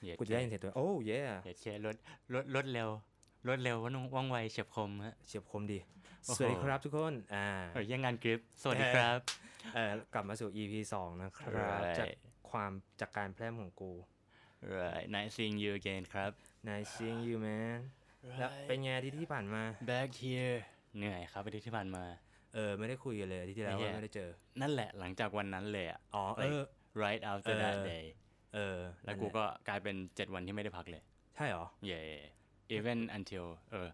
กูจะได้ยินเสียงตัวโอ้เย่เดี๋ยวเชียร์รถเร็วว่องไวเฉียบคมฮะเฉียบคมดีสวัสดีครับทุกคนยังงานกริปสวัสดีครับกลับมาสู่ EP 2นะครับจากการแพร่มของกู Right nice seeing you again ครับ Nice seeing you man แล้วเป็นไงที่ผ่านมา Back here เหนื่อยครับอาทิตย์ที่ผ่านมาไม่ได้คุยกันเลยที่แล้วไม่ได้เจอนั่นแหละหลังจากวันนั้นเลยอ่ะright after that day แล้วกูก็กลายเป็น7วันที่ไม่ได้พักเลยใช่หรอ yeah even until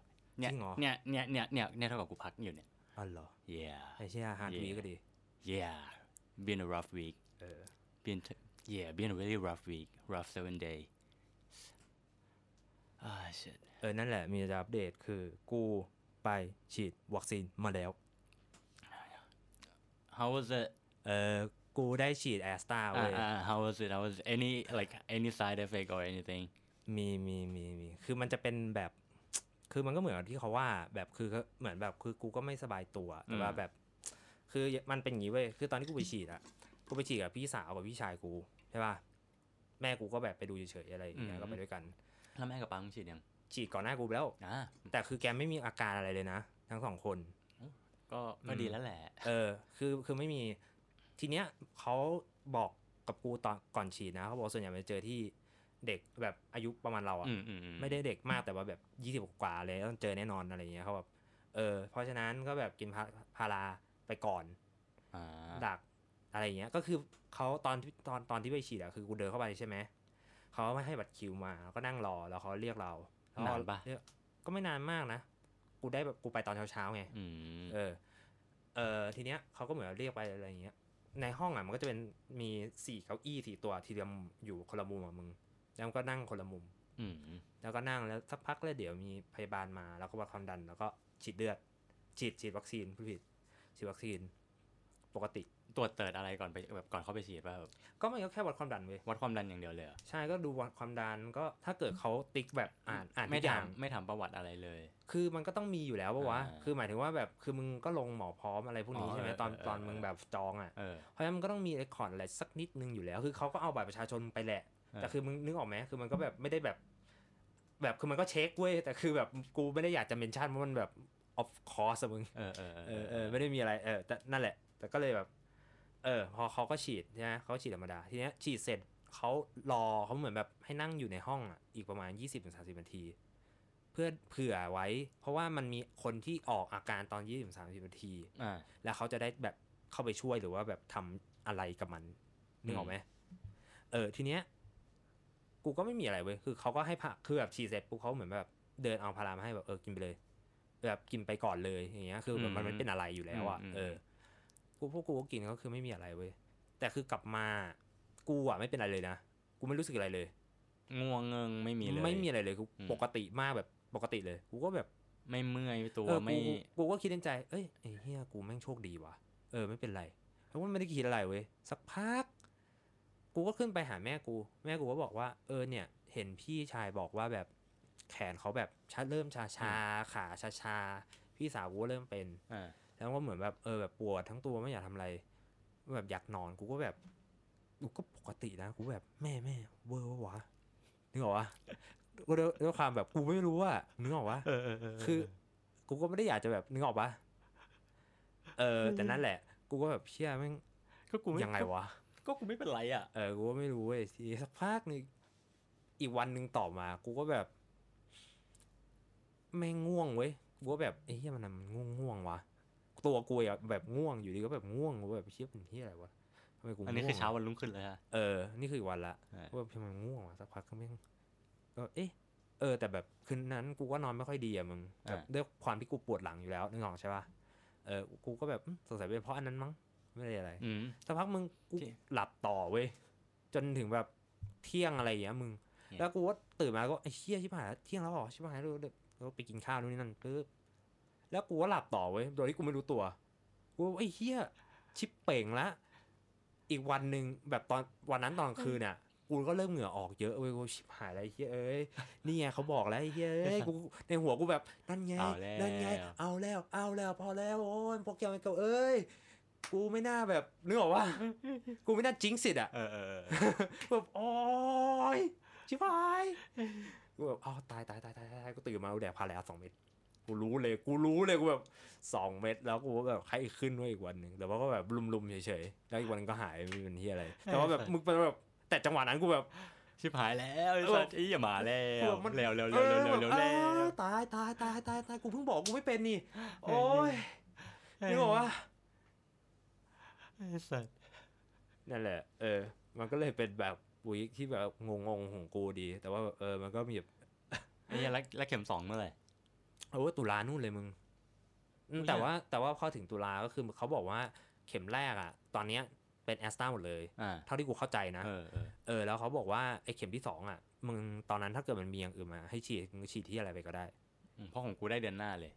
เนี่ยเท่ากับกูพักอยู่เนี่ยอ๋อเหรอ yeah ไอ้เชี่ยฮาร์ดวีก็ดี yeah been a rough week been a really rough week rough 7 days shit นั่นแหละมีจะอัปเดตคือกูไปฉีดวัคซีนมาแล้ว how was it กูได้ฉีดแอสตราเว้ย how was it any side effect or anything มีคือมันจะเป็นแบบคือมันก็เหมือนที่เขาว่าแบบคือเหมือนแบบคือกูก็ไม่สบายตัวแต่ว่าแบบคือมันเป็นอย่างนี้เว้ยคือตอนที่กูไปฉีดกูไปฉีดกับพี่สาวกับพี่ชายกูใช่ป่ะแม่กูก็แบบไปดูเฉยๆอะไรอย่างเงี้ยก็ไปด้วยกันแล้วแม่กับปังฉีดยังฉีดก่อนหน้ากูแล้วแต่คือแกไม่มีอาการอะไรเลยนะทั้งสองคนก็ดีแล้วแหละคือไม่มีทีเนี้ยเขาบอกกับกูตอนก่อนฉีดนะเขาบอกส่วนใหญ่ไปเจอที่เด็กแบบอายุประมาณเราไม่ได้เด็กมากแต่ว่าแบบ20กว่าเลยต้องเจอแน่นอนอะไรเงี้ยเขาแบบเพราะฉะนั้นก็แบบกินพาราไปก่อนดักอะไรเงี้ยก็คือเขาตอนที่ไปฉีดคือกูเดินเข้าไปใช่ไหมเขาไม่ให้บัตรคิวมาก็นั่งรอแล้วเขาเรียกเรานานปะก็ไม่นานมากนะกูไปตอนเช้าไงทีเนี้ยเขาก็เหมือนเรียกไปอะไรเงี้ยในห้องมันก็จะเป็นมี4เก้าอี้4ตัวทีเดียวอยู่คนละมุมมึงแล้วก็นั่งคนละมุมแล้วก็นั่งแล้วสักพักแล้วเดี๋ยวมีพยาบาลมาแล้วก็วัดความดันแล้วก็ฉีดเลือดฉีดวัคซีนผู้ผิดฉีดวัคซีนปกติตรวจเติร์ดอะไรก่อนไปแบบก่อนเข้าไปฉีดป่ะก็มันก็แค่วัดความดันเว้ยวัดความดันอย่างเดียวเลยใช่ก็ดูวัดความดันก็ถ้าเกิดเขาติ๊กแบบอ่านไม่ถามประวัติอะไรเลยคือมันก็ต้องมีอยู่แล้วป่ะวะคือหมายถึงว่าแบบคือมึงก็ลงหมอพร้อมอะไรพวกนี้ใช่ไหมตอนมึงแบบจองเพราะฉะนั้นมันก็ต้องมีเรคคอร์ดอะไรสักนิดนึงอยู่แล้วคือเขาก็เอาบัตรประชาชนไปแหละแต่คือมึงนึกออกไหมคือมันก็แบบไม่ได้แบบคือมันก็เช็คเว้ยแต่คือแบบกูไม่ได้อยากจะเมนชั่นเพราะมันแบบ of course มึงไม่ได้มีอะไรแต่นั่นแหละแต่ก็เลยแบบพอเขาก็ฉีดใช่ไหมเขาฉีดธรรมดาทีเนี้ยฉีดเสร็จเขาเหมือนแบบให้นั่งอยู่ในห้องอีกประมาณ 20-30 นาทีเพื่อเผื่อไว้เพราะว่ามันมีคนที่ออกอาการตอน 20-30 นาทีแล้วเขาจะได้แบบเข้าไปช่วยหรือว่าแบบทำอะไรกับมันนึกออกไหมทีเนี้ยกูก็ไม่มีอะไรเว้ยคือเขาก็ให้คือแบบฉีดเสร็จปุ๊บเขาเหมือนแบบเดินเอาพารามาให้แบบกินไปเลยแบบกินไปก่อนเลยอย่างเงี้ยคือมันไม่เป็นอะไรอยู่แล้วพวกกูก็กินก็คือไม่มีอะไรเว้ยแต่คือกลับมากูไม่เป็นอะไรเลยนะกูไม่รู้สึกอะไรเลยง่วงเงิงไม่มีเลยไม่มีอะไรเลยกูปกติมากแบบปกติเลยกูก็แบบไม่เมื่อยตัวไม่กูก็คิดในใจไอ้เหี้ยกูแม่งโชคดีว่ะไม่เป็นไรเพราะว่าไม่ได้คิดอะไรเว้ยสักพักกูก็ขึ้นไปหาแม่กูก็บอกว่าเนี่ยเห็นพี่ชายบอกว่าแบบแขนเขาแบบเริ่มชาขาชาพี่สาวกูเริ่มเป็นแล้วก็เหมือนแบบแบบปวดทั้งตัวไม่อยากทำอะไรแบบอยากนอนกูก็แบบกูก็ปกตินะกูแบบแม่เวอร์วะนึกออกวะก็ด้วยความแบบกูไม่รู้ว่านึกออกวะคือกูก็ไม่ได้อยากจะแบบนึกออกปะแต่นั่นแหละกูก็แบบเชื่อแม่งก็กูยังไงวะก็กูไม่เป็นไรกูก็ไม่รู้เว้ยทีสักพักนึงอีกวันนึงต่อมากูก็แบบแม่งง่วงเว้ยกูก็แบบเฮียมันง่วงวะตัวกูแบบง่วงอยู่ดีก็แบบง่วงแบบเชี่ยเป็นที่อะไรวะทำไมกูอันนี้คือเช้าวันรุ่งขึ้นเลยนี่คือวันละว่าทำไมง่วงวะสักพักก็ไม่ก็แต่แบบคืนนั้นกูก็นอนไม่ค่อยดีมึงแบบด้วยความที่กูปวดหลังอยู่แล้วนึกออกใช่ป่ะกูก็แบบสงสัยเป็นเพราะอันนั้นมั้งไม่ได้อะไรสักพักมึงกูหลับต่อเว้ยจนถึงแบบเที่ยงอะไรอย่างเงี้ยมึงแล้วกูก็ตื่นมาก็ไอ้เชี่ยชิบหายเที่ยงแล้วหรอชิบหายแล้วไปกินข้าวนู่นนี่นั่นปึ๊บแล้วกูก็หลับต่อเว้ยโดยที่กูไม่รู้ตัวกูไอ้เหี้ยชิบเป่งละอีกวันนึงแบบตอนวันนั้นตอนคืนเนี่ยกูก็เริ่มเหงื่อออกเยอะเว้ยกูชิบหายอะไรเหี้ยนี่ไงเขาบอกแล้วไอ้เหี้ยกูในหัวกูแบบนั่นไงเอาแล้วพอแล้วโอ้ยพวกแกมันเก่ากูไม่น่าแบบนึกออกว่ากูไม่น่าจิ้งสิทธิ์แบบโอ้ยชิบหายกูแบบอ้าวตายกูตื่นมากูแดกพารา2 เม็ดกูรู้เลยกูแบบ2 เม็ดแล้วกูก็แบบไข้ขึ้นไว้อีกวันนึงแต่ว่าก็แบบลุมๆเฉยๆแล้วอีกวันนึงก็หายไม่เป็นที่อะไรแต่ว่าแบบมึงเป็นแบบแต่จังหวะนั้นกูแบบชิบหายแล้วไอ้สัตว์อย่ามาแล้วเร็วตายกูเพิ่งบอกกูไม่เป็นนี่โอ้ยนึกออกว่าไอ้สัตว์นั่นแหละมันก็เลยเป็นแบบวีคที่แบบงงของกูดีแต่ว่ามันก็มีแบบไอ้แล้วเข็ม2เมื่อไหร่ตุลานู่นเลยมึงแต่ว่าพอถึงตุลาก็คือเขาบอกว่าเข็มแรกอ่ะตอนเนี้ยเป็นแอสตราหมดเลยเท่าที่กูเข้าใจนะแล้วเขาบอกว่าไอ้เข็มที่2อ่ะมึงตอนนั้นถ้าเกิดมันมีอย่างอื่นมาให้ฉีดมึงฉีดที่อะไรไปก็ได้เพราะของกูได้เดือนหน้าเลย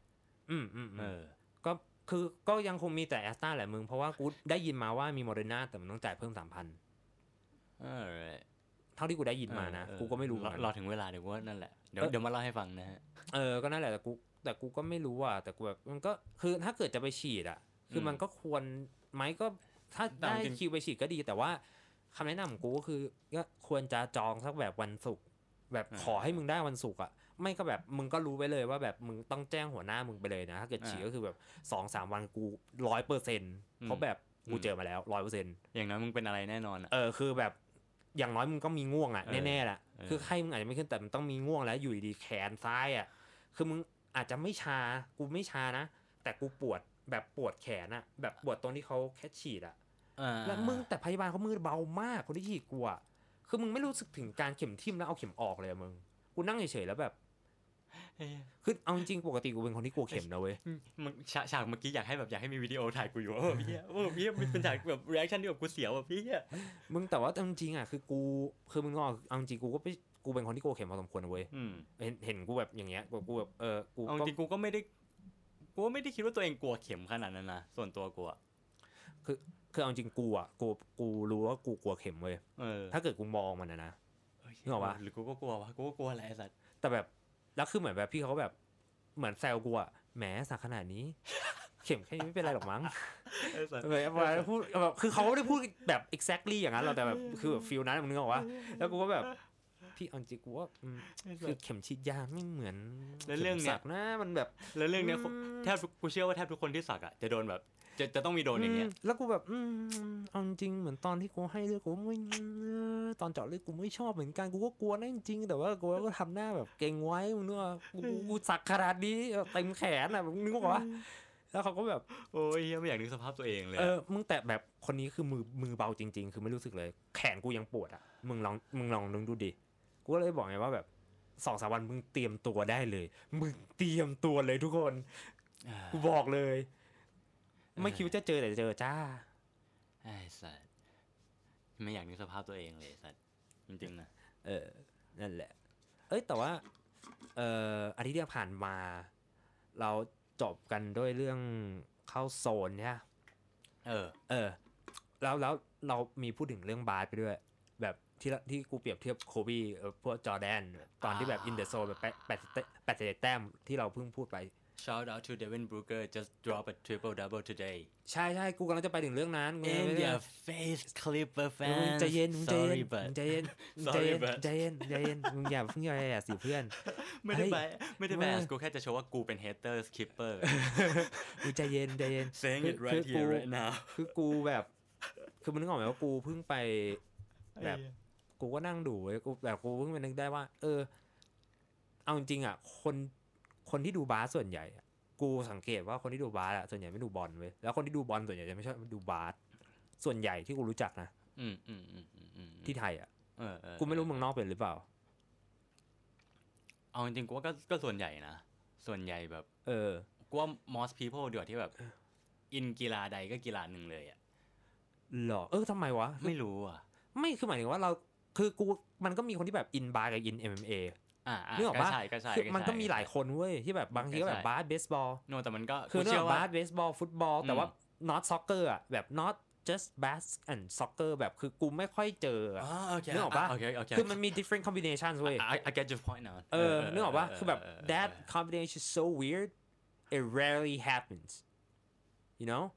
ก็ยังคงมีแต่แอสตราแหละมึงเพราะว่ากูได้ยินมาว่ามีโมเดอร์นาแต่มันต้องจ่ายเพิ่ม 3,000 เท่าที่กูได้ยินมานะกูก็ไม่รู้รอถึงเวลาเดี๋ยวว่านั่นแหละเดี๋ยวมาเล่าให้ฟังนะฮะก็นั่นแหละแต่กูก็ไม่รู้แต่กูแบบมันก็คือถ้าเกิดจะไปฉีดอ่ะคือมันก็ควรไหมก็ถ้าได้คิวไปฉีดก็ดีแต่ว่าคำแนะนำของกูก็คือก็ควรจะจองสักแบบวันศุกร์แบบขอให้มึงได้วันศุกร์อ่ะไม่ก็แบบมึงก็รู้ไว้เลยว่าแบบมึงต้องแจ้งหัวหน้ามึงไปเลยนะถ้าเกิดฉีดก็คือแบบ 2-3 วันกู 100% เพราะแบบกูเจอมาแล้ว 100% อย่างน้อยมึงเป็นอะไรแน่นอนคือแบบอย่างน้อยมึงก็มีง่วงอ่ะแน่ๆแหละคือไข้มึงอาจจะไม่ขึ้นแต่มันต้องมีง่วงแล้วอยู่ดีๆแขนซ้ายอ่ะคือมึงอาจจะไม่ชากูไม่ชานะแต่กูปวดแบบปวดแขนอ่ะแบบปวดตรงที่เขาแค่ฉีดอ่ะแล้วมึงแต่พยาบาลเขามือเบามากคนที่ฉีดกูอ่ะคือมึงไม่รู้สึกถึงการเข็มทิ่มแล้วเอาเข็มออกเลยมึงกูนั่งเฉยๆแล้วแบบคือเอาจริงๆปกติกูเป็นคนที่กลัวเข็มนะเว้ยมึงฉากเมื่อกี้อยากให้มีวิดีโอถ่ายกูอยู่พี่เป็นฉากแบบรีแอคชั่นที่แบบกูเสียวพี่มึงแต่ว่าจริงๆอ่ะคือมึงเอาจริงกูเป็นคนที่กลัวเข็มพอสมควรนะเว้ยเห็นกูแบบอย่างเงี้ยกูแบบกูเอาจริงกูไม่ได้คิดว่าตัวเองกลัวเข็มขนาดนั้นนะส่วนตัวกูคือเอาจริงกูรู้ว่ากูกลัวเข็มเว้ยถ้าเกิดกูมองมันนะนึกออกปะหรือกูก็กลัววะกูก็กลัวอะไรสัตว์แต่แบบแล้วคือเหมือนแบบพี่เขาแบบเหมือนแซวกูอะแหมสักขนาดนี้เข็มแค่นี้ไม่เป็นไรหรอกมั้งแบบพูดแบบคือเขาไม่ได้พูดแบบ exactly อย่างนั้นหรอกแต่แบบคือแบบฟีลนั้นมึงนึกออกปะแล้วกูก็แบบพี่เอาจริงกูว่าคือเข็มฉีดยาไม่เหมือนเรื่องสักนะมันแบบแล้วเรื่องเนี้ยแทบกูเชื่อว่าแทบทุกคนที่สักอะจะโดนแบบจะต้องมีโดนอย่างเงี้ยแล้วกูแบบเอาจริงเหมือนตอนที่กูให้เลือดกูไม่ตอนเจาะเลือดกูไม่ชอบเหมือนกันกูก็กลัวนะจริงแต่ว่ากูก็ทำหน้าแบบเก่งไว้มึงนึกว่ากูสักขนาดนี้เต็มแขนอ่ะมึงนึกว่าแล้วเขาก็แบบโอ้ยไม่อยากนึกสภาพตัวเองเลยมึงแต่แบบคนนี้คือมือเบาจริงๆคือไม่รู้สึกเลยแขนกูยังปวดอ่ะมึงลองนึกดูดิกูก็เลยบอกไงว่าแบบ 2-3 วันมึงเตรียมตัวได้เลยมึงเตรียมตัวเลยทุกคนกูบอกเลยไม่คิดว่าจะเจอแต่เจอจ้าไอ้สัสไม่อยากนึกสภาพตัวเองเลยสัสจริงๆนะนั่นแหละแต่ว่าอาทิตย์ที่ผ่านมาเราจบกันด้วยเรื่องเข้าโซนเนี่ยแล้วเรามีพูดถึงเรื่องบาสไปด้วยแบบที่กูเปรียบเทียบโคบีพวกจอร์แดนตอนที่แบบอินเดอะโซนแบบ81 แต้มที่เราเพิ่งพูดไป Shout out to Devin Booker just drop a triple double today ใช่กูกำลังจะไปถึงเรื่องนั้น In your face Clipper fans ใจเย็นมึงใจเย็นมึงอย่าเพิ่งแย่สิเพื่อนไม่ได้แบสกูแค่จะโชว์ว่ากูเป็น hater Clipper มึงใจเย็น saying it right here right now คือกูแบบคือมึงนึกออกไหมว่ากูเพิ่งไปแบบกูก็นั่งดูเว้ยกูเพิ่งไปนึกได้ว่าเอาจริงๆอ่ะคนที่ดูบาสส่วนใหญ่กูสังเกตว่าคนที่ดูบาสส่วนใหญ่ไม่ดูบอลเว้ยแล้วคนที่ดูบอลส่วนใหญ่จะไม่ชอบดูบาสส่วนใหญ่ที่กูรู้จักนะที่ไทยกูไม่รู้เมืองนอกเป็นหรือเปล่าเอาจริงๆกูว่าก็ส่วนใหญ่นะส่วนใหญ่แบบกูว่า most people เดี๋ยวที่แบบอินกีฬาใดก็กีฬาหนึ่งเลยหรอทำไมวะไม่รู้ไม่คือหมายถึงว่าเราคือกูมันก็มีคนที่แบบอินบาสกับอิน MMAนึกออกปะคือมันก็มีหลายคนเว้ยที่แบบบางทีก็แบบบาสเบสบอลแต่มันก็คือเรื่องบาสเบสบอลฟุตบอลแต่ว่า not soccer แบบ not just bas and soccer แบบคือกูไม่ค่อยเจอนึกออกปะคือมันมี different combinations เว้ย I get your point now นึกออกปะคือแบบ that combination is so weird it rarely happens you know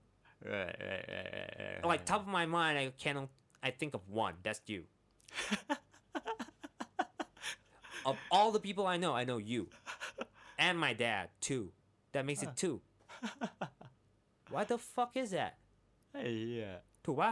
like top of my mind I think of one that's you of all the people I know you and my dad too that makes it two what the fuck is that ไอ้เหี้ยถูกป่ะ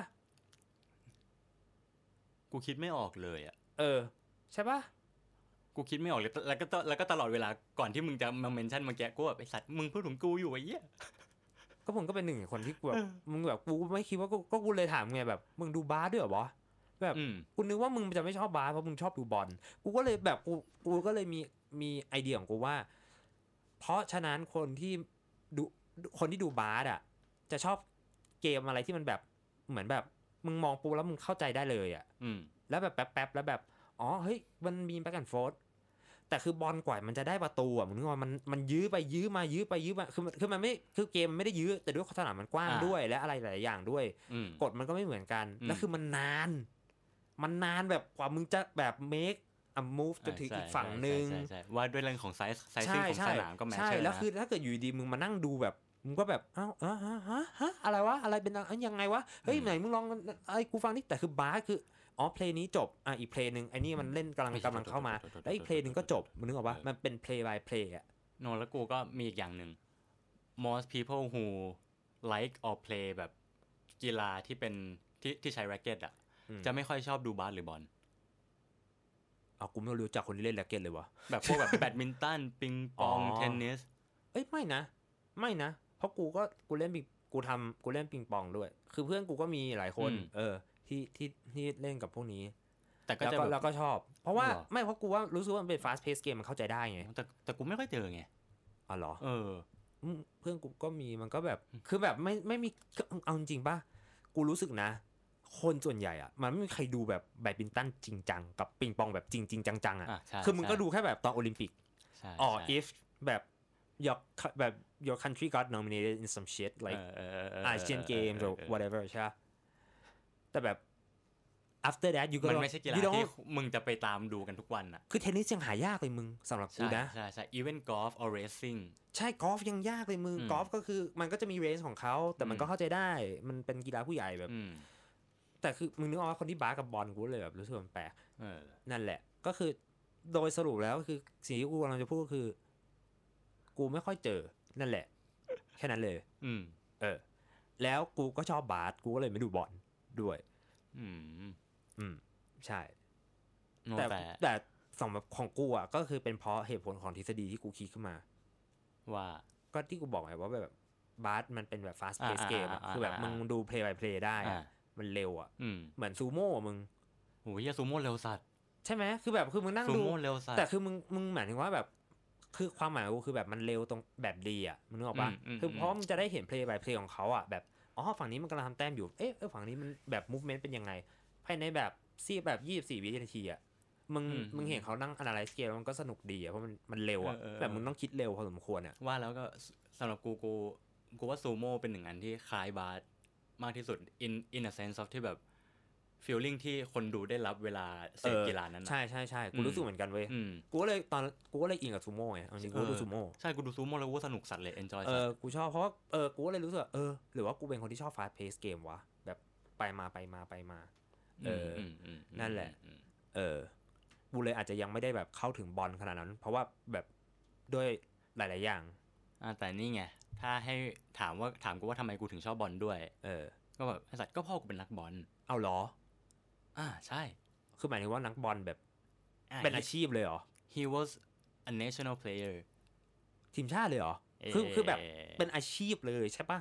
กูคิดไม่ออกเลยอ่ะใช่ป่ะกูคิดไม่ออกเลยแล้วก็ตลอดเวลาก่อนที่มึงจะมาเมนชั่นเมื่อกี้กูแบบไอ้สัตว์มึงพูดถึงกูอยู่ไอ้เหี้ยก็มึงก็เป็นหนึ่งคนที่กูแบบมึงแบบกูไม่คิดว่าก็กูเลยถามไงแบบมึงดูบาสด้วยเหรอแบบกูนึกว่ามึงจะไม่ชอบบาสเพราะมึงชอบดูบอลกูก็เลยแบบกูก็เลยมีไอเดียของกูว่าเพราะฉะนั้นคนที่ดูบาสอ่ะจะชอบเกมอะไรที่มันแบบเหมือนแบบมึงมองปูแล้วมึงเข้าใจได้เลยอ่ะแล้วแบบแป๊บๆแล้วแบบอ๋อเฮ้ยมันมีแบ็คแอนด์โฟร์ธแต่คือบอลกว่ามันจะได้ประตูอ่ะมึงนึกว่ามันยื้อไปยื้อมาคือมันไม่คือเกมมันไม่ได้ยื้อแต่ด้วยสนามมันกว้างด้วยและอะไรหลายอย่างด้วยกฎมันก็ไม่เหมือนกันแล้วคือมันนานแบบกว่ามึงจะแบบ make a move จนถึงอีกฝั่งนึงว่าด้วยเรื่องของไซส์ของสนามก็แมทเชอร์ใช่แล้วคือถ้าเกิดอยู่ดีมึงมานั่งดูแบบมึงก็แบบอ้าวฮะอะไรวะอะไรเป็นยังไงวะเฮ้ยไหนมึงลองไอ้กูฟังนี่แต่คือบาสคือเพลงนี้จบอีกเพลงนึงไอ้นี่มันเล่นกำลังเข้ามาแล้วอีกเพลงนึงก็จบมึงนึกออกปะมันเป็น play by play อ่ะโนแล้วกูก็มีอีกอย่างนึง most people who like or play แบบกีฬาที่เป็นที่ใช้แร็คเก็ตอ่ะจะไม่ค่อยชอบดูบาสหรือบอลกูไม่รู้จักคนที่เล่นแร็คเก็ตเลยวะแบบพวกแบบแบดมินตันปิงปองเทนนิสไม่นะเพราะกูเล่นปิงปองด้วยคือเพื่อนกูก็มีหลายคนที่เล่นกับพวกนี้แต่ก็จะแล้วก็ชอบเพราะว่าไม่เพราะกูว่ารู้สึกว่ามันเป็น fast pace game มันเข้าใจได้ไงแต่กูไม่ค่อยเจอไงอ๋อเหรอเพื่อนกูก็มีมันก็แบบคือแบบไม่มีเอาจริงป่ะกูรู้สึกนะคนส่วนใหญ่อ่ะมันไม่มีใครดูแบบแบดมินตันจริงจังกับปิงปองแบบจริงจังอ่ะคือมึงก็ดูแค่แบบตอนโอลิมปิกif แบบ your country got nominated in some shit like Asian Games or whatever ใช่ป่ะแต่แบบ after that มันไม่ใช่กีฬาที่มึงจะไปตามดูกันทุกวันอ่ะคือเทนนิสยังหายากเลยมึงสำหรับกูนะใช่ even golf or racing ใช่กอล์ฟยังยากเลยมึงกอล์ฟก็คือมันก็จะมีเรสของเขาแต่มันก็เข้าใจได้มันเป็นกีฬาผู้ใหญ่แบบแต่คือมึงนึกออกว่าคนที่บาสกับบอลกูเลยแบบรู้สึกมันแปลกนั่นแหละก็คือโดยสรุปแล้วคือสิ่งที่กูกำลังจะพูดก็คือกูไม่ค่อยเจอนั่นแหละแค่นั้นเลยแล้วกูก็ชอบบาสกูก็เลยไม่ดูบอลด้วยใช่แต่สำหรับของกูอ่ะก็คือเป็นเพราะเหตุผลของทฤษฎีที่กูคิดขึ้นมาว่าก็ที่กูบอกไงว่าแบบบาสมันเป็นแบบ fast pace game คือแบบมึงดู play by play ได้มันเร็วอ่ะเหมือนซูโม่มึงโหซูโม่เร็วสัตว์ใช่ไหมคือแบบคือมึงนั่งดูแต่คือมึงหมายถึงว่าแบบคือความหมายกูคือแบบมันเร็วตรงแบบดีอ่ะมึงนึกออกป่ะคือเพราะมึงจะได้เห็น play by play ของเขาอ่ะแบบฝั่งนี้มันกำลังทำแต้มอยู่ฝั่งนี้มันแบบ movement เป็นยังไงภายในแบบแบบ24วินาทีอ่ะมึงเห็นเขานั่ง analyze เกมมันก็สนุกดีอ่ะเพราะมันเร็วอ่ะแบบมึงต้องคิดเร็วพอสมควรอ่ะว่าแล้วก็สำหรับกูว่าซูโม่เป็นหนึ่งอันที่คล้ายบาสมากที่สุด in a sense of ที่แบบ feeling ที่คนดูได้รับเวลาเสพกีฬานั้นใช่กูรู้สึกเหมือนกันเว้ยกูก็เลยอินกับซูโม่ไงจริงๆกูดูซูโม่ใช่กูดูซูโม่แล้วกูสนุกสัตว์เลย enjoy กูชอบเพราะว่ากูก็เลยรู้สึกหรือว่ากูเป็นคนที่ชอบ fast pace game วะแบบไปมานั่นแหละกูเลยอาจจะยังไม่ได้แบบเข้าถึงบอลขนาดนั้นเพราะว่าแบบด้วยหลายๆอย่างแต่นี่ไงถ้าให้ถามกูว่าทำไมกูถึงชอบบอลด้วยก็แบบไอ้สัตว์ก็พ่อกูเป็นนักบอลเอาเหรอใช่คือหมายถึงว่านักบอลแบบเป็นอาชีพเลยเหรอ he was a national player ทีมชาติเลยเหรอคือแบบเป็นอาชีพเลยใช่ปะ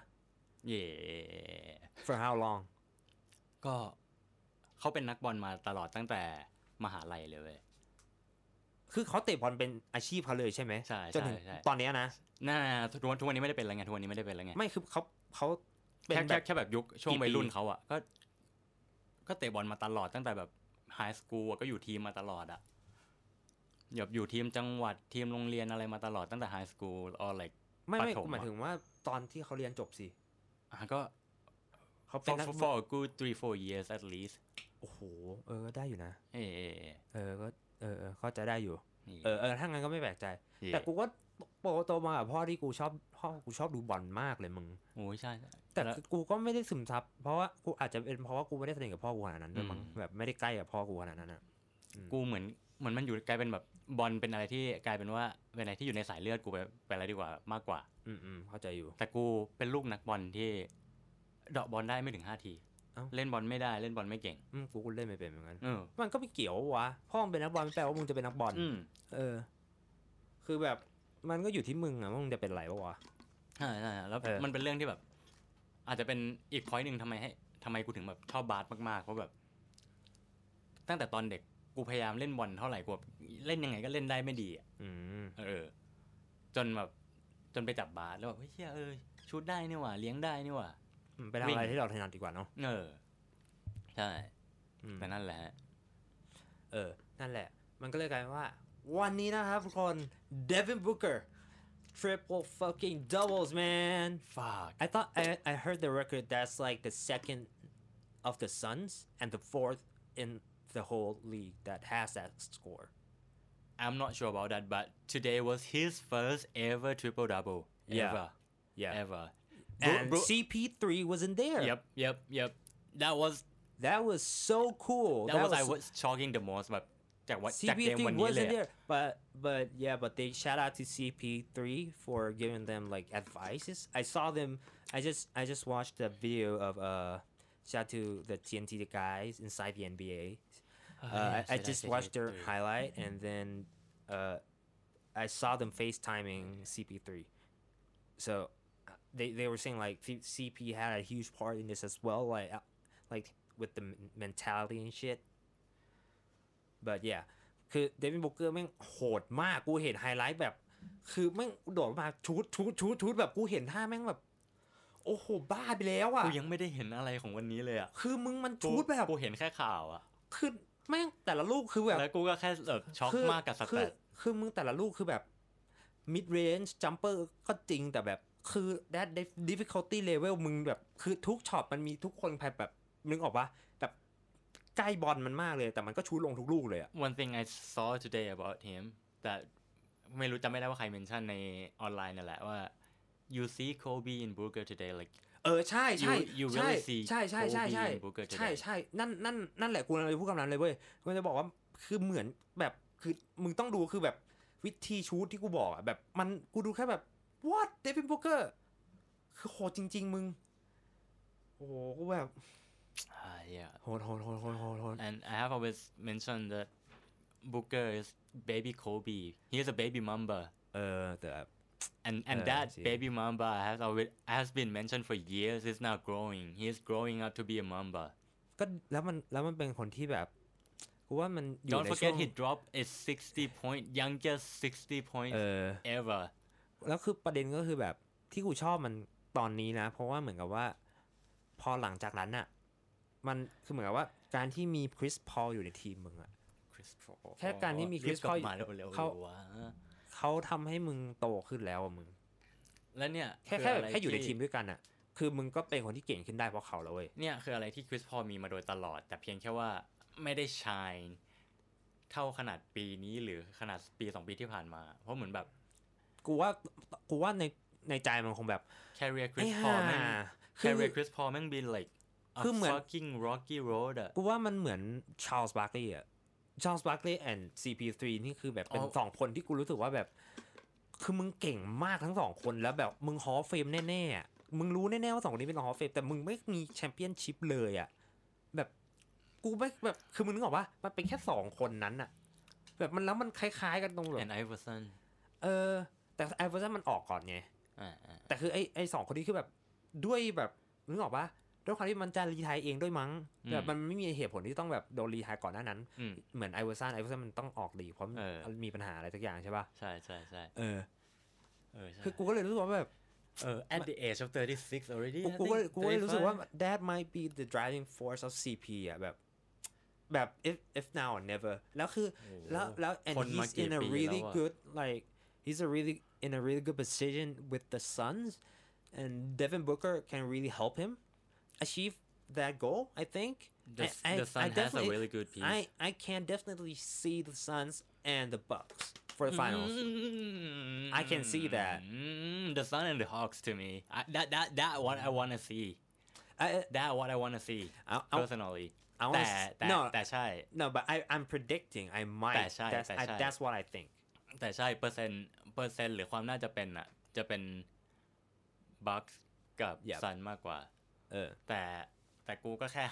for how long ก็เขาเป็นนักบอลมาตลอดตั้งแต่มหาลัยเลยเว้ยคือเขาเตะบอลเป็นอาชีพเขาเลยใช่ไหมใช่จนถึงตอนนี้นะทุกวันนี้ไม่ได้เป็นแล้วไงทุกวันนี้ไม่ได้เป็นแล้วไงไม่คือเขาเป็นแค่แบบยุคช่วงวัยรุ่นเขาอ่ะก็เตะบอลมาตลอดตั้งแต่แบบไฮสคูลก็อยู่ทีมมาตลอดอ่ะอยู่ทีมจังหวัดทีมโรงเรียนอะไรมาตลอดตั้งแต่ไฮสคูลอะไรไม่หมายถึงว่าตอนที่เขาเรียนจบสิก็เขาเป็น for a good 3-4 years at least โอ้โหก็ได้อยู่นะก็เข้าใจได้อยู่ถ้างั้นก็ไม่แปลกใจแต่กูก็โตมากับพ่อที่กูชอบดูบอลมากเลยมึงโอ้ยใช่แต่กูก็ไม่ได้ซึมซับเพราะว่ากูอาจจะเป็นเพราะว่ากูไม่ได้สนิทกับพ่อกูขนาดนั้นด้วยมั้งแบบไม่ได้ใกล้กับพ่อกูขนาดนั้นอ่ะกูเหมือนเหมือนมันอยู่กลายเป็นแบบบอลเป็นอะไรที่กลายเป็นว่าเป็นอะไรที่อยู่ในสายเลือดกูไปอะไรดีกว่ามากกว่าเข้าใจอยู่แต่กูเป็นลูกนักบอลที่เดาะบอลได้ไม่ถึง5 ทีเล่นบอลไม่ได้เล่นบอลไม่เก่งกูเล่นไม่เป็นเหมือนกันมันก็ไม่เกี่ยววะพ่อมึงเป็นนักบอลไม่แปลว่ามึงจะเป็นนักบอลคือแบบมันก็อยู่ที่มึงอะว่ามึงจะเป็นไรวะใช่แล้วมันเป็นเรื่องที่แบบอาจจะเป็นอีกพอยต์นึงทำไมกูถึงแบบชอบบาสมากๆเพราะแบบตั้งแต่ตอนเด็กกูพยายามเล่นบอลเท่าไหร่กูเล่นยังไงก็เล่นได้ไม่ดีจนไปจับบาสแล้วแบบเฮ้ยชูตได้นี่หว่าเลี้ยงได้นี่หว่าไปทำอะไรที่เราถนัดดีกว่าเนาะใช่แต่นั่นแหละนั่นแหละมันก็เลยกลายเป็นว่าวันนี้นะครับทุกคน Devin Booker triple fucking doubles man fuck I thought I heard the record that's like the second of the Suns and the fourth in the whole league that has that score I'm not sure about that but today was his first ever triple double ever and CP3 wasn't there yep that was so cool I was shocking the most แบบจากเกมวันนี้เลย but they shout out to CP3 for giving them like advices I saw them I just watched the video of shout out to the TNT guys inside the NBA I just watched their highlight and then I saw them FaceTiming CP3 so they were saying like CP had a huge part in this as well like with the mentality and shit but yeah คือเดวินบุกเกอร์แม่งโหดมากกูเห็นไฮไลท์แบบคือแม่งโดดมาชุดแบบกูเห็นท่าแม่งแบบโอ้โหบ้าไปแล้วอ่ะกูยังไม่ได้เห็นอะไรของวันนี้เลยอ่ะคือมึงมันชุดแบบกูเห็นแค่ข่าวอ่ะคือแม่งแต่ละลูกคือแบบแล้วกูก็แค่แบบช็อกมากกับสแตทคือมึงแต่ละลูกคือแบบ mid range jumper ก็จริงแต่แบบคือ that difficulty level มึงแบบคือทุกช็อตมันมีทุกคนแบบนึกออกปะแบบใกล้บอลมันมากเลยแต่มันก็ชูลงทุกลูกเลยอ่ะ One thing I saw today about him that ไม่รู้จำไม่ได้ว่าใครเมนชั่นในออนไลน์นั่นแหละว่า you see Kobe in Booker today like ใช่ใช่ you really see Kobe in Booker today ใช่นั่นแหละกูเลยพูดคำนั้นเลยเว้ยกูจะบอกว่าคือเหมือนแบบคือมึงต้องดูคือแบบวิธีชูตที่กูบอกอ่ะแบบมันกูดูแค่แบบ what Devin Booker คือโหดจริงๆมึงโอ้โหกูแบบ yeah โหด and I have always mentioned that Booker is baby Kobe he is a baby Mamba แต่ and that baby Mamba has been mentioned for years is now growing he is growing up to be a Mamba ก็แล้วมันเป็นคนที่แบบกูว่ามันอยู่ Don't forget he dropped a 60 point youngest 60 points ever แล้วคือประเด็นก็คือแบบที่กูชอบมันตอนนี้นะเพราะว่าเหมือนกับว่าพอหลังจากนั้นอ่ะมันคือเหมือนกับว่าการที่มีคริสพอลอยู่ในทีมมึงอ่ะแค่การที่มีคริสพอลเขาทำให้มึงโตขึ้นแล้วมึงแล้วเนี่ยแค่อยู่ในทีมด้วยกันอ่ะคือมึงก็เป็นคนที่เก่งขึ้นได้เพราะเขาแล้วเว้ยเนี่ยคืออะไรที่คริสพอลมีมาโดยตลอดแต่เพียงแค่ว่าไม่ได้ชายเท่าขนาดปีนี้หรือขนาดปี2 ปีที่ผ่านมาเพราะเหมือนแบบกูว่าในใจมันคงแบบ career Chris Paul แม่ง career Chris Paul แม่ง be like a fucking rocky road อ่ะกูว่ามันเหมือน Charles Barkley อ่ะ Charles Barkley and CP3 นี่คือแบบเป็น2คนที่กูรู้สึกว่าแบบคือมึงเก่งมากทั้ง2คนแล้วแบบมึงฮอลล์เฟมแน่ๆมึงรู้แน่ๆว่า2คนนี้เป็นฮอลล์เฟมแต่มึงไม่มีแชมเปี้ยนชิพเลยอ่ะแบบกูไม่แบบคือมึงนึกออกปะมันเป็นแค่2คนนั้นอะแบบมันแล้วมันคล้ายๆกันตรงแบบ and Iverson แต่ Iverson มันออกก่อนไงแต่คือไอ้2คนนี้คือแบบด้วยแบบนึกออกปะด้วยความที่มันจะรีไทร์เองด้วยมั้งแบบมันไม่มีเหตุผลที่ต้องแบบโดนรีไทร์ก่อนหน้านั้นเหมือน Iverson มันต้องออกดีเพราะมีปัญหาอะไรสักอย่างใช่ปะใช่คือกูก็เลยรู้สึกว่าแบบ at the age of 36 already กูก็เลยรู้สึกว่า that might be the driving force of CP อ่ะแบบ if now or never แล้วคือแล้ว and he's in a really good like he's in a really good position with the Suns and Devin Booker can really help him achieve that goal I think the Suns has a really good piece I can definitely see the Suns and the Bucks for the finals I can see that the Suns and the Hawks to me that what I want to see that what I want to see personally แต่ใช่ no but I'm predicting I might แต่ใช่ that's what I think แต่ใช่เปอร์เซ็นต์หรือความน่าจะเป็นอ่ะจะเป็นบัคส์กับซันมากกว่าแต่กูก็แค่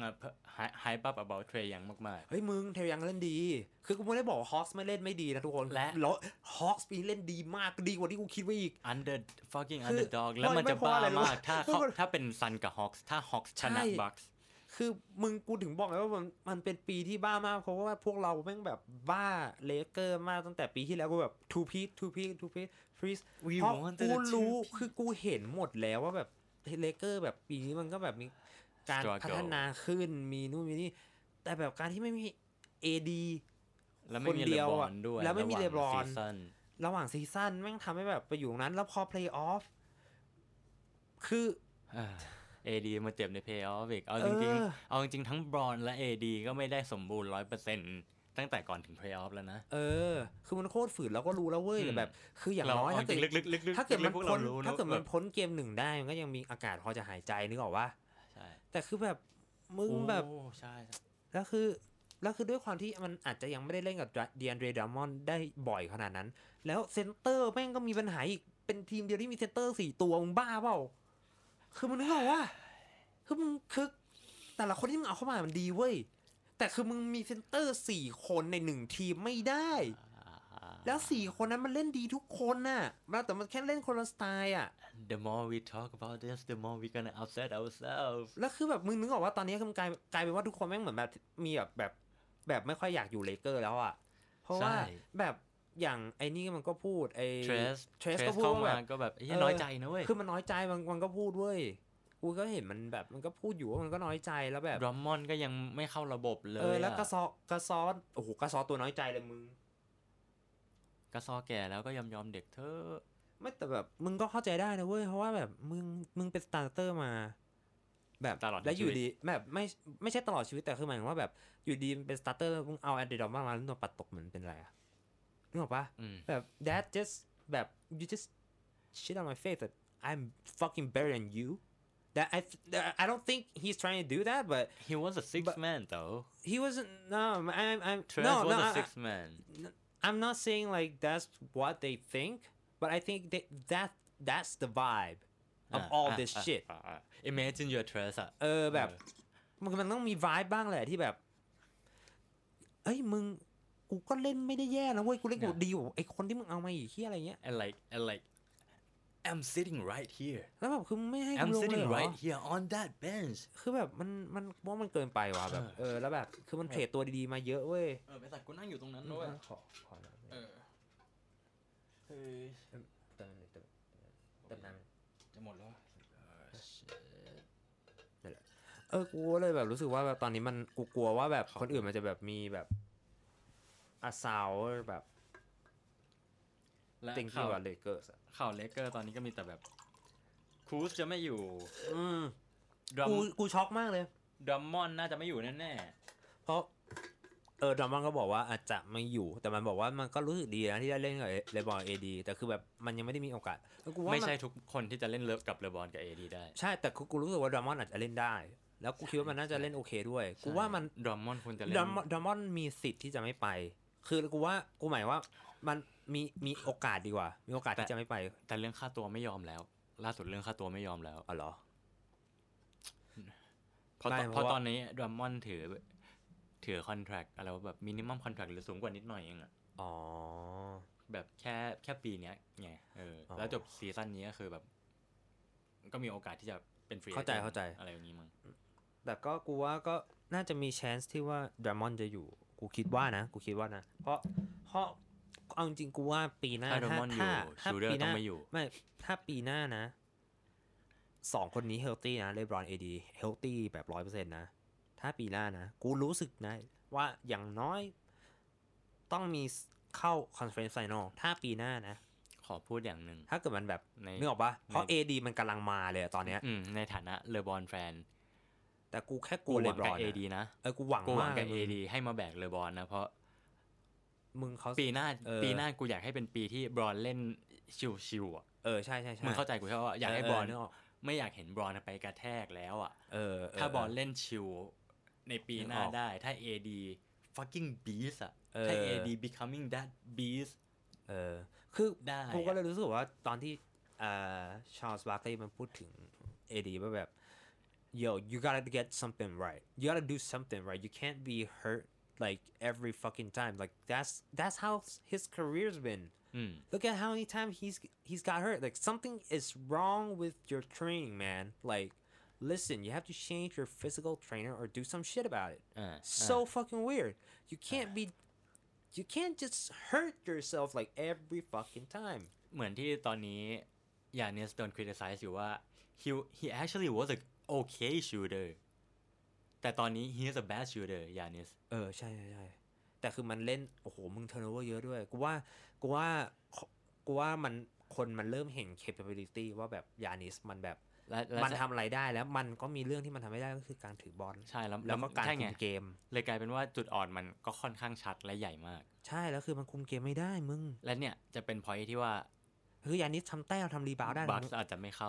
hype up about Trae Young มากๆเฮ้ยมึงเทยังเล่นดีคือกูไม่ได้บอกว่าฮอคส์ไม่เล่นไม่ดีนะทุกคนแล้วฮอคส์ปีเล่นดีมากดีกว่าที่กูคิดไว้อีก underdog แล้วมันจะบ้ามากถ้าเป็นซันกับฮอคส์ถ้าฮอคส์ชนะบัคส์คือมึงกูถึงบอกไงว่ามันเป็นปีที่บ้ามากเพราะว่าพวกเราแม่งแบบบ้าเลเกอร์มากตั้งแต่ปีที่แล้วกูแบบ two piece freeze เพราะกูรู้คือกูเห็นหมดแล้วว่าแบบเลเกอร์แบบปีนี้มันก็แบบมีการพัฒนาขึ้นมีนู่นมีนี่แต่แบบการที่ไม่มี AD คนเดียวอ่ะแล้วไม่มีเลบรอนระหว่างซีซั่นแม่งทำให้แบบไปอยู่ตรงนั้นแล้วพอ play off คือ AD มาเจ็บใน play off อีกเอาจริงทั้งบรอนและ AD ก็ไม่ได้สมบูรณ์ 100% ตั้งแต่ก่อนถึง play off แล้วนะคือมันโคตรฝืนเราก็รู้แล้วเว้ยแต่แบบคืออย่างน้อยถ้าเกิดมันพ้นเกม1ได้มันก็ยังมีอากาศพอจะหายใจนึกออกว่าใช่แต่คือแบบมึงแบบใช่แล้วคือด้วยความที่มันอาจจะยังไม่ได้เล่นกับดีแอนเดร ดามอนด์ได้บ่อยขนาดนั้นแล้วเซนเตอร์แม่งก็มีปัญหาอีกเป็นทีมเดียวที่มีเซนเตอร์4ตัวมึงบ้าเปล่าคือมันนึกออกว่าคือแต่ละคนที่มึงเอาเข้ามามันดีเว้ยแต่คือมึงมีเซนเตอร์4คนใน1ทีมไม่ได้แล้ว4คนนั้นมันเล่นดีทุกคนน่ะแต่มันแค่เล่นคนละสไตล์อ่ะ The more we talk about this the more we gonna upset ourselves แล้วคือแบบมึงนึกออกว่าตอนนี้กลายเป็นว่าทุกคนแม่งเหมือนแบบมีแบบไม่ค่อยอยากอยู่เลเกอร์แล้วอ่ะเพราะว่าแบบอย่างไอ้นี่มันก็พูดไอ้เทรสก็พูดแบบน้อยใจนะเว้ยคือมันน้อยใจมันก็พูดเว้ยกูก็เห็นมันแบบมันก็พูดอยู่ว่ามันก็น้อยใจแล้วแบบดรัมมอนก็ยังไม่เข้าระบบเลยแล้วกระซอโอ้โหกระซอตัวน้อยใจเลยมึงกระซอแก่แล้วก็ยอมเด็กเธอไม่แต่แบบมึงก็เข้าใจได้นะเว้ยเพราะว่าแบบมึงเป็นสตาร์เตอร์มาแบบตลอดแล้วอยู่ดีแบบไม่ใช่ตลอดชีวิตแต่คือหมายถึงว่าแบบอยู่ดีเป็นสตาร์เตอร์มึงเอาแอนเดอร์ดอมมาแล้วตัวปัดตกเหมือนเป็นไรอะนึกออกปะแบบ that just แบบ you just shit on my face that I'm fucking better than you that I don't think he's trying to do that but he was a sixth man though he wasn't I'm was a sixth man I'm not saying like that's what they think but I think that's the vibe of all this shit imagine your Trace อ่ะแบบมันต้องมี vibe บ้างแหละที่แบบเอ้ยมึงกูก็เล่นไม่ได้แย่นะเว้ยกูเล่นกูดีกว่าไอ้คนที่มึงเอามาอีกเหี้ยอะไรเงี้ย and like I'm sitting right here แล้วแบบคือไม่ให้กู I'm ลงเลย sitting right here on that bench คือแบบมันว่ามันเกินไปว่ะแบบแล้วแบบคือมันเทรดตัวดีๆมาเยอะเว้ยไปสัตว์กูนั่งอยู่ตรงนั้นด้วยขอเติมน้ำจะหมดแล้วกูเลยแบบรู้สึกว่าแบบตอนนี้มันกูกลัวว่าแบบคนอื่นมันจะแบบมีแบบอาซาวแบบและข่าวเลเกอร์ข่าวเลเกอร์ตอนนี้ก็มีแต่แบบคูสจะไม่อยู่กูช็อกมากเลยดัมมอนน่าจะไม่อยู่แน่ๆเพราะดัมมอนก็บอกว่าอาจจะไม่อยู่แต่มันบอกว่ามันก็รู้สึกดีนะที่ได้เล่นกับเลบอนเอดีแต่คือแบบมันยังไม่ได้มีโอกาสไม่ใช่ทุกคนที่จะเล่นเลิฟกับเลบอนกับเอดีได้ใช่แต่กูรู้สึกว่าดัมมอนอาจจะเล่นได้แล้วกูคิดว่ามันน่าจะเล่นโอเคด้วยกูว่ามันดัมมอนควรจะเล่นดัมมอนมีสิทธิ์ที่จะไม่ไปคือกูหมายว่ามันมีโอกาสดีกว่ามีโอกาสที่จะไม่ไปแต่เรื่องค่าตัวไม่ยอมแล้วล่าสุดเรื่องค่าตัวไม่ยอมแล้วอ๋อเหรอเพราะตอนนี้ดัมมอนถือคอนแทรคอะไรแบบมินิมัมคอนแทรคหรือสูงกว่านิดหน่อยเองอ่ะแบบแค่ปีเนี้ยไงแล้วจบซีซั่นนี้ก็คือแบบก็มีโอกาสที่จะเป็นฟรีเข้าใจอะไรอย่างนี้มั้งแต่ก็กูว่าก็น่าจะมี chance ที่ว่าดรามอนจะอยู่กูคิดว่านะเพราะเอาจริงกูว่าปีหน้าถ้าปีหน้าไม่ถ้าปีหน้านะ2คนนี้เฮลตี้นะเลบรอนเอดีเฮลตี้แบบ 100% นะถ้าปีหน้านะกูรู้สึกนะว่าอย่างน้อยต้องมีเข้าคอนเฟอเรนซ์ไฟนอลถ้าปีหน้านะขอพูดอย่างหนึ่งถ้าเกิดมันแบบนึกออกปะเพราะ AD มันกำลังมาเลยตอนเนี้ยในฐานะเลบอนแฟนแต่กูแค่กลัวเลบรอน AD นะกูหวังกับ AD ให้มาแบกเลบอนนะเพราะมึงเขาปีหน้ากูอยากให้เป็นปีที่บรอนเล่นชิวๆอ่ะใช่มึงเข้าใจกูใช่ป่ะอยากให้บรอนไม่อยากเห็นบรอนไปกระแทกแล้วอ่ะถ้าบรอนเล่นชิวในปีหน้าได้ถ้า AD fucking beast อ่ะถ้า AD becoming that beast คือกูก็เลยรู้สึกว่าตอนที่ชาร์ลส์บาร์คลีย์มันพูดถึง AD ว่าแบบ yo you gotta get something right you gotta do something right you can't be hurt like every fucking time like that's how his career's been look at how many times he's got hurt like something is wrong with your training man like listen you have to change your physical trainer or do some shit about it so fucking weird you can't just hurt yourself like every fucking time เหมือนที่ตอนนี้ยานิสโดน criticize อยู่ว่า he actually was a okay shooter แต่ตอนนี้ he is a bad shooter ยานิสใช่ๆแต่คือมันเล่นโอ้โหมึง turnover เยอะด้วยกูว่ามันคนมันเริ่มเห็น capability ว่าแบบยานิสมันแบบมันทำอะไรได้แล้วมันก็มีเรื่องที่มันทำไม่ได้ก็คือการถือบอลใช่แล้วก็การคุมเกมเลยกลายเป็นว่าจุดอ่อนมันก็ค่อนข้างชัดและใหญ่มากใช่แล้วคือมันคุมเกมไม่ได้มึงและเนี่ยจะเป็น point ที่ว่าคือยานิสทำแต้มทำรีบาวด์ได้บัคอาจจะไม่เข้า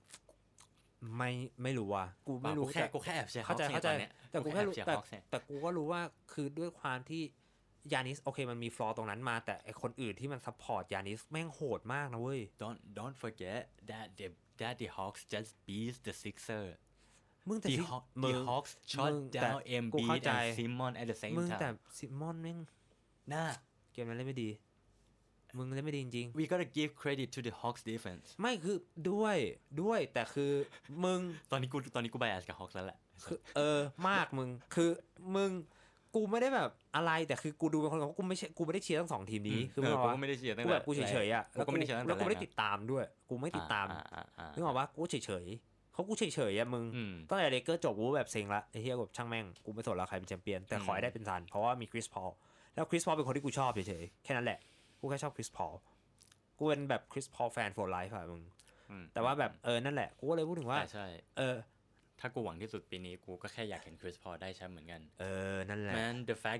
ไม่รู้ว่ะกูไม่รู้กูแค่แอบเชียร์เข้าใจแต่กูแค่รู้แต่กูก็รู้ว่าคือด้วยความที่ยานิสโอเคมันมีฟลอร์ตรงนั้นมาแต่ไอคนอื่นที่มันซัพพอร์ตยานิสแม่งโหดมากนะเว้ย don't forget that the Hawks just beat the Sixers มึงแต่ the Hawks shot down Embiid and Simmons at the same time มึงแต่ซิมอนแม่งน่าเกมนั้นเล่นไม่ดีมึงเล่นไม่ดีจริง we gotta give credit to the Hawks defense ไม่คือด้วยแต่คือมึงตอนนี้กู bias กับ Hawks แล้วแหละคือมากมึงคือมึงกูไม่ได้แบบอะไรแต่คือกูดูเป็นคนกูไม่ได้เชียร์ทั้งสองทีมนี้คือกูไม่ได้เชียร์ตั้งแต่กูแบบกูเฉยๆอ่ะแล้วกูไม่ได้เชียร์ตั้งแต่แล้วกูไม่ได้ติดตามด้วยกูไม่ติดตามนึกออกปะกูเฉยๆเขากูเฉยๆอ่ะมึงตั้งแต่เลเกอร์จบกูแบบเซ็งละไอ้เหี้ยแบบช่างแม่งกูไม่สนแล้วใครเป็นแชมเปี้ยนแต่ขอให้ได้เป็นซันเพราะว่ามีคริสพอลแล้วคริสพอลเป็นคนที่กูชอบเฉยๆแค่นั้นแหละกูแค่ชอบคริสพอลกูเป็นแบบคริสพอลแฟน for life อ่ะมึงแต่ว่าแบบนั่นแหละกูก็เลยพูดถึงว่าใช่ถ้ากูหวังที่สุดปีนี้กูก็แค่อยากเห็นคริสพอลได้แชมป์เหมือนกันนั่นแหละ man the fact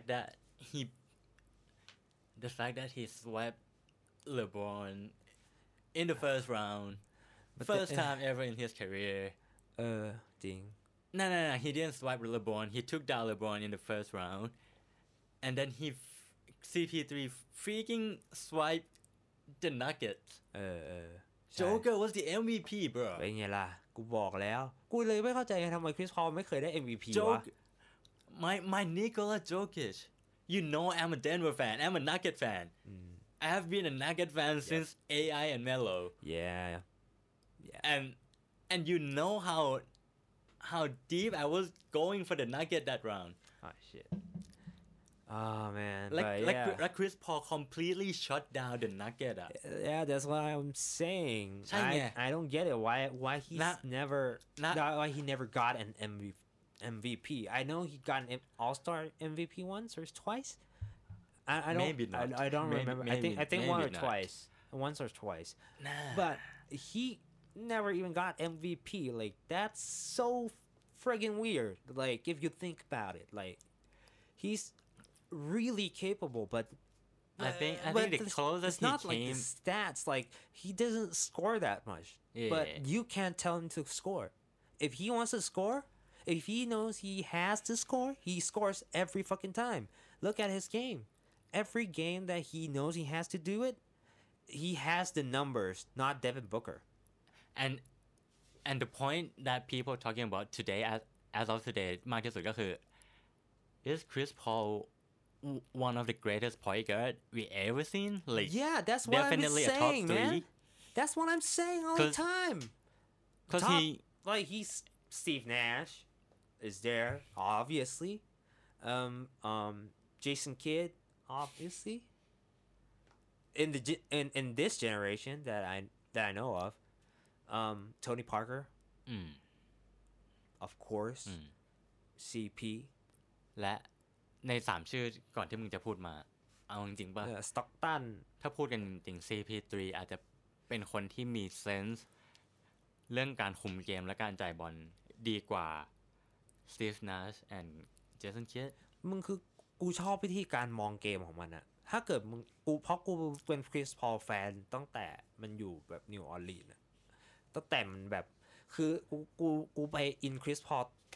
that he swept LeBron in the first round first time ever in his career จริง no he didn't swipe LeBron he took down LeBron in the first round and then CP3 freaking swiped the Nuggets Joker was the MVP bro เป็นไงล่ะกูบอกแล้วกูเลยไม่เข้าใจทำไมคริสพอลไม่เคยได้ MVP วะ my Nikola Jokic you know I'm a Denver fan I'm a Nugget fan I have been a Nugget fan since AI and Melo yeah and you know how deep I was going for the Nugget that round oh shit oh man like Chris Paul completely shut down the Nugget yeah that's what I'm saying I don't get it why he's why he never got an MVP I know he got an All-Star MVP once or twice I don't maybe not. I don't remember I think once or twice but he never even got MVP like that's so friggin' weird like if you think about it like he's really capable but I think the closest it's not like the stats like he doesn't score that much but you can't tell him to score if he wants to score if he knows he has to score he scores every fucking time look at his game every game that he knows he has to do it he has the numbers not Devin Booker and the point that people talking about today as of today มากที่สุดก็คือ is Chris Paul one of the greatest point guard we ever seen like yeah that's what I'm saying man that's what I'm saying all the time because he's Steve Nash is there obviously Jason Kidd obviously in this generation that I know of Tony Parker of course CP และใน3ชื่อก่อนที่มึงจะพูดมาเอาจริงๆป่ะ Stockton ถ้าพูดกันจริงๆ CP3 อาจจะเป็นคนที่มีเซนส์เรื่องการคุมเกมและการจ่ายบอลดีกว่า Steve Nash and Jason Kidd มึงคือกูชอบวิธีการมองเกมของมันอะถ้าเกิดมึงเพราะกูเป็นคริสพอลแฟนตั้งแต่มันอยู่แบบนิวออร์ลีนส์ตั้งแต่มันแบบคือกูไปอินคริสพอล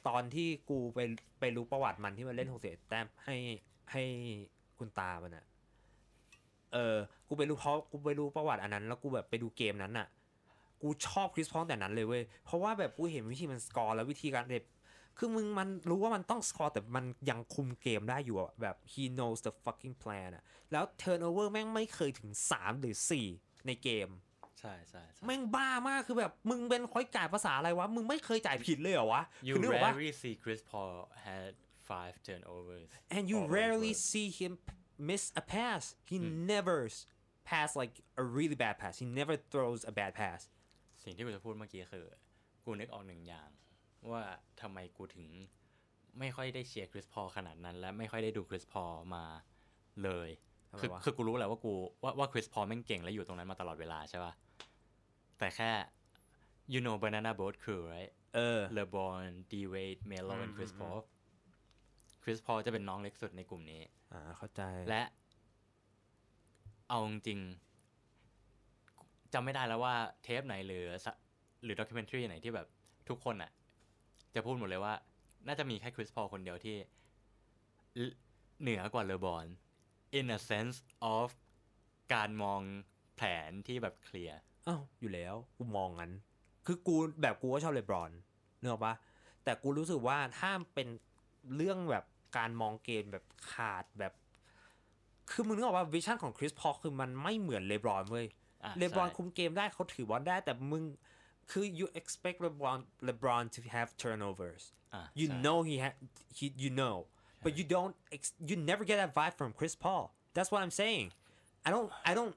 ตอนที่กูไปรู้ประวัติมันที่มันเล่น61แต้มให้คุณตามันอ่ะกูไปรู้เพราะกูไปรู้ประวัติอันนั้นแล้วกูแบบไปดูเกมนั้นอ่ะกูชอบคริสพอลแต่นั้นเลยเว้ยเพราะว่าแบบกูเห็นวิธีมันสกอร์แล้ววิธีการเด็บคือมึงมันรู้ว่ามันต้องสกอร์แต่มันยังคุมเกมได้อยู่อะแบบ he knows the fucking plan อะแล้ว turnover แม่งไม่เคยถึง3หรือ4ในเกมใช่แม่งบ้ามากคือแบบมึงเป็นคอยจ่ายภาษาอะไรวะมึงไม่เคยจ่ายผิดเลยเหรอวะ You rarely see Chris Paul had 5 turnovers and you rarely see him miss a pass he never pass like a really bad pass he never throws a bad pass สิ่งที่กูจะพูดเมื่อกี้คือกูนึกออกหนึ่งอย่างว่าทำไมกูถึงไม่ค่อยได้เชียร์คริสพอลขนาดนั้นและไม่ค่อยได้ดูคริสพอลมาเลยคือกูรู้แหละว่ากูว่าคริสพอลแม่งเก่งและอยู่ตรงนั้นมาตลอดเวลาใช่ป่ะแต่แค่ you know banana boat crew right LeBron D-Wade Melo and Chris Paul Chris Paul จะเป็นน้องเล็กสุดในกลุ่มนี้เข้าใจและเอาจริงจำไม่ได้แล้วว่าเทปไหนหรือด็อกิเมนทรีไหนที่แบบทุกคนอ่ะจะพูดหมดเลยว่าน่าจะมีแค่คริสพอลคนเดียวที่เหนือกว่าเลบรอน in a sense of การมองแผนที่แบบเคลียร์อยู่แล้วกูมองงั้นคือกูก็ชอบเลบรอนเนอะปะแต่กูรู้สึกว่าถ้าเป็นเรื่องแบบการมองเกมแบบขาดแบบคือมึงนึกออกว่าวิชั่นของคริสพอลคือมันไม่เหมือนเลบรอนเว้ยเลบรอนคุมเกมได้เขาถือบอลได้แต่มึงคือ you expect LeBron to have turnovers you know he you know but you never get that vibe from Chris Paul that's what I'm saying I don't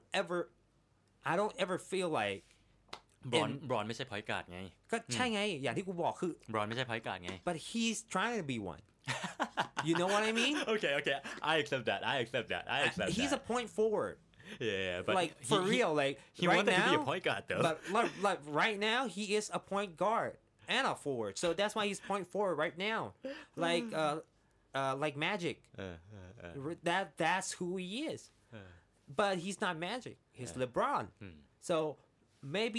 ever feel like บรอนไม่ใช่พอยต์การ์ดไงก็ใช่ไงอย่างที่กูบอกคือบรอนไม่ใช่พอยต์การ์ดไง but he's trying to be one you know what I mean okay I accept that he's a point forward yeah but like for real like he right wanted now to be a point guard though but like right now he is a point guard and a forward so that's why he's point forward right now like Magic that's who he is but he's not Magic he's LeBron so maybe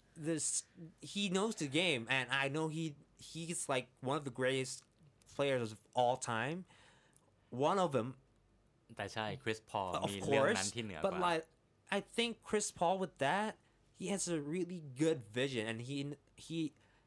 he knows the game and I know he's like one of the greatest players of all time one of them แต่ใช่คริสพอลมีเรื่องนั้นที่เหนือกว่า but like I think Chris Paul with that he has a really good vision and he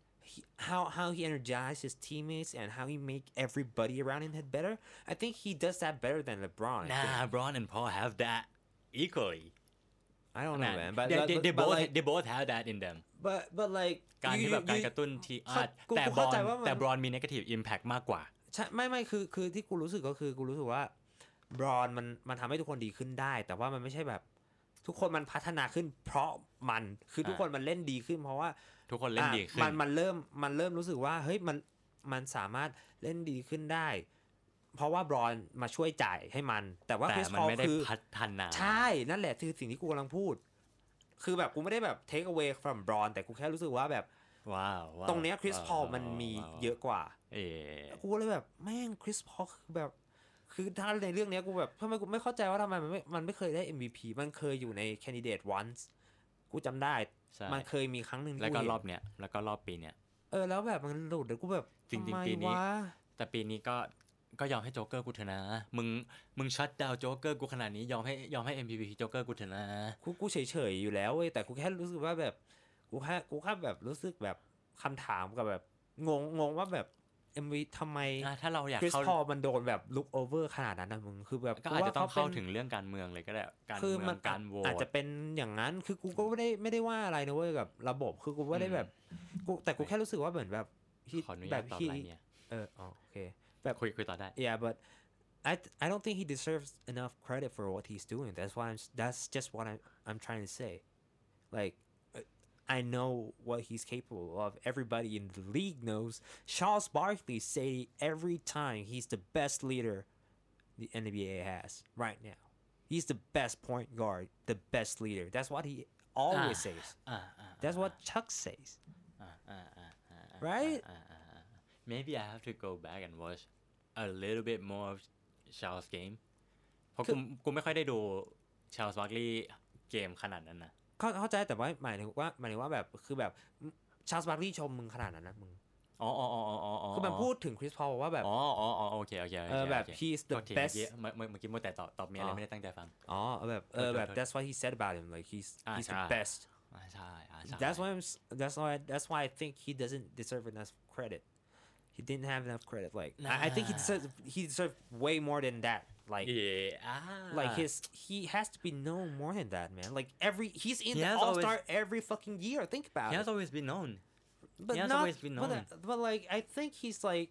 how he energizes his teammates and how he make everybody around him hit better I think he does that better than LeBron LeBron and Paul have that equally I don't know man but they both have that in them but like การที่แบบการกระตุ้นที่แต่บรอนมี negative impact มากกว่าใช่ไม่คือที่กูรู้สึกก็คือกูรู้สึกว่าบรอนมันทำให้ทุกคนดีขึ้นได้แต่ว่ามันไม่ใช่แบบทุกคนมันพัฒนาขึ้นเพราะมันคือทุกคนมันเล่นดีขึ้นเพราะว่าทุกคนเล่นดีขึ้นมันเริ่มรู้สึกว่าเฮ้ยมันสามารถเล่นดีขึ้นได้เพราะว่าบรอนมาช่วยจ่ายให้มันแต่ว่าคริสพอลคือพัฒนาใช่นั่นแหละคือสิ่งที่กูกำลังพูดคือแบบกูไม่ได้แบบ take away from บรอนแต่กูแค่รู้สึกว่าแบบว้าวตรงเนี้ยคริสพอลมันมีเยอะกว่ากูเลยแบบแม่งคริสพอลคือแบบคือถ้าในเรื่องนี้กูแบบทำไมกูไม่เข้าใจว่าทำไมมันไม่เคยได้ MVP มันเคยอยู่ใน candidate once กูจำได้มันเคยมีครั้งหนึ่งแล้วก็รอบเนี้ยแล้วก็รอบปีเนี้ยแล้วแบบมันหลุดเดี๋ยวกูแบบจริงๆปีนี้แต่ปีนี้ก็ยอมให้โจ๊กเกอร์กูเถอะนะมึงชัตดาวน์โจ๊กเกอร์กูขนาดนี้ยอมให้ MVP โจ๊กเกอร์กูเถอะนะกูเฉยๆอยู่แล้วเว้ยแต่กูแค่รู้สึกว่าแบบกูแค่แบบรู้สึกแบบคำถามกับแบบงงว่าแบบ MV ทำไมถ้าเราอยากคริสพอลมันโดนแบบลุกโอเวอร์ขนาดนั้นนะมึงคือแบบก็อาจจะต้องเข้าถึงเรื่องการเมืองเลยก็ได้การเมืองการโหวตอาจจะเป็นอย่างนั้นคือกูก็ไม่ได้ว่าอะไรนะเว้ยกับระบบคือกูไม่ได้แบบแต่กูแค่รู้สึกว่าเหมือนแบบแบบที่โอเคแบบคุยต่อได้ yeah but I don't think he deserves enough credit for what he's doing that's just what I'm trying to say like I know what he's capable of. Everybody in the league knows. Charles Barkley say every time he's the best leader the NBA has right now. He's the best point guard, the best leader. That's what he always says. That's what Chuck says. Right? Maybe I have to go back and watch a little bit more of Charles game. เพราะกูไม่ค่อยได้ดู Charles Barkley เกมขนาดนั้นนะเข้าใจแต่ว่าหมายถึงว่าแบบคือแบบชาร์ลส์บาร์คลีย์ชมมึงขนาดนั้นนะมึงอ๋อคือมันพูดถึงคริสพอลว่าแบบโอเคแบบ he's the best เมื่อกี้มัวแต่ตอบเมียอะไรไม่ได้ตั้งใจฟังแบบ that's what he said about him like he's the best ใช่ that's why I think he doesn't deserve enough credit he didn't have enough credit like I think he deserved way more than that like like he has to be known more than that man like he's in the All-Star every fucking year think about it he has always been known but he has not always been known but like I think he's like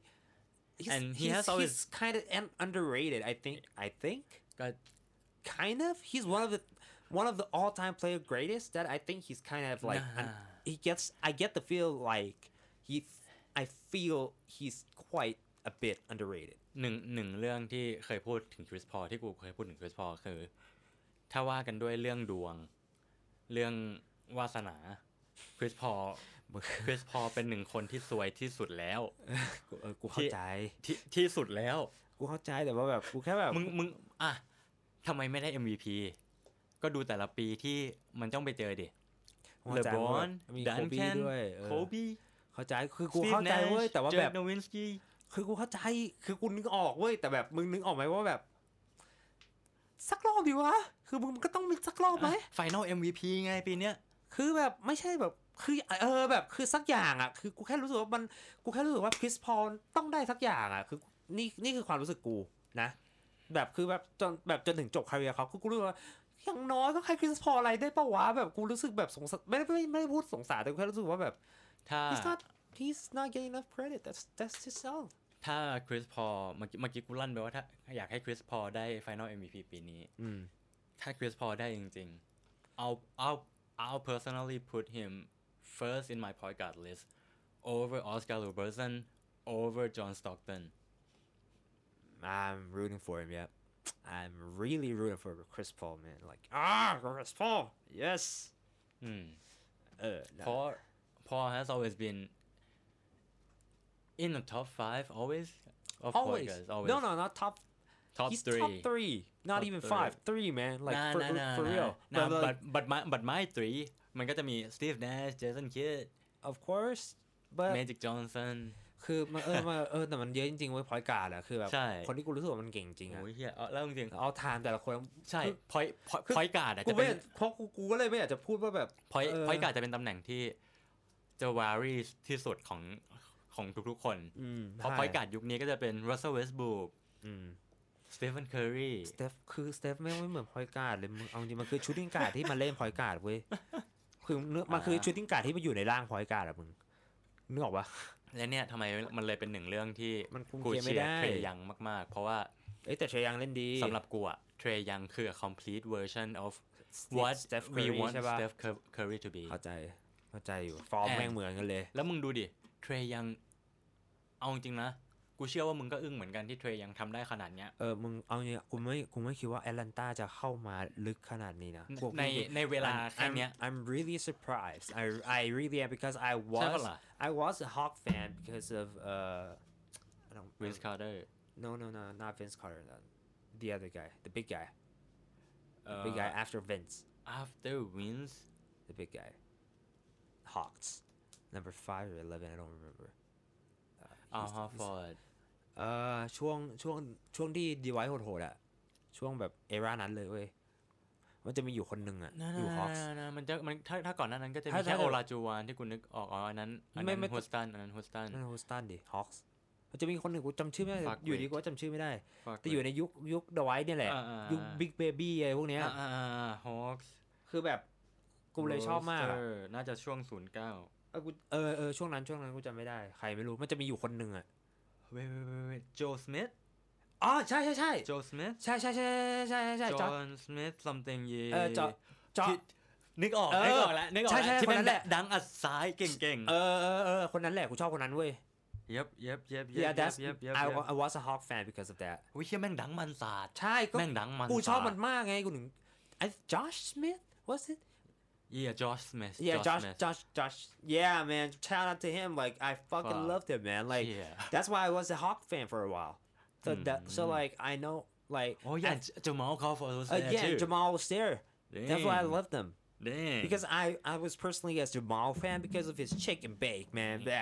he's kind of underrated I think kind of he's one of the all-time player greatest that I think he's kind of like I get the feel like I feel he's quite a bit underrated หนึ่งเรื่องที่เคยพูดถึงคริสพอลที่กูเคยพูดถึงคริสพอลคือถ้าว่ากันด้วยเรื่องดวงเรื่องวาสนาคริสพอลเป็นหนึ่งคนที่สวยที่สุดแล้วกูเข้าใจที่สุดแล้วกูเข้าใจแต่ว่าแบบกูแค่แบบมึงทำไมไม่ได้ MVP ก็ดูแต่ละปีที่มันต้องไปเจอดิเลบรอนดันแคนโคบีเข้าใจคือกูเข้าใจเว้ยแต่ว่าแบบโนวินสกี้คือกูเข้าใจคือกูนึกออกเว้ยแต่แบบมึงนึกออกไหมว่าแบบสักรอบดีวะคือมึงก็ต้องมีสักรอบไหม Final MVP ไงปีเนี้ยคือแบบไม่ใช่แบบคือแบบคือสักอย่างอ่ะคือกูแค่รู้สึกว่ากูแค่รู้สึกว่าคริสพอลต้องได้สักอย่างอ่ะคือนี่คือความรู้สึกกูนะแบบคือแบบจนถึงจบคาเรียร์เขาคือกูรู้ว่าอย่างน้อยก็ให้คริสพอลอะไรได้ป่าววะแบบกูรู้สึกแบบสงสารไม่ได้พูดสงสารแต่กูแค่รู้สึกว่าแบบถ้า he's not getting enough credit that's his self ถ้าคริสพอลเมื่อกี้กูลั่นไปว่าถ้าอยากให้คริสพอลได้ Final MVP ปีนี้ถ้าคริสพอลได้จริงๆI'll personally put him first in my point guard list over Oscar Robertson over John Stockton I'm rooting for him yeah I'm really rooting for Chris Paul man like Chris Paul yes Paul has always been in the top 5 always always no not top he's three. top 3 not even 5 3 man like for real but my 3มันก็จะมี Steve Nash Jason Kidd of course but Magic Johnson คือแต่มันเยอะจริงๆเว้ยพอยต์การ์ดอะคือแบบคนที่กูรู้สึกว่ามันเก่งจริงอะโอ้ยเหี้ยแล้วจริงเอาไทม์แต่ละคนใช่พอยต์การ์ดอะจะเป็นเพราะกูก็เลยไม่อยากจะพูดว่าแบบพอยต์การ์ดจะเป็นตำแหน่งที่จะวารี่ที่สุดของทุกๆคนเพราะพอยต์การ์ดยุคนี้ก็จะเป็น Russell Westbrook Stephen Curry สเตฟไม่เหมือนพอยต์การ์ดเลยมึงเอาจริงมันคือชูตติ้งการ์ดที่มาเล่นพอยต์การ์ดเว้ยคือมันคือชูตติ้งการ์ดที่มาอยู่ในร่างพอยต์การ์ดอะมึงนึกออกปะและเนี่ยทำไมมันเลยเป็นหนึ่งเรื่องที่กูเชียร์เทรยังมากๆเพราะว่าแต่เทรยังเล่นดีสำหรับกูอะเทรยังคือ a complete version of what we want Steph Curry to be เข้าใจอยู่ฟอร์มแม่งเหมือนกันเลยแล้วมึงดูดิเทรยังเอาจริงนะกูเชื่อว่ามึงก็อึ้งเหมือนกันที่เทรยังทำได้ขนาดเนี้ยมึงเอาเนี่ยกูไม่คิดว่าแอตแลนตาจะเข้ามาลึกขนาดนี้นะในเวลาแค่เนี้ย I'm really surprised I really am because I was a Hawk fan because of Vince Carter no not Vince Carter the other guy the big guy big guy after Vince the big guy Hawks number 5 or 11 I don't remember Horford ช่วงที่ดีไวท์โหดๆอะช่วงแบบเอรานั้นเลยเว้ยมันจะมีอยู่คนหนึ่งอะอยู่ฮอคส์มันถ้าก่อนหน้านั้นก็จะมีแค่โอลาจูวานที่กูนึกออกอันนั้นฮูสตันดิฮอคส์มันจะมีคนหนึ่งกูจำชื่อไม่ได้อยู่ดีกูจำชื่อไม่ได้แต่อยู่ในยุคดีไวท์เนี่ยแหละยุคบิ๊กเบบี้อะไรพวกเนี้ยฮอคส์คือแบบกูเลยชอบมากน่าจะช่วง09 ช่วงนั้นกูจำไม่ได้ใครไม่รู้มันจะมีอยู่คนหนึ่งอะโจสมิธใช่โจสมิธใช่จอห์นสมิธ something จอนึกออกแล้วที่เป็นดังอัดซ้ายเก่งๆคนนั้นแหละกูชอบคนนั้นเว้ย Yep I was a Hawk fan because of that วิเชี่ยแม่งดังมันสาดใช่แม่งดังมันกูชอบมันมากไงกูถึงJosh Smith was it Yeah, Josh Smith. Josh. Yeah, man. Shout out to him. Like, I fucking loved him, man. Like, that's why I was a Hawk fan for a while. So like, I know, like. Oh yeah, Jamal Crawford was there too. Jamal was there. Dang. That's why I loved him. Dang. Because I was personally a Jamal fan because of his chicken bake, man. That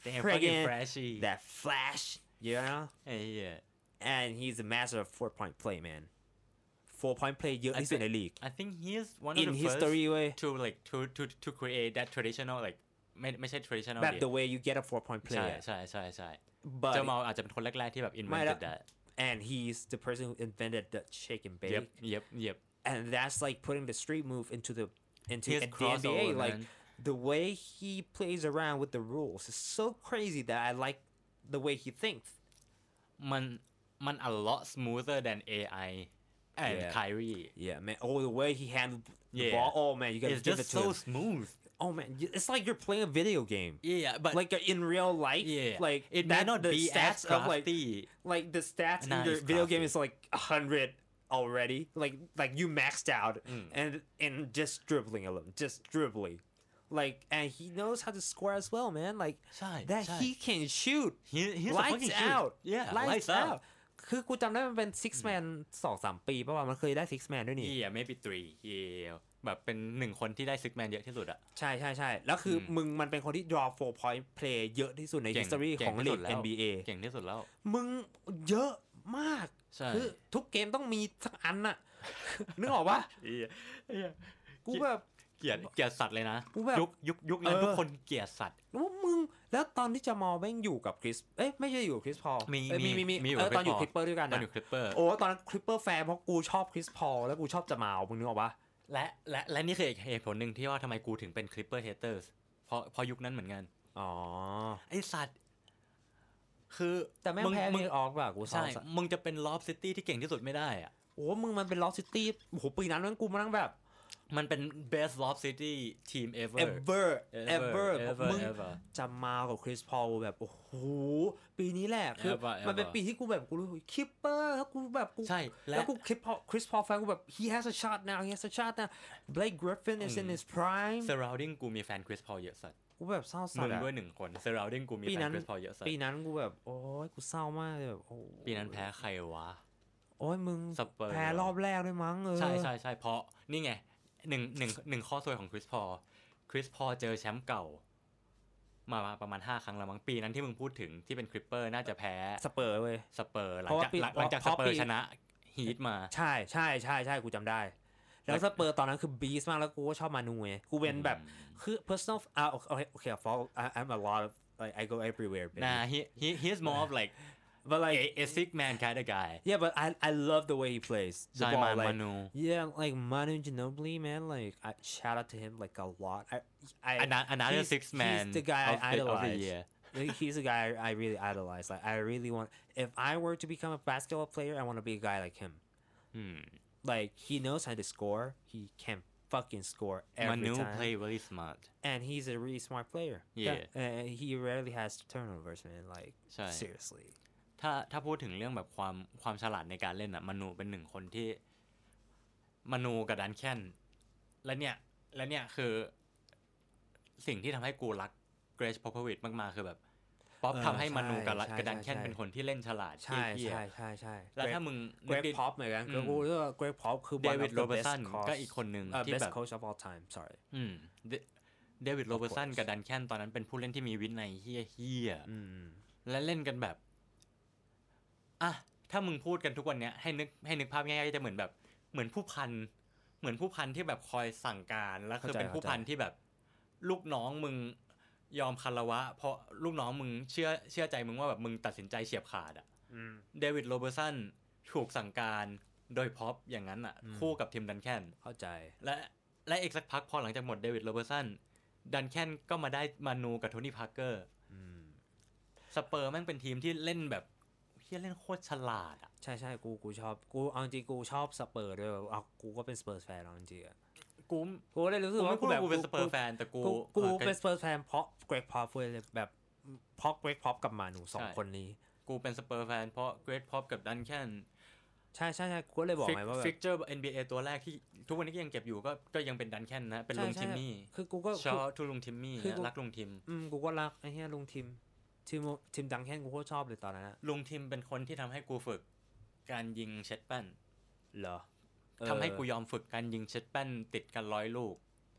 fucking flashy that flash, you know. ไอ้เหี้ย And he's a master of 4-point play, man. 4-point play เยอะที่สุดในลีก I think he's one of in the history first เว้ย to like to create that traditional like ไม่ใช่ traditional แบบ the way you get a 4-point play ใช่ใช่ but เจ้าเมาอาจจะเป็นคนแรกๆที่แบบ invented that and he's the person who invented the shake and bake yep and that's like putting the street move into his the NBA crossover, like man. the way he plays around with the rules is so crazy that I like the way he thinks มัน a lot smoother than AI and Yeah. Kyrie yeah man oh the way he handled the Yeah. ball oh man you gotta it's give just it to so him smooth oh man it's like you're playing a video game yeah but like in real life yeah like it may not the be as stats of crafty like the stats in Nah, your it's video crafty. game is like 100 already like you maxed out and just dribbling alone just dribbling like and he knows how to score as well man like ใช่ that ใช่ he can shoot he's a lights fucking shoot out yeah lights out คือกูจำได้มันเป็น six man 2-3 ปีป่ะวะมันเคยได้ six man ด้วยนี่ yeah maybe 3 yeah แบบเป็น1คนที่ได้ six man เยอะที่สุดอะใช่ใช่ใช่แล้วคือมึงมันเป็นคนที่ draw 4-point play เยอะที่สุดใน history ของลีก NBA เก่งที่สุดแล้วมึงเยอะมากใช่คือทุกเกมต้องมีสักอันน่ะ นึกออกปะ กูแบบเกลียดสัตว์เลยนะกูแบบยุคนั้นทุกคนเกลียดสัตว์ว่ามึงแล้วตอนที่จะมอลแม่งอยู่กับคริสไม่ใช่อยู่กับคริสพอลมีมีอยู่ตอนอยู่ Chris คลิปเปอร์ด้วยกันตอนนะอยู่คลิปเปอร์โอ้ตอนนั้นคลิปเปอร์แฟนเพราะกูชอบคริสพอลแล้วกูชอบจะมอลมึงนึกออกปะและนี่คือเหตุผลหนึ่งที่ว่าทำไมกูถึงเป็นคลิปเปอร์เฮเตอร์เพราะยุคนั้นเหมือนกันอ๋อไอสัตว์คือแต่แม่งแพ้นิวออร์กป่ะกูชอใช่บมึงจะเป็นลอฟซิตี้ที่เก่งที่สุดไม่ได้อะโอ้มึงมันเป็นลอสซิตี้โอ้โหปีนั้นกูมานั่งแบบมันเป็น best loft city team ever ever มึง ever จะมากับคริสพอลแบบโอ้โหปีนี้แหละคือ Ever มันเป็นปีที่กูแบบกูรู้คิปเปอร์แล้วกูแบบกูใช่แล้วกูคริสพอลแฟนกูแบบ he has a shot now he has a shot now Blake Griffin is in his prime surrounding กูมีแฟนคริสพอลเยอะสัตว์กูแบบเศร้าสัมึสงอะด้วย1 คน surrounding กูมีแฟนคริสพอลเยอะสัตว์ปีนั้นกูแบบโอ้ยกูเศร้ามากเลยแบบโอ้ปีนั้นแพ้ใครวะโอ้ยมึงสเปอร์แพ้รอบแรกด้วยมั้งใช่เพราะนี่ไงหนึ่งข้อซวยของคริสพอลเจอแชมป์เก่ามาประมาณ5 ครั้งแล้วมั้งปีนั้นที่มึงพูดถึงที่เป็นคริปเปอร์น่าจะแพ้สเปอร์เว้ยสเปอร์หลัเพราะว่าปีงจากเพสราะเปอปีร์ชนะฮีทมาใช่กูจำได้ แล้วสเปอร์ตอนนั้นคือบีสมากแล้วกูก็ชอบมานูไงกูเป็นแบบคือ personal โอเค I'm a lot of like I go everywhere baby. Nah he's more of like but like a sick man kind of guy yeah but I love the way he plays the ใช่ ball like Manu yeah like Manu Ginobili man like I shout out to him like a lot another he's, six man he's the guy of I the idolize year he's a guy I really idolize like I really want if I were to become a basketball player I want to be a guy like him like he knows how to score he can fucking score every Manu time play really smart and he's a really smart player Yeah. and he rarely has turnovers man like ใช่ seriously ถ้าพูดถึงเรื่องแบบความฉลาดในการเล่นอะมานูเป็น1 คนที่มานูกับดันแคนและเนี่ยคือสิ่งที่ทำให้กูรักเกรชพอพวิชมากๆคือแบบป๊อปทำให้มานูกับดันแคนเป็นคนที่เล่นฉลาดใช่แล้วถ้ามึง Greg Pop เหมือนกันกูรู้ว่า Greg Pop คือเด one วิด of โร the เบอร์ best สัน coach ก็อีกคนหนึ่งที่ best แบบ coach of all time sorry เดวิดโรเบอร์สันกับดันแคนตอนนั้นเป็นผู้เล่นที่มีวินัยเฮี้ยและเล่นกันแบบอ่ะถ้ามึงพูดกันทุกวันเนี้ยให้นึกภาพง่ายๆจะเหมือนผู้พันที่แบบคอยสั่งการแล้วคือเป็นผู้พันที่แบบลูกน้องมึงยอมคารวะเพราะลูกน้องมึงเชื่อใจมึงว่าแบบมึงตัดสินใจเฉียบขาดอ่ะเดวิดโรเบอร์สันถูกสั่งการโดยพ็อปอย่างนั้นอ่ะคู่กับทีมดันแคนเข้าใจและอีกสักพักพอหลังจากหมดเดวิดโรเบอร์สันดันแคนก็มาได้มานูกับโทนี่พาร์เกอร์สเปอร์แม่งเป็นทีมที่เล่นแบบเล่นโคตรฉลาดอ่ะใช่กูชอบกูเอาจริงกูชอบสเปอร์ด้วยเอากูก็เป็นสเปอร์แฟนเอาจริงกูเลยรู้สึกว่ากูแบบกูเป็นสเปอร์แฟนแต่กูเป็นสเปอร์แฟนเพราะเกรกพอปเลยแบบเพราะเกรกพอปกับมานู2 คนนี้กูเป็นสเปอร์แฟนเพราะเกรกพอปกับดันแคนใช่กูเลยบอกไงว่าแบบฟิกเจอร์ NBA ตัวแรกที่ทุกวันนี้ก็ยังเก็บอยู่ก็ยังเป็นดันแคนนะเป็นลุงทิมมี่คือกูก็ชอบทุลุงทิมมี่รักลุงทิมกูก็รักไอ้เหี้ยลุงทิมดังแคนกูก็ชอบเลยตอนนั้นลุงทิมเป็นคนที่ทำให้กูฝึกการยิงเช็ดแป้นเหรอทำให้กูยอมฝึกการยิงเช็ดแป้นติดกัน100 ลูก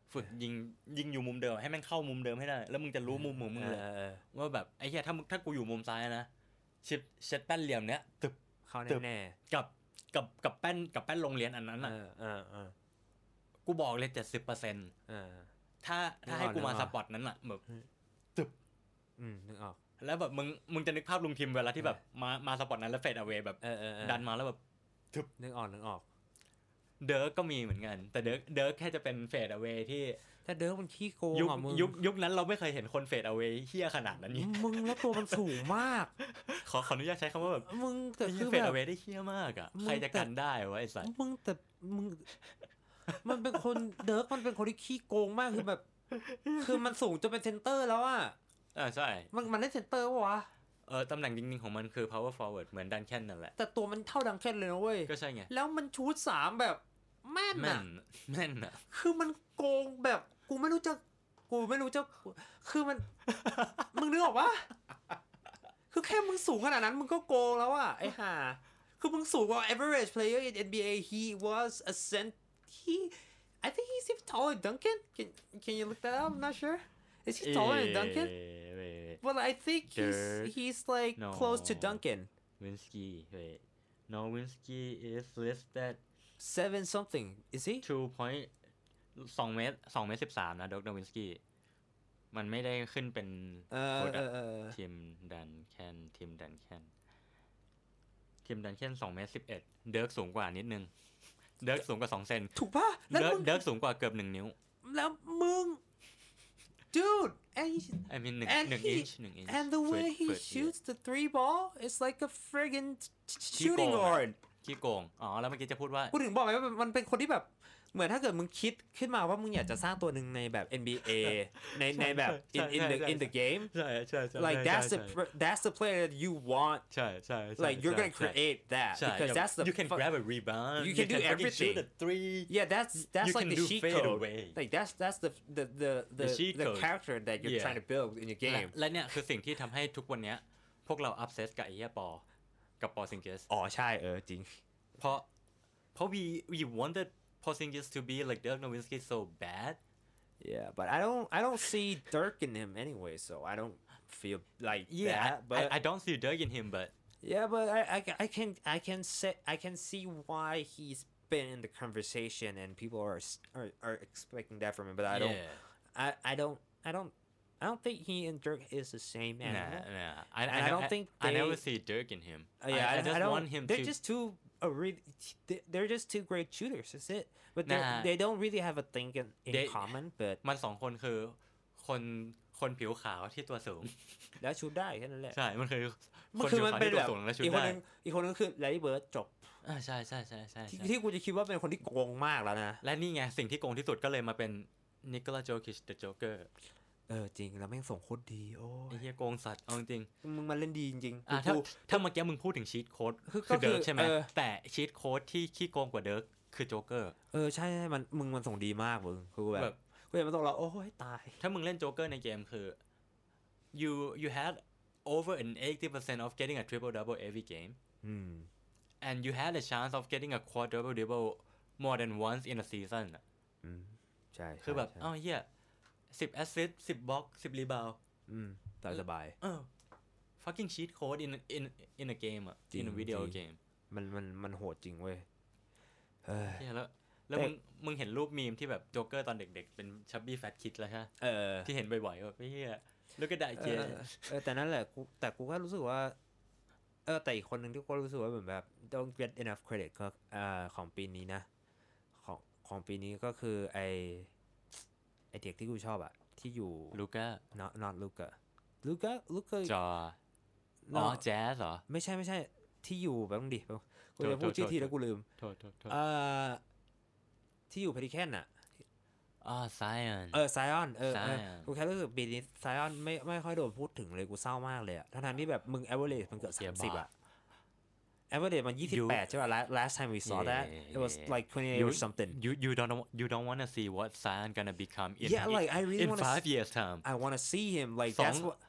ฝึกยิงอยู่มุมเดิมให้แม่งเข้ามุมเดิมให้ได้แล้วมึงจะรู้มุมของมึงเลยว่าแบบไอ้เหี้ยถ้ากูอยู่มุมซ้ายนะชิปเช็ดแป้นเหลี่ยมเนี้ยตึบเข้าแน่ๆกับแป้นโรงเรียนอันนั้นน่ะกูบอกเลย 70% ถ้าให้กูมาสปอตนั้นน่ะแบบตึบนึกออกแล้วแบบมึงจะนึกภาพลุงทิมเวลาที่แบบมาสปอตนั้นแล้วเฟดเอาเวย์แบบดันมาแล้วแบบตึบนึกออกเดิร์กก็มีเหมือนกันแต่เดิร์กแค่จะเป็นเฟดเอาเวย์ที่ถ้าเดิร์กมันขี้โกงอ่ะมึงยุคนั้นเราไม่เคยเห็นคนเฟดเอาเวย์เหี้ยขนาดนั้นนี่มึงแล้วตัวมันสูงมากขออนุญาตใช้คำว่าแบบมึงแต่คือเฟดเอาเวย์ได้เหี้ยมากอ่ะใครจะกันได้วะไอ้สัสมึงแต่มึงมันเป็นคนเดิร์กมันเป็นคนที่ขี้โกงมากคือแบบคือมันสูงจนเป็นเซนเตอร์แล้วอ่ะใช่มันได้เซนเตอร์ป่ะวะตำแหน่งจริงๆของมันคือ power forward เหมือนดันแคนนั่นแหละแต่ตัวมันเท่าดันแคนเลยนะเว้ยก็ใช่ไงแล้วมันชูต3แบบแม่นอ่ะคือมันโกงแบบกูไม่รู้จะคือมันมึงนึกออกปะคือแค่มึงสูงขนาดนั้นมึงก็โกงแล้วอ่ะไอ้ห่าคือมึงสูงกว่า average player in NBA he was a I think he's even taller than Duncan can you look that up I'm not sure is he taller than Duncan well I think he's like close to Duncan Winsky wait no Winsky is listed 7 something is he 2 เมตร13นะด็อกวินสกี้มันไม่ได้ขึ้นเป็นทีมดันแคน2 เมตร 11เดิร์กสูงกว่านิดนึงเดิร์กสูงกว่า2 เซนถูกป่ะเดิร์กสูงกว่าเกือบ1 นิ้วแล้วมึง dude I mean 1 inch and the way he shoots the 3 ball it's like a friggin' shooting guard ขี้โกงแล้วเมื่อกี้จะพูดว่ากูถึงบอกไงว่ามันเป็นคนที่แบบเหมือนถ้าเกิดมึงคิดขึ้นมาว่ามึงอยากจะสร้างตัวหนึ่งในแบบ NBA ในแบบ in the game ใช่ like that's the player that you want ใช่ like you're gonna create that because that's the you can grab a rebound you can do everything shoot a 3 yeah that's like the cheat code like that's the character that you're trying to build in your game และเนี่ยคือสิ่งที่ทำให้ทุกวันนี้พวกเรา obsess กับไอ้เหี้ยกับปอซิงเกสใช่จริงเพราะ we wanted Porzingis to be like Dirk Nowitzki so bad. Yeah, but I don't see Dirk in him anyway, so I don't feel like that. But I don't see Dirk in him, but yeah, but I can see why he's been in the conversation and people are expecting that from him. But I don't think he and Dirk is the same animal. I don't think I never see Dirk in him. Yeah, I just want him. They're just too. They're just two great shooters. That's it. But they don't really have a thing in common. But มัน2 คนคือคนผิวขาวที่ตัวสูงแล้วชูได้แค่นั้นแหละใช่มันคือคนผิวขาวที่ตัวสูงแล้วชูได้อีกคนนึงคือแลรี่เบิร์ดจบใช่ที่กูจะคิดว่าเป็นคนที่โกงมากแล้วนะและนี่ไงสิ่งที่โกงที่สุดก็เลยมาเป็นนิโคลัสโจคิชเดอะโจ๊กเกอร์จริงแล้วแม่งส่งโคตรดีโอ้ไอ้เหี้ยโกงสัตว์เอาจริงมึงมาเล่นดีจริงถ้าเมื่อกี้มึงพูดถึงชีทโค้ดคือเดิร์กใช่ไหมแต่ชีทโค้ดที่ขี้โกงกว่าเดิร์กคือโจ๊กเกอร์ใช่มันส่งดีมากมึงคือแบบกูเห็นมันส่งเราโอ้ยตายถ้ามึงเล่นโจ๊กเกอร์ในเกมคือ you had over an 80% of getting a triple double every game and you had a chance of getting a quadruple double more than once in a season ใช่คือแบบเหี้ย10 assist 10 block 10 rebound สบาย fucking cheat code in a game in a video game มันโหดจริงเว้ยแล้วมึงเห็นรูปมีมที่แบบโจ๊กเกอร์ตอนเด็กๆเป็นชับบี้แฟตคิดแล้วใช่ที่เห็นบ่อยๆแบบเหี้ยแล้วก็ได้เจแต่นั่นแหละกูก็รู้สึกว่าแต่อีกคนนึงที่กูรู้สึกว่าแบบ don't get enough credit ก็ของปีนี้นะของปีนี้ก็คือไอเด็กที่กูชอบอะที่อยู่ลูก้า notลูก้าจอแจ๊สเหรอไม่ใช่ที่อยู่แบบต้องดิกูจะพูดชื่อทีแล้วกูลืมโทษที่อยู่เพดิแคนอะไซออนไซออนกูแค่รู้สึกปีนี้ไซออนไม่ค่อยโดนพูดถึงเลยกูเศร้ามากเลยอะทั้งที่แบบมึง average มันเกือบ30อะaverage มัน28ใช่ป่ะ last time we saw that it was like 28 or something you don't want to see what Zion gonna become in like I really in 5 years time I want to see him like that's what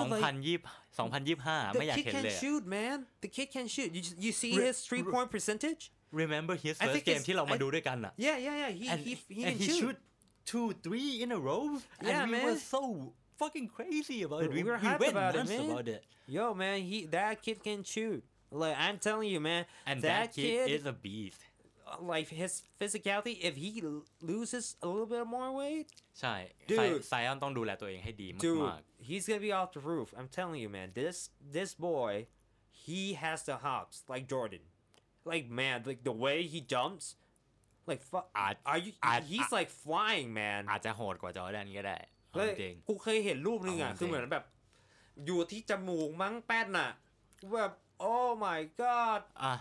2025ไม่อยากเห็นเลย the kid can shoot man the kid can shoot you see his 3-point percentage remember his first game ที่เรามาดูด้วยกันอ่ะ yeah he can shoot 2-3 in a row and Yeah, we man. were so fucking crazy about it. We were we hyped went about it, nuts man. about it. Yo, man, that kid can shoot. Like I'm telling you, man, And that kid is a beast. like his physicality, if he loses a little bit more weight, ใช่ Dude. ไซออนต้องดูแลตัวเองให้ดี dude, มาก he's gonna be off the roof. I'm telling you, man. This boy, he has the hops like Jordan. Like man, like the way he jumps, like are you? He's like flying, man. ๆอาจจะโหดกว่าจอร์แดนก็ได้เอาเฮ้ยจริงกูเคยเห็นรูปนึงอ่ะเอาจริงคือเหมือนแบบ อยู่ที่จมูกมั้งแป้นอ่ะแบบ oh my god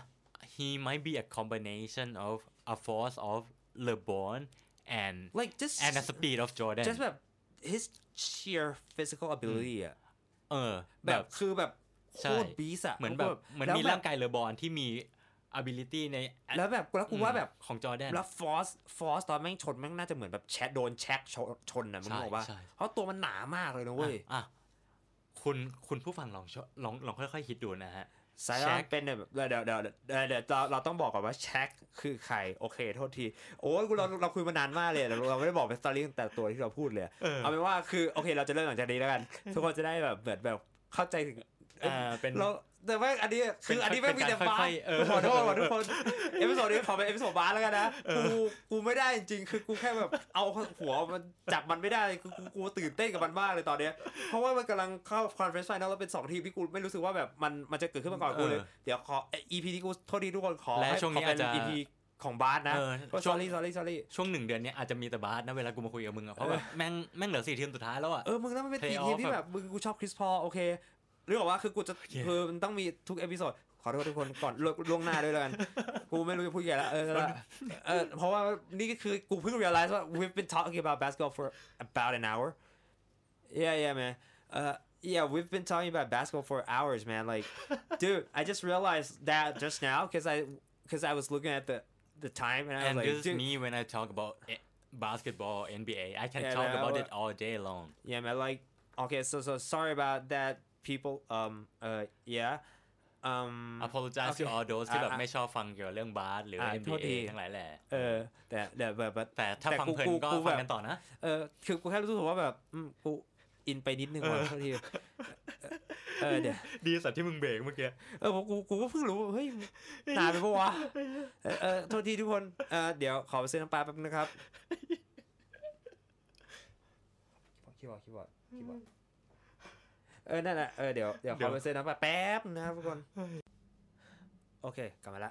he might be a combination of a force of LeBron and like just the speed of Jordan just แบบ his sheer physical ability อ่ะแบแบบ บคือแบบโคใช่ตรบีสอ่ะเหมือนแบบเหมือนแล้วมีแบบร่างกายเลบอนที่มี ability ในแล้วแบบแล้วกูว่าแบบของจอร์แดนแล้วฟอสตอนแม่งชนแม่งน่าจะเหมือนแบบโดนแช็กชนนะมึงบอกว่าใช่เพราะตัวมันหนามากเลยนะเว้ยอ่ะคุณผู้ฟังลองค่อยๆคิดดูนะฮะไซออนเป็นแบบเดี๋ยวเราต้องบอกก่อนว่าแช็กคือใครโอเคโทษทีโอ้ยเราคุยมานานมากเลยเราไม่ได้บอกเป็นสตอรี่ตั้งแต่ตัวที่เราพูดเลยเอาเป็นว่าคือโอเคเราจะเริ่มหลังจากนี้แล้วกันทุกคนจะได้แบบเหมือนแบบเข้าใจถึงเป็นเราแต่ว่าอันนี้คืออันนี้ไม่มีแต่บาค่สอยๆขอโทษทุกคนเอพิโซดนี้ขอเป็นเอพิโซดบาสแล้วกันนะกูไม่ได้จริงๆคือกูแค่แบบเอาหัวมันจับมันไม่ได้คือกูตื่นเต้นกับมันมากเลยตอนเนี้ยเพราะว่ามันกำลังเข้าคอนเฟอเรนซ์ไฟนอลแล้วเป็น2ทีมที่กูไม่รู้สึกว่าแบบมันจะเกิดขึ้นมาก่อนกูเลยเดี๋ยวขอ EP ที่กูโทษทีทุกคนขอและให้ช่วงนี้ขอเป็นอาจจะ EP ของบาสนะก็ sorry ช่วง1 เดือนนี้อาจจะมีแต่บาสนะเวลากูมาคุยกับมึงอะเพราะแบบแม่งเหลือ4 ทีมสุดท้ายแล้วอะมึงแล้วมันเป็นทีม Playoff ที่แบบมึงกูชอบคริสพอลโอเคหรือว่าคือกูจะคือมันต้องมีทุกเอพิโซดขอโทษทุกคนก่อนล่วงหน้าด้วยแล้วกันกูไม่รู้จะพูดยังไงแล้วเพราะว่านี่ก็คือกูเพิ่ง realize ว่า we've been talking about basketball for about an hour yeah man yeah we've been talking about basketball for hours man like dude I just realized that just now because I was looking at the time and I was and like this is dude me when I talk about basketball NBA I can Yeah, talk man, about I- it all day long yeah man like okay so sorry about that people yeah apologize to okay. all those ที่แบบอ่ะไม่ชอบฟังเกี่ยวกับเรื่องบาสหรือโทษ NBA ทีทั้งหลายแหละแต่แบบแต่ถ้าฟังเพลินก็ฟังกันต่อนะคือกูแค่รู้สึกว่าแบบกูอินไปนิดนึงว่ะเท่าทีเดี๋ยวดีสัตว์ที่มึงเบรกเมื่อกี้กูก็เพิ่งรู้เฮ้ยนานไปปะวะโทษทีทุกคนเดี๋ยวขอไปซื้อน้ำปลาแป๊บนึงนะครับคีย์บอร์ดนั่นแหละเดี๋ยวขอไปซื้อน้ำปลาแป๊บนะครับทุกคนโอเคกลับมาละ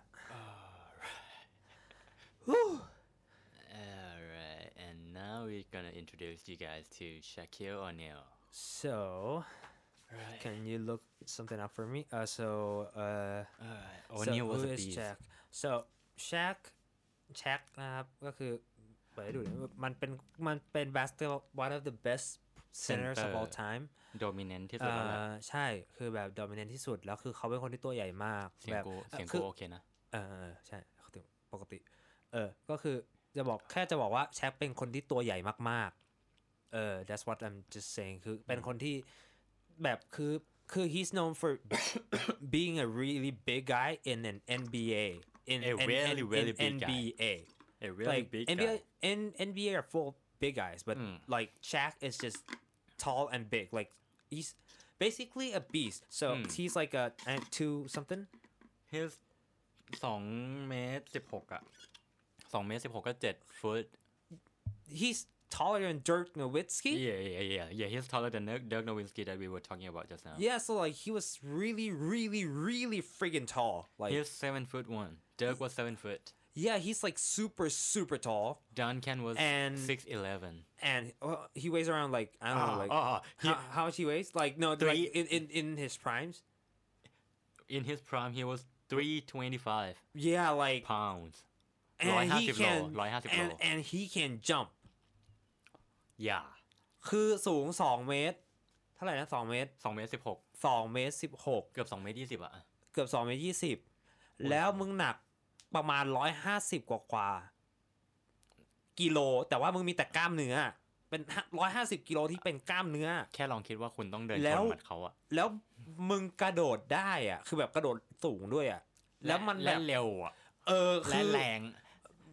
Alright and now we're gonna introduce you guys to Shaquille O'Neal so right can you look something up for me so O'Neal was who a is beast Shaq so Shaq นะครับก็คือไปดูมันเป็น basketball one of the best centers of all time dominant ที่สุดแล้วแหละใช่คือแบบ dominant ที่สุดแล้วคือเขาเป็นคนที่ตัวใหญ่มากเสียงแบบกูโอเคนะใช่ปกติก็คือจะบอกว่าแชคเป็นคนที่ตัวใหญ่มากๆthat's what I'm just saying คือเป็นคนที่แบบคือ he's known for being a really big guy in an NBA in really big guy NBA a really like big NBA guy NBA are full of big guys but like Shaq is just tall and big like he's basically a beast so he's like a 2 something he's 2 เมตร 16อะ2 เมตร 16 ก็ 7 ฟุต he's taller than Dirk Nowitzki yeah he's taller than Dirk Nowitzki that we were talking about just now yeah so like he was really friggin' tall like he's 7'1" Dirk was 7 foot yeah he's like super tall Duncan was And- 6'11" and he weighs around like I don't know like how much he weighs like no like in his primes in his prime he was 325 yeah like pounds and he 150 can โล150 โล and he can jump yeah คือสูง2 เมตรเท่าไหร่นะ2 เมตร 2 เมตร 2 เมตร 16 เกือบ2 เมตร 20อะเกือบ2 เมตร 20แล้วมึงหนักประมาณ150กว่ากิโลแต่ว่ามึงมีแต่กล้ามเนื้อเป็น150กิโลที่เป็นกล้ามเนื้อแค่ลองคิดว่าคุณต้องเดินแล้ชวนหมัดเขาอะแล้วมึงกระโดดได้อ่ะคือแบบกระโดดสูงด้วยอ่ะแล้วมันแบและบเร็วอะคืและอแรง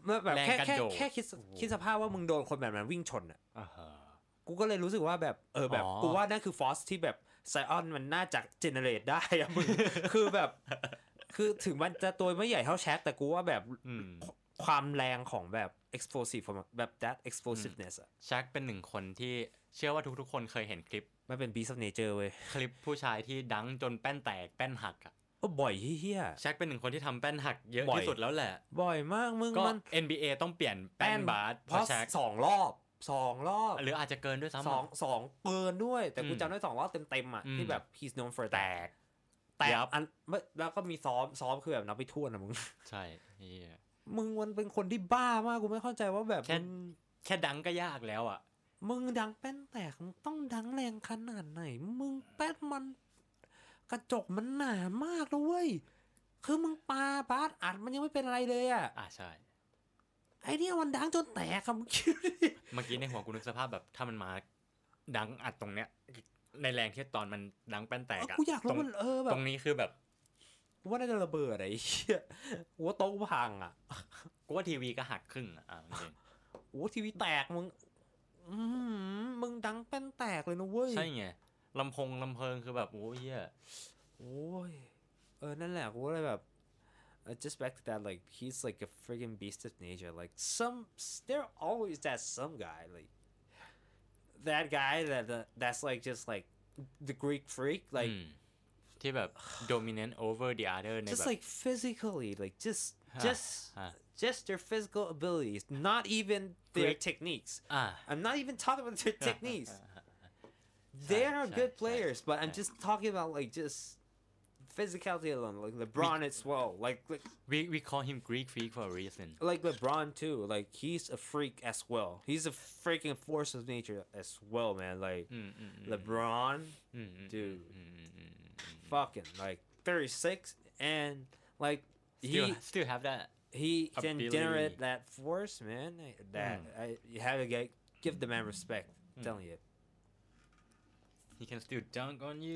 แบบแค่แรงกระโดดคิดสภาพว่ามึงโดนคนแบบนั้นวิ่งชนอ่ะอ่าฮะกูก็เลยรู้สึกว่าแบบแบบอ๋อกูว่านั่นคือฟอร์สที่แบบไซออนมันน่าจะเจเนเรตได้อะมึง คือแบบคือถึงมันจะตัวไม่ใหญ่เท่าแชกแต่กูว่าแบบอืมความแรงของแบบ explosive แบบ that explosiveness อะแช็คเป็นหนึ่งคนที่เชื่อว่าทุกๆคนเคยเห็นคลิปมันเป็น beast of nature เว้ยคลิปผู้ชายที่ดังจนแป้นแตกแป้นหักอ่ะบ่อยเฮี้ยแช็คเป็นหนึ่งคนที่ทำแป้นหักเยอะบ่อยที่สุดแล้วแหละบ่อยมากมึงก็มัน NBA ต้องเปลี่ยนแป้นบาสเพเพราะราะแช็คสองรอบหรืออาจจะเกินด้วยซ้ำสองเกินด้วยแต่กูอืมจำได้2 รอบเต็มๆอ่ะอืมที่แบบ he's known for แตกแต่ยับอันแล้วก็มีซ้อมคือแบบนับไปทั่วนะมึงใช่เหี้ยมึงมันเป็นคนที่บ้ามากกูไม่เข้าใจว่าแบบแค่ดังก็ยากแล้วอ่ะมึงดังแป้นแตกมึงต้องดังแรงขนาดไหนมึงแป้นมันกระจกมันหนามากนะเว้ยคือมึงปาบาสอัดมันยังไม่เป็นอะไรเลยอ่ะใช่ไอเนี่ยมันดังจนแตกอะมึงคิดดิเมื่อกี้ในหัวกูนึกสภาพแบบถ้ามันมาดังอัดตรงเนี้ยในแรงที่ตอนมันดังแป้นแตกอะกูอยากรู้มันแบตบรงนี้คือแบบกูว่าน่าจะระเบิดอะไอ้เหี้ยกูว่าโต๊ะพังอ่ะกูว่าทีวีก็หักครึ่งอ่ะจริงโอ้ทีวีแตกมึงมึงดังแป้นแตกเลยนะเว้ยใช่ไงลำเพลิงคือแบบโอ้ยเหี้ยโอ้ยนั่นแหละกูก็เลยแบบjust back to that like he's like a freaking beast of nature like there always that some guy like that guy that's like just like the Greek freak like ที่แบบ dominant over the other ใน just แบบ like physically like just ฮะ just their physical abilities not even their Greek techniques อ่า I'm not even talking about their techniques they are good players but I'm just talking about like just physicality alone like LeBron as well like we call him Greek freak for a reason like LeBron too like he's a freak as well he's a freaking force of nature as well man like LeBron dude fucking like 36 and like still have that he can ability. generate that force man that you have to give the man respect I'm telling you he can still dunk on you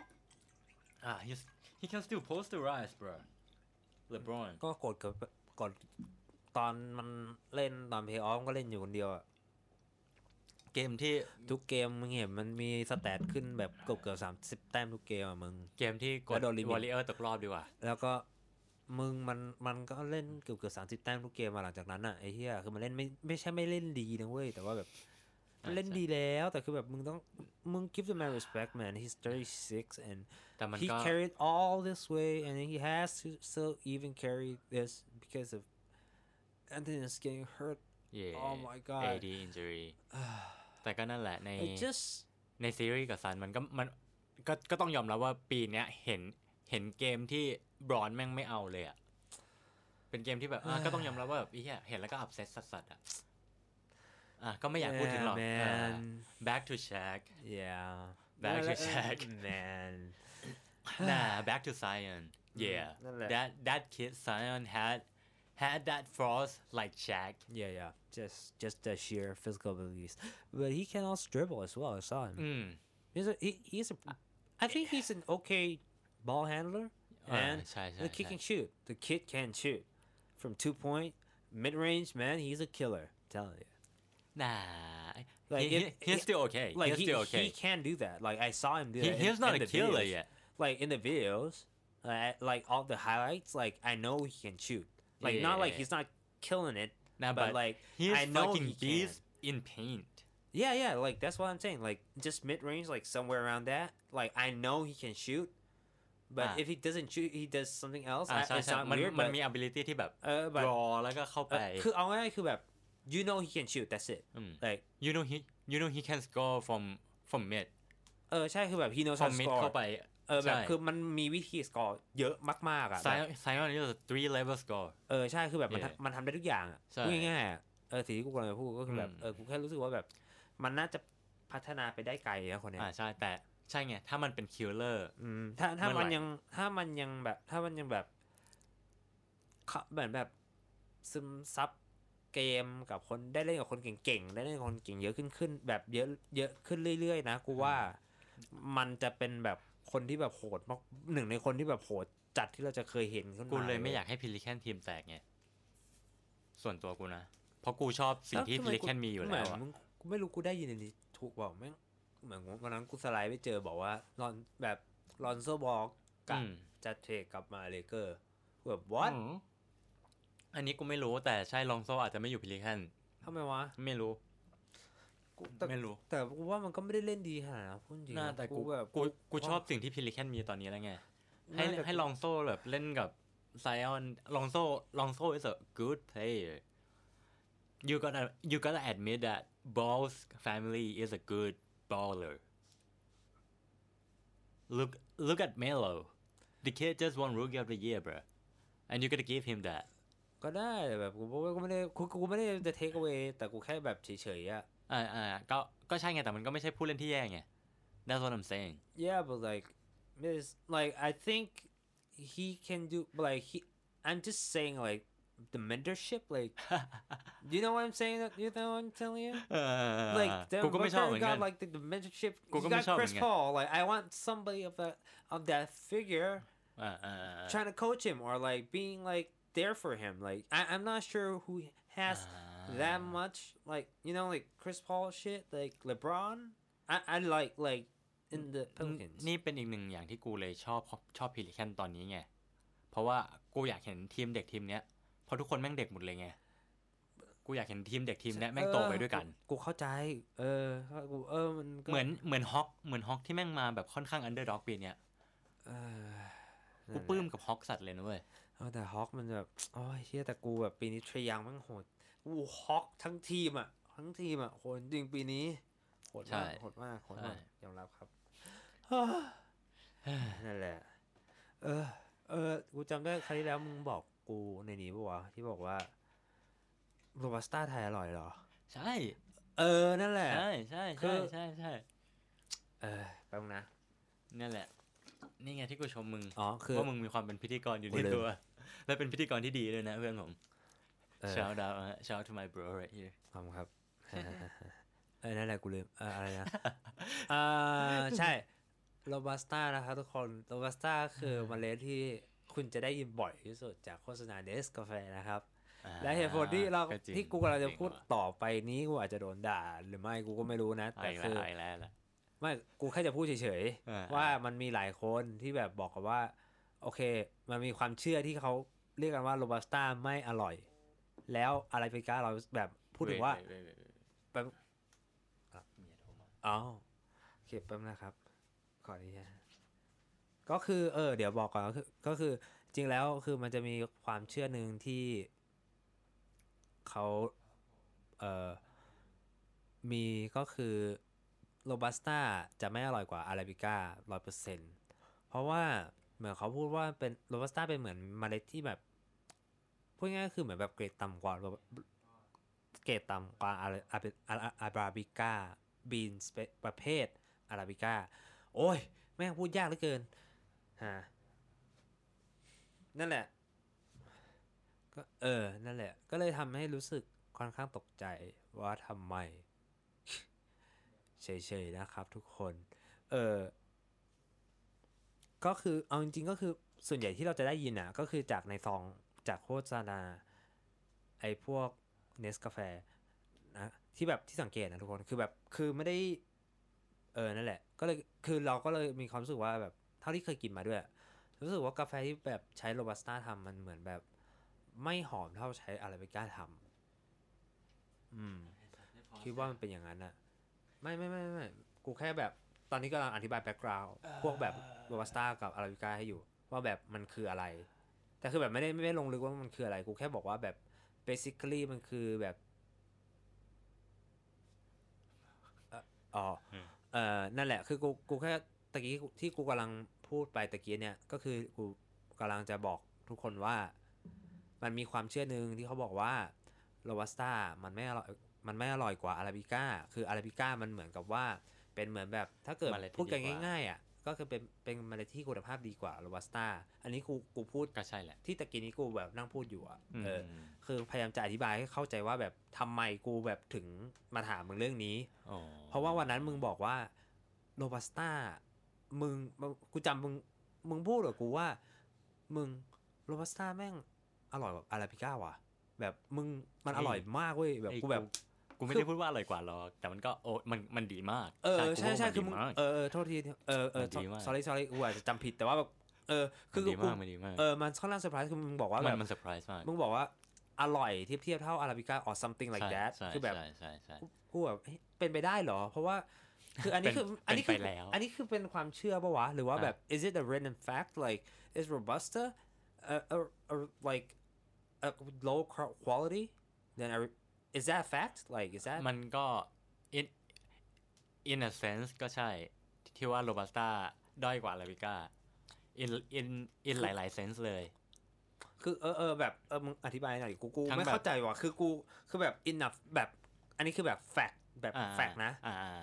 he can still posterize bro LeBron ก็กดตอนมันเล่นตอนเพย์ออฟก็เล่นอยู่คนเดียวอะเกมที่ทุกเกมมึงเห็นมันมีสแตทขึ้นแบบเกือบ30 แต้มทุกเกมอะมึงเกมที่กแล้ดวโดนลิมิตวอลเลเยอร์ตกรอบดีกว่าแล้วก็มึงมันก็เล่นเกือบ30 แต้มทุกเกมมาหลังจากนั้นอะไอ้เหี้ยคือมันเล่นไม่ใช่ไม่เล่นดีนะเว้ยแต่ว่าแบบมันเล่นดีแล้วแต่คือแบบมึง give the man respect man he's 36 and แต่มัน he ก็ carried all this way and he has to still even carry this because of Anthony is getting hurt yeah oh my god AD injury แต่ก็นั่นแหละใน it just ในซีรีส์กับซันมันก็ต้องยอมรับว่าปีเนี้ยเห็นเกมที่บรอนแม่งไม่เอาเลยอ่ะเป็นเกมที่แบบก็ต้องยอมรับว่าแบบเหี้ยเห็นแล้วก็อับเซตสัสๆอ่ะก็ไม่อยากพูดถึงหรอก man back to Shaq yeah back to Shaq man nah back to Zion yeah นั่นแหละ that kid Zion had that force like Shaq yeah just the sheer physical abilities but he can also dribble as well I saw him he's a I think he's an okay ball handler and ใช่ the kid can shoot the kid can shoot from 2-point mid-range man he's a killer I'm telling you nah like he's still okay like he's still okay he can do that like I saw him do that he's not in a the killer videos. yet Like in the videos like all the highlights like I know he can shoot like not like he's not killing it nah, but like he's I know fucking he beast can. in paint yeah like that's what I'm saying like just mid-range like somewhere around that like I know he can shoot but if he doesn't shoot he does something else ใช่ it's not มัน weird มัน but มี ability ที่แบบ but รอแล้วก็เข้าไปคือเอาง่ายๆคือแบบ you know he can shoot that's it like you know he can score from mid ใช่คือแบบ he knows how from to mid score เข้าไปแบบคือมันมีวิธีสกอร์เยอะมากๆอ่ะ Zion is a 3 level score ใช่คือแบบมันทำได้ทุกอย่างอ่ะใช่พูดง่ายๆอ่ะสิ่งที่กูกำลังจะพูดก็คือแบบกูแค่รู้สึกว่าแบบมันน่าจะพัฒนาไปได้ไกลนะคนเนี้ยใช่แต่ใช่ไงถ้ามันเป็น killer ถ้ามันยังแบบเหมือนแบบซึมซับเกมกับคนได้เล่นกับคนเก่งๆได้เล่นกับคนเก่งเยอะขึ้นแบบเยอะขึ้นเรื่อยๆนะกูว่ามันจะเป็นแบบคนที่แบบโหดมากหนึ่งในคนที่แบบโหดจัดที่เราจะเคยเห็นขึ้นมากูเลยไม่อยากให้พิลิแคนทีมแตกไงส่วนตัวกูนะเพราะกูชอบสิ่งที่พิลิแคนมีอยู่แล้วอะไม่รู้กูได้ยินในนี้ถูกบอกแม่งเหมือนวันนั้นกูสไลด์ไปเจอบอกว่าลอนโซบอกกับจะเทรดกลับมาเลเกอร์แบบ what อันนี้กูไม่รู้แต่ใช่ลองโซอาจจะไม่อยู่พิลิแคนทำไมวะไม่รู้แต่กูว่ามันก็ไม่ได้เล่นดีขนาดนั้นพูดจริงนะแต่กูชอบสิ่งที่พิลิแคนมีตอนนี้แล้วไงให้ลองโซแบบเล่นกับไซออนลองโซ is a good player you gotta admit that Ball's family is a good baller look at Melo the kid just won Rookie of the Year bro and you gotta give him that ก็ได้แบบกูไม่ได้จะ take away แต่กูแค่แบบเฉยๆอ่ะก็ใช่ไงแต่มันก็ไม่ใช่ผู้เล่นที่แย่ไง that's what I'm saying yeah but like I think he can do like I'm just saying like the mentorship like you know what I'm saying you know what I'm telling you like กูก็ไม่ชอบเหมือนกัน like the mentorship you got Chris Paul like I want somebody of that figure trying to coach him or like being like there for him like I'm not sure who has that much like you know like Chris Paul shit like LeBron I like in the Pelicans นี่เป็นอีกหนึ่งอย่างที่กูเลยชอบพิลิแคนตอนนี้ไงเพราะว่ากูอยากเห็นทีมเด็กทีมเนี้ยเพราะทุกคนแม่งเด็กหมดเลยไงกูอยากเห็นทีมเด็กทีมเนี้ยแม่งโตไปด้วยกันกูเข้าใจมันเหมือนฮอกที่แม่งมาแบบค่อนข้างอันเดอร์ด็อกปีเนี้ยกูปลื้มกับฮอกสัตว์เลยนะเว้ยแต่ฮอกมันแบบโอ้ยเชี่ยแต่กูแบบปีนี้เทรยังแม่งโหดกูฮอกทั้งทีมอ่ะโหดจริงปีนี้โหดมากยอมรับครับนั่นแหละกูจำได้ครั้งที่แล้วมึงบอกกูในนี้ป่ะวะที่บอกว่าโรบัสต้าไทยอร่อยเหรอใช่นั่นแหละใช่แป๊บนะนั่นแหละนี่ไงที่กูชมมึงคือว่ามึงมีความเป็นพิธีกรอยู่ในตัวและเป็นพิธีกรที่ดีด้วยนะเพื่อนผม shout out to my bro right here ขอบคุณครับนั่นแหละกูลืมอะไรนะใช่โรบัสต้านะครับทุกคนโรบัสต้าคือเมล็ดที่คุณจะได้ยินบ่อยที่สุดจากโฆษณาเนสกาแฟนะครับและเหตุผลที่กูกำลังจะพูดต่อไปนี้กูอาจจะโดนด่าหรือไม่กูก็ไม่รู้นะแต่คือไม่กูแค่จะพูดเฉยๆว่ามันมีหลายคนที่แบบบอกกันว่าโอเคมันมีความเชื่อที่เขาเรียกกันว่าโรบัสต้าไม่อร่อยแล้วอะไรไปก้าเราแบบพูดถึงว่าแบบโอเคแป๊บนะครับขออนุญาตก็คือเดี๋ยวบอกก่อนก็คือจริงแล้วคือมันจะมีความเชื่อหนึ่งที่เขามีก็คือโรบัสต้าจะไม่อร่อยกว่าอาราบิก้า 100% เพราะว่าเหมือนเขาพูดว่าเป็นโรบัสต้าเป็นเหมือนเมล็ดที่แบบพูดง่ายๆคือเหมือนแบบเกรดต่ำกว่าอาราบิก้าบีนประเภทอาราบิก้าโอ้ยแม่งพูดยากเหลือเกินนั่นแหละก็นั่นแหละก็เลยทำให้รู้สึกค่อนข้างตกใจว่าทำไมเฉยๆนะครับทุกคนก็คือเอาจริงๆก็คือส่วนใหญ่ที่เราจะได้ยินอ่ะก็คือจากในซองจากโฆษณาไอ้พวกเนสกาแฟนะที่แบบที่สังเกตนะทุกคนคือแบบคือไม่ได้นั่นแหละก็เลยคือเราก็เลยมีความรู้สึกว่าแบบเท่าที่เคยกินมาด้วยรู้สึกว่ากาแฟที่แบบใช้โรบัสต้าทำมันเหมือนแบบไม่หอมเท่าใช้อาราบิก้าทำคิดว่ามันเป็นอย่างนั้นอะไม่กูแค่แบบตอนนี้กำลังอธิบายแบ็คกราวด์พวกแบบโรบัสต้ากับอาราบิก้าให้อยู่ว่าแบบมันคืออะไรแต่คือแบบไม่ได้ลงลึกว่ามันคืออะไรกูแค่บอกว่าแบบ basically มันคือแบบนั่นแหละคือกูแค่ตะกี้ที่กูกำลังพูดไปตะกี้เนี่ยก็คือกูกำลังจะบอกทุกคนว่ามันมีความเชื่อนึงที่เขาบอกว่าโรบัสต้ามันไม่อร่อยกว่าอาราบิก้าคืออาราบิก้ามันเหมือนกับว่าเป็นเหมือนแบบถ้าเกิดพูดกันง่ายๆอ่ะก็คือเป็นเมล็ดที่คุณภาพดีกว่าโรบัสต้าอันนี้กูพูดก็ใช่แหละที่ตะกี้นี้กูแบบนั่งพูดอยู่อ่ะคือพยายามจะอธิบายให้เข้าใจว่าแบบทำไมกูแบบถึงมาถามมึงเรื่องนี้เพราะว่าวันนั้นมึงบอกว่าโรบัสต้ากูจำมึงพูดกับกูว่ามึงโรบัสต้าแม่งอร่อยกว่าอาราบิก้าว่ะแบบมึงมันอร่อยมากเว้ยแบบกูแบบกูไม่ได้พูดว่าอร่อยกว่าหรอกแต่มันก็มันดีมากใช่คือมึงโทษทีsorry กูอาจจะจำผิดแต่ว่าแบบคือดีมากมันดีมากมันค่อนข้างเซอร์ไพรส์คือมึงบอกว่าแบบมันเซอร์ไพรส์มากมึงบอกว่าอร่อยเทียบเท่าอาราบิก้า or something like that คือแบบกูแบบเป็นไปได้เหรอเพราะว่าคืออันนี้คือเป็นความเชื่อป่ะวะหรือว่าแบบ is it a random fact like is robusta like a low quality then is that a fact like is that มันก็ in a sense ก็ใช่ที่ว่าโรบัสต้าด้อยกว่าอาราบิก้า in หลายๆ sense เลยคือแบบมึงอธิบายหน่อยกูไม่เข้าใจว่ะคือกูคือแบบ enough แบบอันนี้คือแบบ fact แบบ fact นะ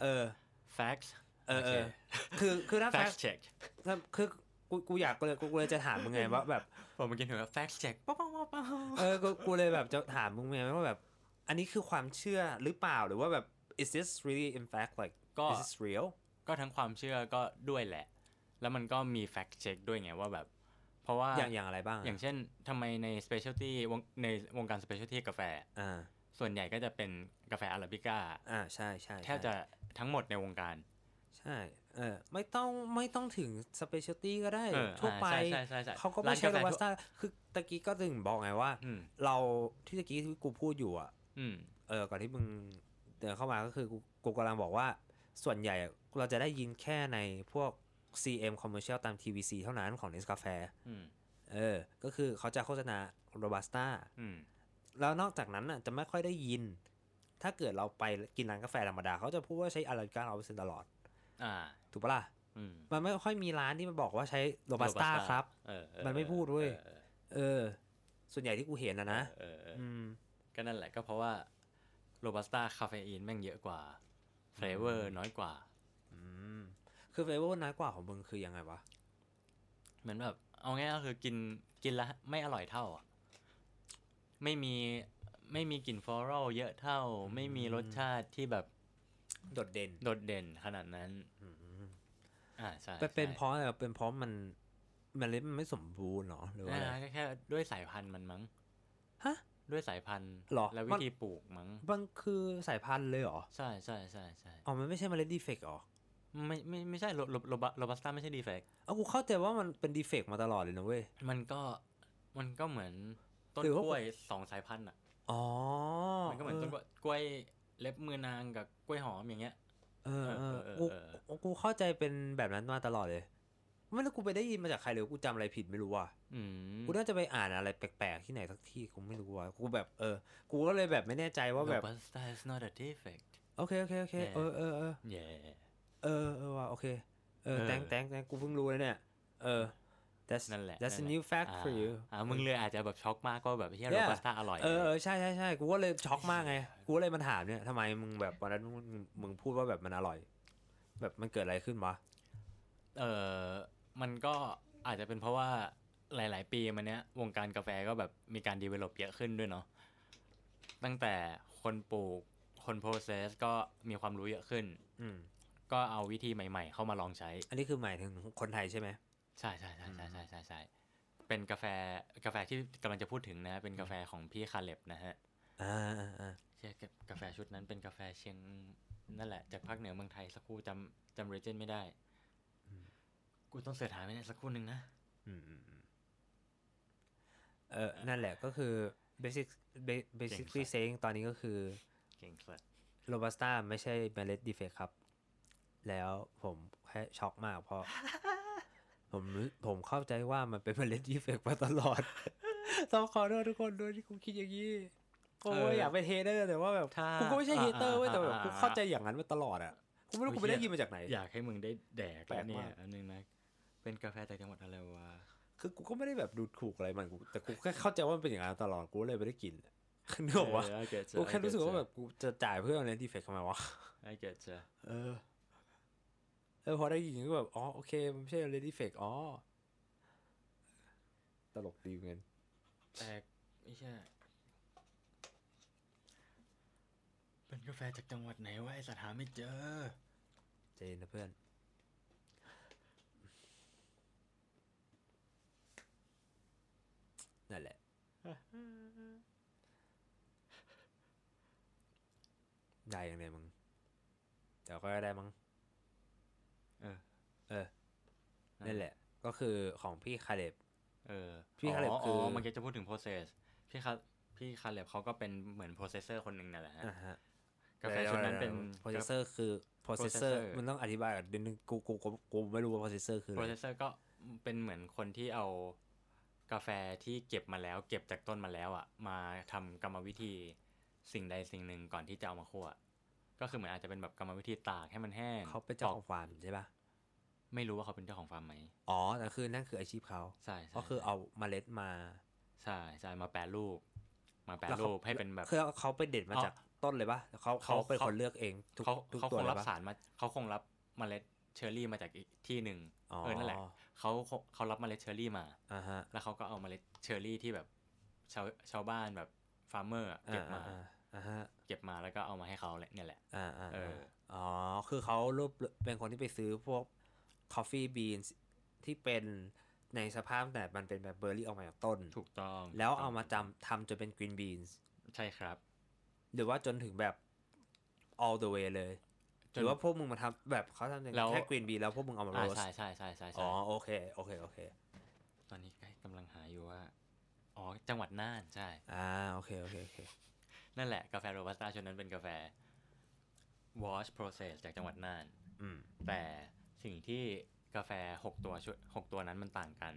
facts คือถ้า fact check คือกูอยากกูเลยจะถามมึงไงว่าแบบผมเมื่อกี้ถึงว่า fact check กูเลยแบบจะถามมึงไงว่าแบบอันนี้คือความเชื่อหรือเปล่าหรือว่าแบบ is this really in fact like is this real ก็ทั้งความเชื่อก็ด้วยแหละแล้วมันก็มี fact check ด้วยไงว่าแบบเพราะว่าอย่างอะไรบ้างอย่างเช่นทำไมใน specialty ในวงการ specialty กาแฟส่วนใหญ่ก็จะเป็นกาแฟอาราบิก้าใช่แทบจะทั้งหมดในวงการใช่ไม่ต้องถึง specialty ก็ได้ทั่วไปเขาก็ไม่ใช่โรบัสต้าคือตะกี้ก็ถึงบอกไงว่าเราที่ตะกี้ที่กูพูดอยู่อ่ะก่อนที่มึงเดินเข้ามาก็คือกูกำลังบอกว่าส่วนใหญ่เราจะได้ยินแค่ในพวก CM commercial ตาม TVC เท่านั้นของ Nescafe ก็คือเขาจะโฆษณาโรบัสต้าแล้วนอกจากนั้นน่ะจะไม่ค่อยได้ยินถ้าเกิดเราไปกินร้านกาแฟธรรมดาเขาจะพูดว่าใช้อาราบิก้า 100% ตลอดถูกปะล่ะมันไม่ค่อยมีร้านที่มันบอกว่าใช้โรบัสต้าครับมันไม่พูดด้วยส่วนใหญ่ที่กูเห็นนะก็นั่นแหละก็เพราะว่าโรบัสต้าคาเฟอีนแม่งเยอะกว่าเฟลเวอร์น้อยกว่าคือเฟลเวอร์น้อยกว่าของมึงคือยังไงวะเหมือนแบบเอาง่ายก็คือกินแล้วไม่อร่อยเท่าไม่มีกลิ่นฟลอรัลเยอะเท่าไม่มีรสชาติที่แบบโดดเด่นขนาดนั้นใช่เป็นเพราะอะไรเป็นเพราะมันเล็ดมันไม่สมบูรณ์หรอหรือว่าอะไรแค่ด้วยสายพันธุ์มันมั้งด้วยสายพันธุ์และวิธีปลูกมั้งมันคือสายพันธุ์เลยเหรอใช่มันไม่ใช่เมล็ดดีเฟกต์หรอไม่ใช่โรบัสต้าไม่ใช่ดีเฟกต์กูเข้าใจว่ามันเป็นดีเฟกต์มาตลอดเลยนะเว้ยมันก็เหมือนต้นกล้วย2 สายพันธุ์มันก็เหมือนต้นกล้วยเล็บมือนางกับกล้วยหอมอย่างเงี้ยกูเข้าใจเป็นแบบนั้นมาตลอดเลยไม่รู้กูไปได้ยินมาจากใครหรือกูจำอะไรผิดไม่รู้ว่ะกูน่าจะไปอ่านอะไรแปลกๆที่ไหนสักที่กูไม่รู้ว่ะกูแบบกูก็เลยแบบไม่แน่ใจว่าแบบ Robusta is not a defect โอเคว่ะโอเคแตงกูเพิ่งรู้เลยเนี่ยthat's a new fact for you มึงเลยอาจจะแบบช็อกมากก็แบบที่โรบัสต้าอร่อยใช่กูก็เลยช็อกมากไงกูเลยมาถามเนี่ยทำไมมึงแบบวันนั้นมึงพูดว่าแบบมันอร่อยแบบมันเกิดอะไรขึ้นวะมันก็อาจจะเป็นเพราะว่าหลายๆปีมาเนี้ยวงการกาแฟก็แบบมีการ develop เยอะขึ้นด้วยเนาะตั้งแต่คนปลูกคนโปรเซสก็มีความรู้เยอะขึ้นก็เอาวิธีใหม่ๆเข้ามาลองใช้อันนี้คือหมายถึงคนไทยใช่ไหมใช่เป็นกาแฟที่กำลังจะพูดถึงนะเป็นกาแฟของพี่คาเล็บนะฮะใช่กาแฟชุดนั้นเป็นกาแฟเชียงนั่นแหละจากภาคเหนือเมืองไทยสักครู่จำเรเจนไม่ได้กูต้องเสิร์ชหาไม่ได้สักครู่นึงนะนั่นแหละก็คือ basically saying ตอนนี้ก็คือเก่งสุดโรบัสต้าไม่ใช่เมล็ดดีเฟกต์ครับแล้วผมแค่ช็อกมากเพราะผมเข้าใจว่ามันเป็นเมล็ดดีเฟกต์มาตลอดต้องขอโทษทุกคนด้วยที่กูคิดอย่างนี้กูอยากเป็นเฮเตอร์แต่ว่าแบบกูก็ไม่ใช่เฮเตอร์เว้ยแต่แบบกูเข้าใจอย่างนั้นมาตลอดอ่ะกูไม่รู้กูไปได้ยินมาจากไหนอยากให้มึงได้แดกแล้วเนี่ยอันนึงนะเป็นกาแฟจากจังหวัดอะไรวะคือกูก็ไม่ได้แบบดูถูกอะไรมันแต่กูแค่เข้าใจว่ามันเป็นอย่างนั้นตลอดกูเลยไม่ได้กินนึกออกปะกูแค่รู้สึกว่าแบบกูจะจ่ายเพื่ออะไรดีเฟกต์ทำไมวะพอได้ยินก็แบบอ๋อโอเคมันไม่ใช่อะไรดีเฟกต์ตลกดีเหมือนแต่ไม่ใช่เป็นกาแฟจากจังหวัดไหนวะไอ้สัตว์หาไม่เจอเจนนะเพื่อนนั่นแหละได้ยังไงมึงเดี๋ยวก็ได้มั้งนั่นแหละก็คือของพี่คาเล็บพี่คาเล็บคือมันจะพูดถึง process พี่คาเล็บเขาก็เป็นเหมือน processor คนหนึ่งนั่นแหละฮะกาแฟชุดนั้นเป็น processor คือ processor มันต้องอธิบายก่อนเดี๋ยวนึงกูไม่รู้ว่า processor คืออะไร processor ก็เป็นเหมือนคนที่เอากาแฟที่เก็บมาแล้วเก็บจากต้นมาแล้วอ่ะมาทำกรรมวิธีสิ่งใดสิ่งหนึ่งก่อนที่จะเอามาคั่วก็คือเหมือนอาจจะเป็นแบบกรรมวิธีตากให้มันแห้งเขาเป็นเจ้าของฟาร์มใช่ปะไม่รู้ว่าเขาเป็นเจ้าของฟาร์มไหมแต่คือนั่นคืออาชีพเขาใช่ก็คือเอาเมล็ดมาใช่มาแปรรูปให้เป็นแบบคือเขาไปเด็ดมาจากต้นเลยปะเขาเป็นคนเลือกเองทุกตัวเลยปะเขาคงรับสารมาเขาคงรับเมล็ดเชอร์รี่มาจากอีกที่หนึ่งนั่นแหละเขารับเมล็ดเชอร์รี่มาแล้วเขาก็เอาเมล็ดเชอร์รี่ที่แบบชาวบ้านแบบฟาร์มเมอร์เก็บมาเก็บมาแล้วก็เอามาให้เขาเนี่ยแหละคือเขาเป็นคนที่ไปซื้อพวก coffee beans ที่เป็นในสภาพแต่มันเป็นแบบเบอร์รี่ออกมาจากต้นถูกต้องแล้วเอามาทำจนเป็น green beans ใช่ครับหรือว่าจนถึงแบบ all the way เลยหรือว่าพวกมึงมาทำแบบเขาทำแค่ green bean แล้วพวกมึงเอามาโรสใช่โอเคตอนนี้กำลังหาอยู่ว่าจังหวัดน่านใช่โอเคนั่นแหละกาแฟโรบัสต้าชุดนั้นเป็นกาแฟ wash process จากจังหวัดน่านแต่สิ่งที่กาแฟ6 ตัวนั้นมันต่างกัน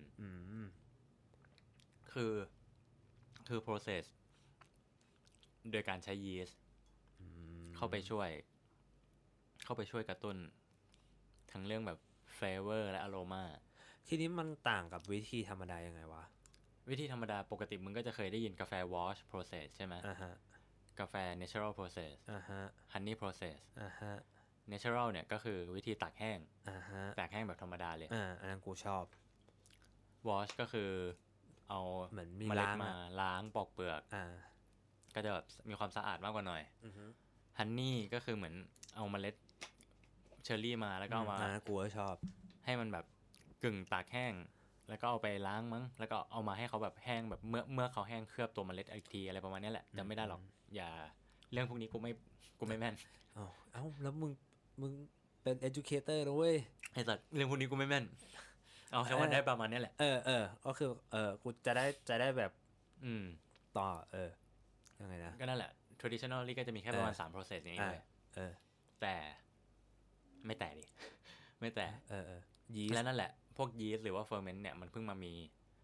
คือ process โดยการใช้ยีสต์เข้าไปช่วยกระตุ้นทั้งเรื่องแบบ flavor และ aroma ทีนี้มันต่างกับวิธีธรรมดายังไงวะวิธีธรรมดาปกติมึงก็จะเคยได้ยินกาแฟ wash process ใช่ไหมกาแฟ natural process honey process natural เนี่ยก็คือวิธีตากแห้งตากแห้งแบบธรรมดาเลยอันนั้นกูชอบ wash ก็คือเอาเมล็ดมาล้างปอกเปลือกก็จะแบบมีความสะอาดมากกว่าหน่อยhoney ก็คือเหมือนเอาเมล็ดเชอร์รี่มาแล้วก็มากูก็ชอบให้มันแบบกึ่งตากแห้งแล้วก็เอาไปล้างมั้งแล้วก็เอามาให้เขาแบบแห้งแบบเมื่อเขาแห้งเคลือบตัวเมล็ดอีกทีอะไรประมาณนี้แหละจำไม่ได้หรอกอย่าเรื่องพวกนี้กูไม่แม่นแล้วมึงเป็น educator นะเว้ยไอ้สัตว์เรื่องพวกนี้กูไม่แม่นแค่ว่าได้ประมาณนี้แหละก็คือกูจะได้แบบต่อยังไงนะก็นั่นแหละ traditionally ก็จะมีแค่ประมาณ3 process อย่างนี้เลยแต่ไม่แต่ดิไม่แต่ยีสต์และนั่นแหละพวกยีสต์หรือว่า ferment เนี่ยมันเพิ่งมามี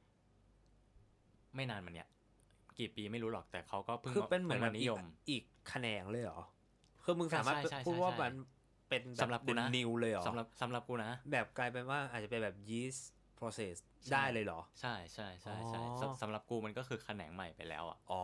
ไม่นานมาเนี่ยกี่ปีไม่รู้หรอกแต่เขาก็เพิ่งคือเป็นเหมือนนิยมอีกแขนงเลยเหรอคือมึงสามารถพูดว่ามันเป็นสำหรับกูนะนิวเลยเหรอสำหรับกูนะแบบกลายเป็นว่าอาจจะเป็นแบบยีสต์ process ได้เลยเหรอใช่สำหรับกูมันก็คือแขนงใหม่ไปแล้ว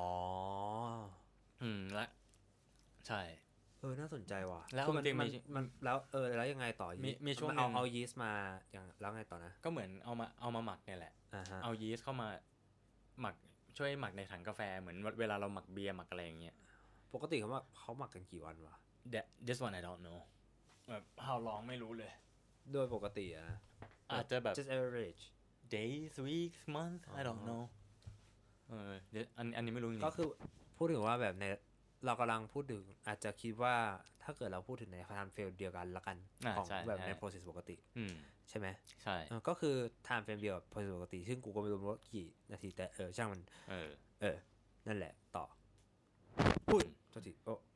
และใช่น่าสนใจว่ะแล้วมันแล้วยังไงต่อมีช่วงเอายีสต์มาอย่างแล้วไงต่อนะก็เหมือนเอามาหมักเนี่ยแหละเอายีสต์เข้ามาหมักช่วยหมักในถังกาแฟเหมือนเวลาเราหมักเบียร์หมักอะไรอย่างเงี้ยปกติเขาหมักกันกี่วันวะ This one I don't know แบบ how long ไม่รู้เลยโดยปกติอาจจะแบบ just average days weeks month I don't know อันนี้ไม่รู้จริงก็คือพูดถึงว่าแบบในเรากำลังพูดถึงอาจจะคิดว่าถ้าเกิดเราพูดถึงใน time frame เดียวกันละกันของแบบใน process ปกติใช่ไหมใช่ก็คือ time frame เดียวกับ process ปกติซึ่งกูก็ไม่รู้ว่ากี่นาทีแต่ช่างมันนั่นแหละต่อพูดโทษที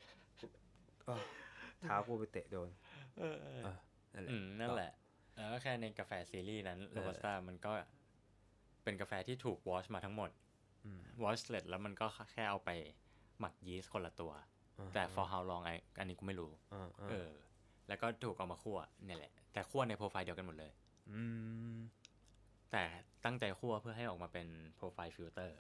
เท้ากูไปเตะโดนนั่นแหละแล้วก็แค่ในกาแฟซีรีส์นั้นโรบัสต้ามันก็เป็นกาแฟที่ถูกวอชมาทั้งหมดวอชเสร็จแล้วมันก็แค่เอาไปหมักยีสต์คนละตัวแต่ for how long อันนี้กูไม่รู้แล้วก็ถูกเอามาคั่วเนี่ยแหละแต่คั่วในโปรไฟล์เดียวกันหมดเลยแต่ตั้งใจคั่วเพื่อให้ออกมาเป็นโปรไฟล์ฟิลเตอร์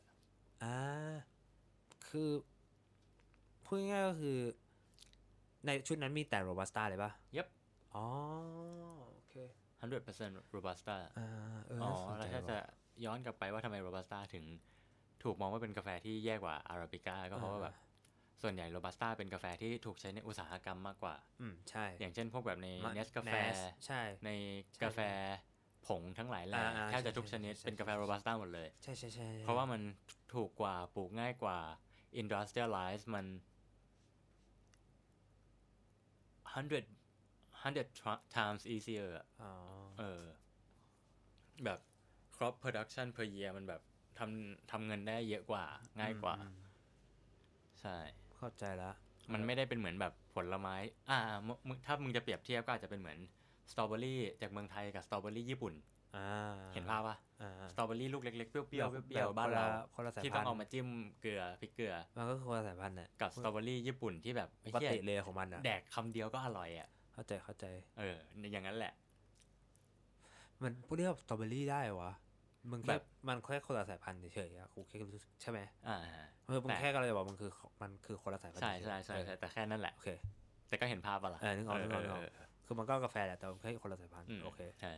คือพูดง่ายๆก็คือในชุดนั้นมีแต่โรบัสต้าเลยป่ะ Yep โอเค 100% โรบัสต้าแล้วถ้าจะย้อนกลับไปว่าทำไมโรบัสต้าถึงถูกมองว่าเป็นกาแฟที่แย่กว่าอาราบิก้าก็เพราะว่าแบบส่วนใหญ่โรบัสต้าเป็นกาแฟที่ถูกใช้ในอุตสาหกรรมมากกว่าใช่อย่างเช่นพวกแบบในเนสกาแฟในกาแฟผงทั้งหลายแหล่แทบจะทุกชนิดเป็นกาแฟโรบัสต้าหมดเลยใช่เพราะว่ามันถูกกว่าปลูกง่ายกว่า industrialize มัน 100 times easier อะแบบ crop production per year มันแบบทำเงินได้เยอะกว่าง่ายกว่าใช่เข้าใจแล้วมันไม่ได้เป็นเหมือนแบบผลไม้ถ้ามึงจะเปรียบเทียบก็อาจจะเป็นเหมือนสตรอเบอรี่จากเมืองไทยกับสตรอเบอรี่ญี่ปุ่นเห็นภาพป่ะสตรอเบอรี่ลูกเล็กๆเปรี้ยวๆบ้านเราที่ต้องเอามาจิ้มเกลือพริกเกลือมันก็คือคนละสายพันธุ์น่ะกับสตรอเบอรี่ญี่ปุ่นที่แบบปกติเลยของมันแดกคำเดียวก็อร่อยอ่ะเข้าใจอย่างนั้นแหละมันพวกนี้แบบสตรอเบอรี่ได้วะมึงแค่มันแค่คนละสายพันธุ์เฉยๆกูแค่รู้สึกใช่ไหมมึงแค่ก็เลยบอกมันคือคนละสายพันธุ์ใช่แต่แค่นั้นแหละโอเคแต่ก็เห็นภาพป่ะล่ะนึกออกคือมันก็กาแฟแหละแต่แค่คนละสายพันธุ์โอเคใช่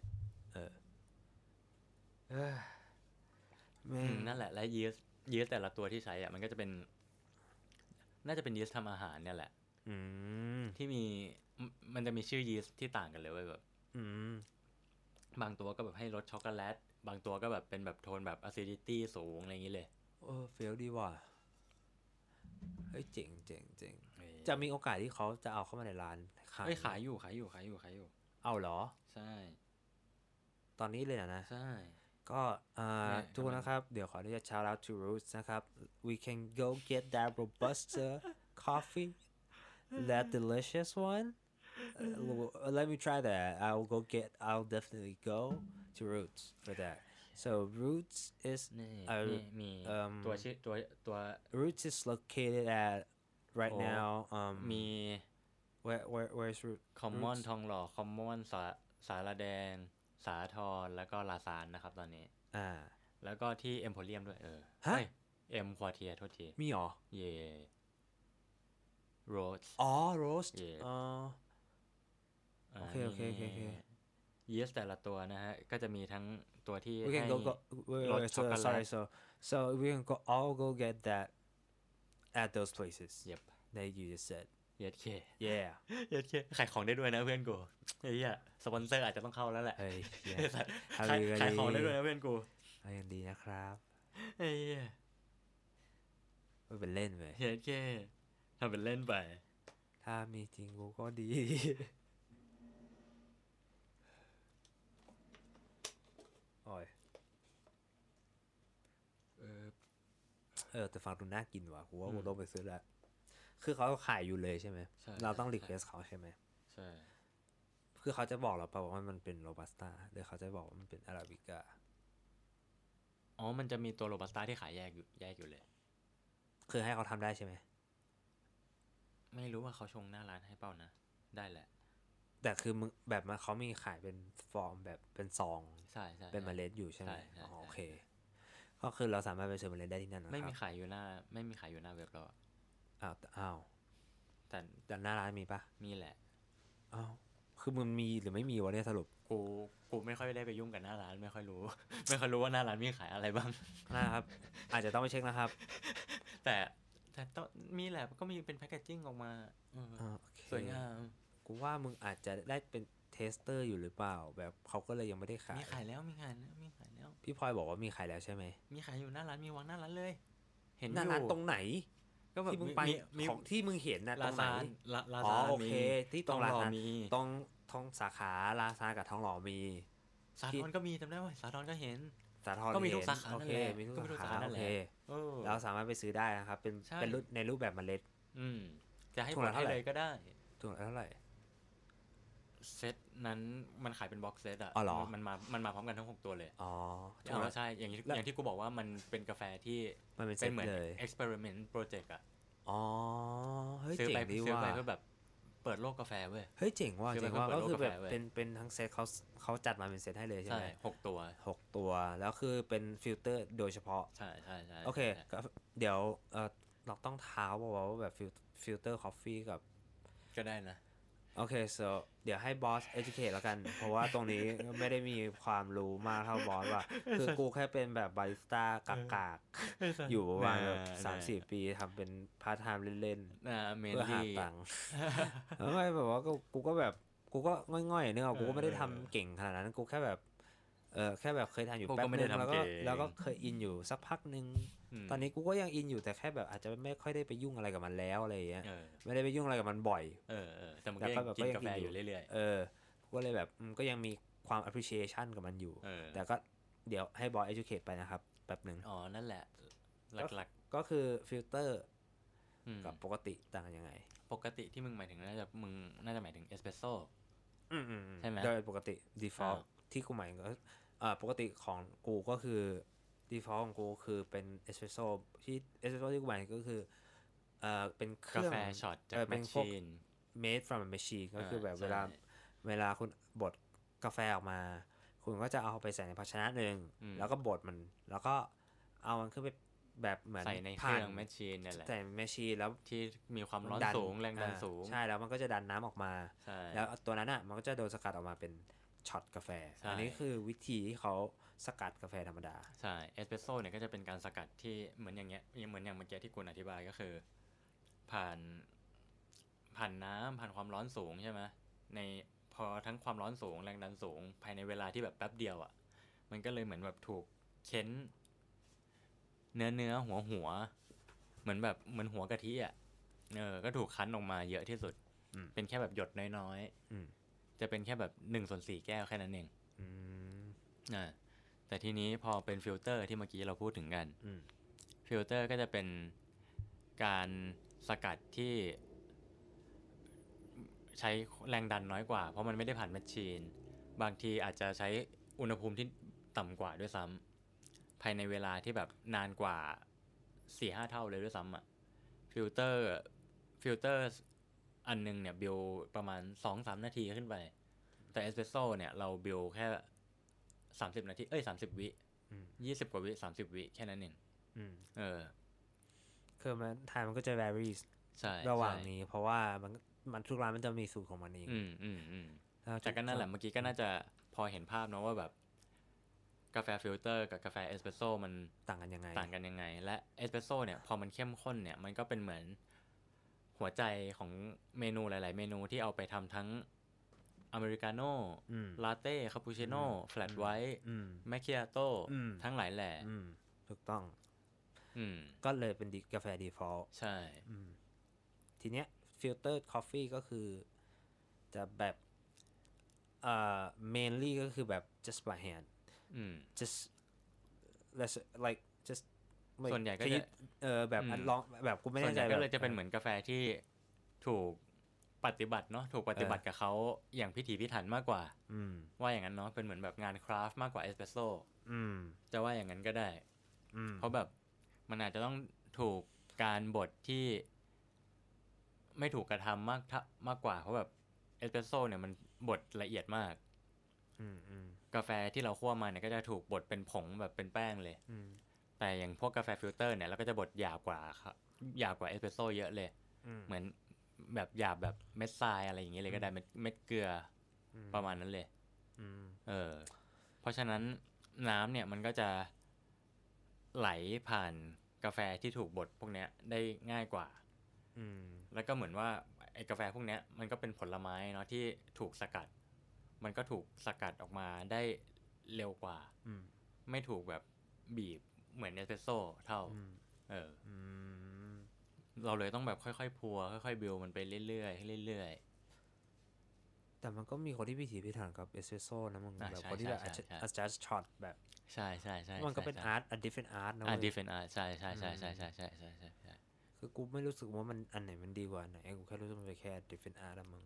นั่นแหละและยีสต์แต่ละตัวที่ใช้อ่ะมันก็จะเป็นน่าจะเป็นยีสต์ทำอาหารเนี่ยแหละที่มันจะมีชื่อยีสต์ที่ต่างกันเลยแบบบางตัวก็แบบให้รสช็อกโกแลตบางตัวก็แบบเป็นแบบโทนแบบ acidity สูงอะไรอย่างนี้เลยเฟี้ยวดีว่ะเฮ้ยเจ๋งจะมีโอกาสที่เขาจะเอาเข้ามาในร้านขายอยู่เอาเหรอใช่ตอนนี้เลยนะใช่ก็ทุกคนนะครับเดี๋ยวขออนุญาต shout out to Roots นะครับ we can go get that robusta coffee that delicious one let me try that I'll definitely go to Roots for that so Roots is มีตัวชื่อตัว Roots is located at right now มี where's Roots Common ทองหล่อ Common สารแดงสาทรแล้วก็ลาซานนะครับตอนนี้แล้วก็ที่เอ็มโพเรียมด้วยเอ็มควอเทียโทษทีมีหรอเย่โรสโรสโอเคยีสต์แต่ละตัวนะฮะก็จะมีทั้งตัวที่ให้รสช็อกโกแลต so we can all go get that at those places yep that you just said เย็ดเคขายของได้ด้วยนะเพื่อนกูเฮ้ยสปอนเซอร์อาจจะต้องเข้าแล้วแหละขายของได้ด้วยนะเพื่อนกูยังดีนะครับเฮ้ยไม่เป็นเล่นไปเย็ดเคทำเป็นเล่นไปถ้ามีจริงกูก็ดีโอ้ยแต่ฟังดูน่ากินว่ะกูว่ากูต้องไปซื้อแล้วคือเขาขายอยู่เลยใช่ไหมเราต้องรีเควสเขาใช่ไหมใช่คือเขาจะบอกเราเปล่าว่ามันเป็นโรบัสต้าหรือเขาจะบอกว่ามันเป็นอาราบิก้ามันจะมีตัวโรบัสต้าที่ขายแยกอยู่เลยคือให้เขาทำได้ใช่ไหมไม่รู้ว่าเขาชงหน้าร้านให้เปล่านะได้แหละแต่คือมึงแบบมันเขามีขายเป็นฟอร์มแบบเป็นซองใช่เป็นเมล็ดอยู่ใช่ไหมโอเคก็คือเราสามารถไปซื้อเมล็ดได้ที่นั่นนะครับไม่มีขายอยู่หน้าเว็บเราอ้าวแต่หน้าร้านมีปะมีแหละคือมันมีหรือไม่มีวะเนี่ยสรุปกูไม่ค่อยได้ไปยุ่งกับหน้าร้านไม่ค่อยรู้ว่าหน้าร้านมีขายอะไรบ้างนะครับอาจจะต้องไปเช็คนะครับแต่ต้องมีแหละก็มีเป็นแพคเกจจิ้งออกมาสวยงามกูว่ามึงอาจจะได้เป็นเทสเตอร์อยู่หรือเปล่าแบบเขาก็เลยยังไม่ได้ขายมีขายแล้วพี่พลอยบอกว่ามีขายแล้วใช่ไหมมีขายอยู่หน้าร้านมีวางหน้าร้านเลยเห็นหน้าร้านตรงไหนก็แบบที่มึงไปของที่มึงเห็นน่ะตรงไหนโอเคที่ตรงร้านตรงท้องสาขาลาซานกับท้องหล่อมีสาทรก็มีจำได้ว่าสาทรก็เห็นสาทรก็มีทุกสาขานั่นแหละมีทุกสาขาโอเคเราสามารถไปซื้อได้นะครับเป็นในรูปแบบเมล็ดจะให้ผลให้เลยก็ได้ถุงละเท่าไหร่เซตนั้นมันขายเป็นบ็อกเซตอ่ะมันมาพร้อมกันทั้ง6ตัวเลยใช่อย่างที่กูบอกว่ามันเป็นกาแฟที่เป็นเหมือน experiment project อ่ะเฮ้ยเจ๋งดีว่ะซื้อไปเพื่อแบบเปิดโลกกาแฟเว้ยเฮ้ยเจ๋งว่ะก็คือแบบเป็นทั้งเซตเขาจัดมาเป็นเซตให้เลยใช่ไหม 6ตัวแล้วคือเป็นฟิลเตอร์โดยเฉพาะใช่โอเคเดี๋ยวเราต้องท้าว่าแบบฟิลเตอร์คอฟฟี่กับก็ได้นะโอเค so เดี๋ยวให้บอส educate แล้วกัน เพราะว่าตรงนี้ไม่ได้มีความรู้มากเท่าบอสว่ะคือกูแค่เป็นแบบบาริสต้ากากๆอยู่ประมาณแบบ3-4 ปีทำเป็นพาร์ทไทม์เล่นๆเพื่อหาตังค์ไม่แบบว่ากูก็แบบกูก็ง่อยๆเนี่ยกูก็ไม่ได้ทำเก่งขนาดนั้นกูแค่แบบแค่แบบเคยทำอยู่แป๊บนึงแล้วก็เคยอินอยู่สักพักนึงตอนนี้กูก็ยังอินอยู่แต่แค่แบบอาจจะไม่ค่อยได้ไปยุ่งอะไรกับมันแล้วอะไรอย่างเงี้ยเออไม่ได้ไปยุ่งอะไรกับมันบ่อยแต่มันก็ยังกินกาแฟอยู่เรื่อยๆกูก็เลยแบบก็ยังมีความ appreciation กับมันอยู่แต่ก็เดี๋ยวให้บอย educate ไปนะครับแป๊บนึงนั่นแหละหลักก็คือฟิลเตอร์กับปกติต่างกันยังไงปกติที่มึงหมายถึงน่าจะหมายถึงเอสเปรสโซ่ใช่ไหมโดยปกติ default ที่กูหมายก็ปกติของกูก็คือ default ของกูคือเป็นเอสเปรสโซ่ที่กูหมายก็คือเป็นเครื่องกาแฟช็อตจากแมชชีน made from a machine ก็คือแบบเวลาคุณบดกาแฟออกมาคุณก็จะเอาไปใส่ในภาชนะหนึ่งแล้วก็บดมันแล้วก็เอามันขึ้นไปแบบเหมือนใส่ในเครื่องแมชชีนนั่นแหละใส่แมชชีนแล้วที่มีความร้อนสูงแรงดันสูงใช่แล้วมันก็จะดันน้ำออกมาแล้วตัวนั้นอ่ะมันก็จะโดนสกัดออกมาเป็นช็อตกาแฟอันนี้คือวิธีที่เขาสกัดกาแฟธรรมดาใช่เอสเปรสโซ่เนี่ยก็จะเป็นการสกัดที่เหมือนอย่างเงี้ยเหมือนอย่างเมื่อกี้ที่คุณอธิบายก็คือผ่านน้ำผ่านความร้อนสูงใช่ไหมในพอทั้งความร้อนสูงแรงดันสูงภายในเวลาที่แบบแป๊บเดียวอ่ะมันก็เลยเหมือนแบบถูกเค้นเนื้อหัวเหมือนหัวกะทิอ่ะก็ถูกคั้นออกมาเยอะที่สุดเป็นแค่แบบหยดน้อยๆจะเป็นแค่แบบ1/4แก้วแค่นั้นเองแต่ทีนี้พอเป็นฟิลเตอร์ที่เมื่อกี้เราพูดถึงกันฟิลเตอร์ก็จะเป็นการสกัดที่ใช้แรงดันน้อยกว่าเพราะมันไม่ได้ผ่านแมชชีนบางทีอาจจะใช้อุณหภูมิที่ต่ำกว่าด้วยซ้ำภายในเวลาที่แบบนานกว่า 4-5 เท่าเลยด้วยซ้ำอ่ะฟิลเตอร์อันนึงเนี่ยบิลประมาณ 2-3 นาทีขึ้นไปแต่เอสเปรสโซ่เนี่ยเราบิลแค่30 นาที30 วิ20 กว่าวิ30 วิแค่นั้นเองคือมันไทม์มันก็จะ varies ระหว่างนี้เพราะว่ามันทุกร้านมันจะมีสูตรของมันเองแต่ก็นั่นแหละเมื่อกี้ก็น่าจะพอเห็นภาพเนาะว่าแบบกาแฟฟิลเตอร์กับกาแฟเอสเปรสโซ่มันต่างกันยังไงและเอสเปรสโซ่เนี่ยพอมันเข้มข้นเนี่ยมันก็เป็นเหมือนหัวใจของเมนูหลายๆเมนูที่เอาไปทำทั้งอเมริกาโน่ลาเต้คาปูชิโน่แฟลตไวท์แมคคิอาโต้ทั้งหลายแหล่ถูกต้องก็เลยเป็นกาแฟ default ใช่ทีเนี้ยฟิลเตอร์คอฟฟี่ก็คือจะแบบmainly ก็คือแบบ just by hand just like just ส่วนใหญ่ก็จะแบบลองแบบกูไม่แน่ใจก็เลยจะเป็นเหมือนกาแฟที่ถูกปฏิบัติเนาะถูกปฏิบัติกับเขาอย่างพิถีพิถันมากกว่าว่าอย่างนั้นเนาะเป็นเหมือนแบบงานคราฟต์มากกว่าเอสเปรสโซ่จะว่าอย่างนั้นก็ได้เพราะแบบมันอาจจะต้องถูกการบดที่ไม่ถูกกระทำมากกว่าเพราะแบบเอสเปรสโซ่เนี่ยมันบดละเอียดมากกาแฟที่เราคั่วมาเนี่ยก็จะถูกบดเป็นผงแบบเป็นแป้งเลยแต่อย่างพวกกาแฟฟิลเตอร์เนี่ยเราก็จะบดหยาบกว่าเอสเปรสโซ่เยอะเลยเหมือนแบบหยาบแบบเม็ดทรายอะไรอย่างเงี้ยเลยก็ได้เม็ดเกลือประมาณนั้นเลยเพราะฉะนั้นน้ำเนี่ยมันก็จะไหลผ่านกาแฟที่ถูกบดพวกเนี้ยได้ง่ายกว่าแล้วก็เหมือนว่าไอ้กาแฟพวกเนี้ยมันก็เป็นผลไม้เนาะที่ถูกสกัดมันก็ถูกสกัดออกมาได้เร็วกว่าไม่ถูกแบบบีบเหมือนเอสเปรสโซ่เท่าเราเลยต้องแบบค่อยๆพัวค่อยๆบิวมันไปเรื่อยๆเรื่อยๆแต่มันก็มีคนที่พิถีพิถันกับเอสเปรสโซ่นะมึงแบบคนที่แบบ adjust shot แบบใช่ๆๆมันก็เป็น art a different art นะ different art ใช่ๆๆๆๆคือกูไม่รู้สึกว่ามันอันไหนมันดีกว่าไหนกูแค่รู้สึกมันเป็นแค่ different art มึง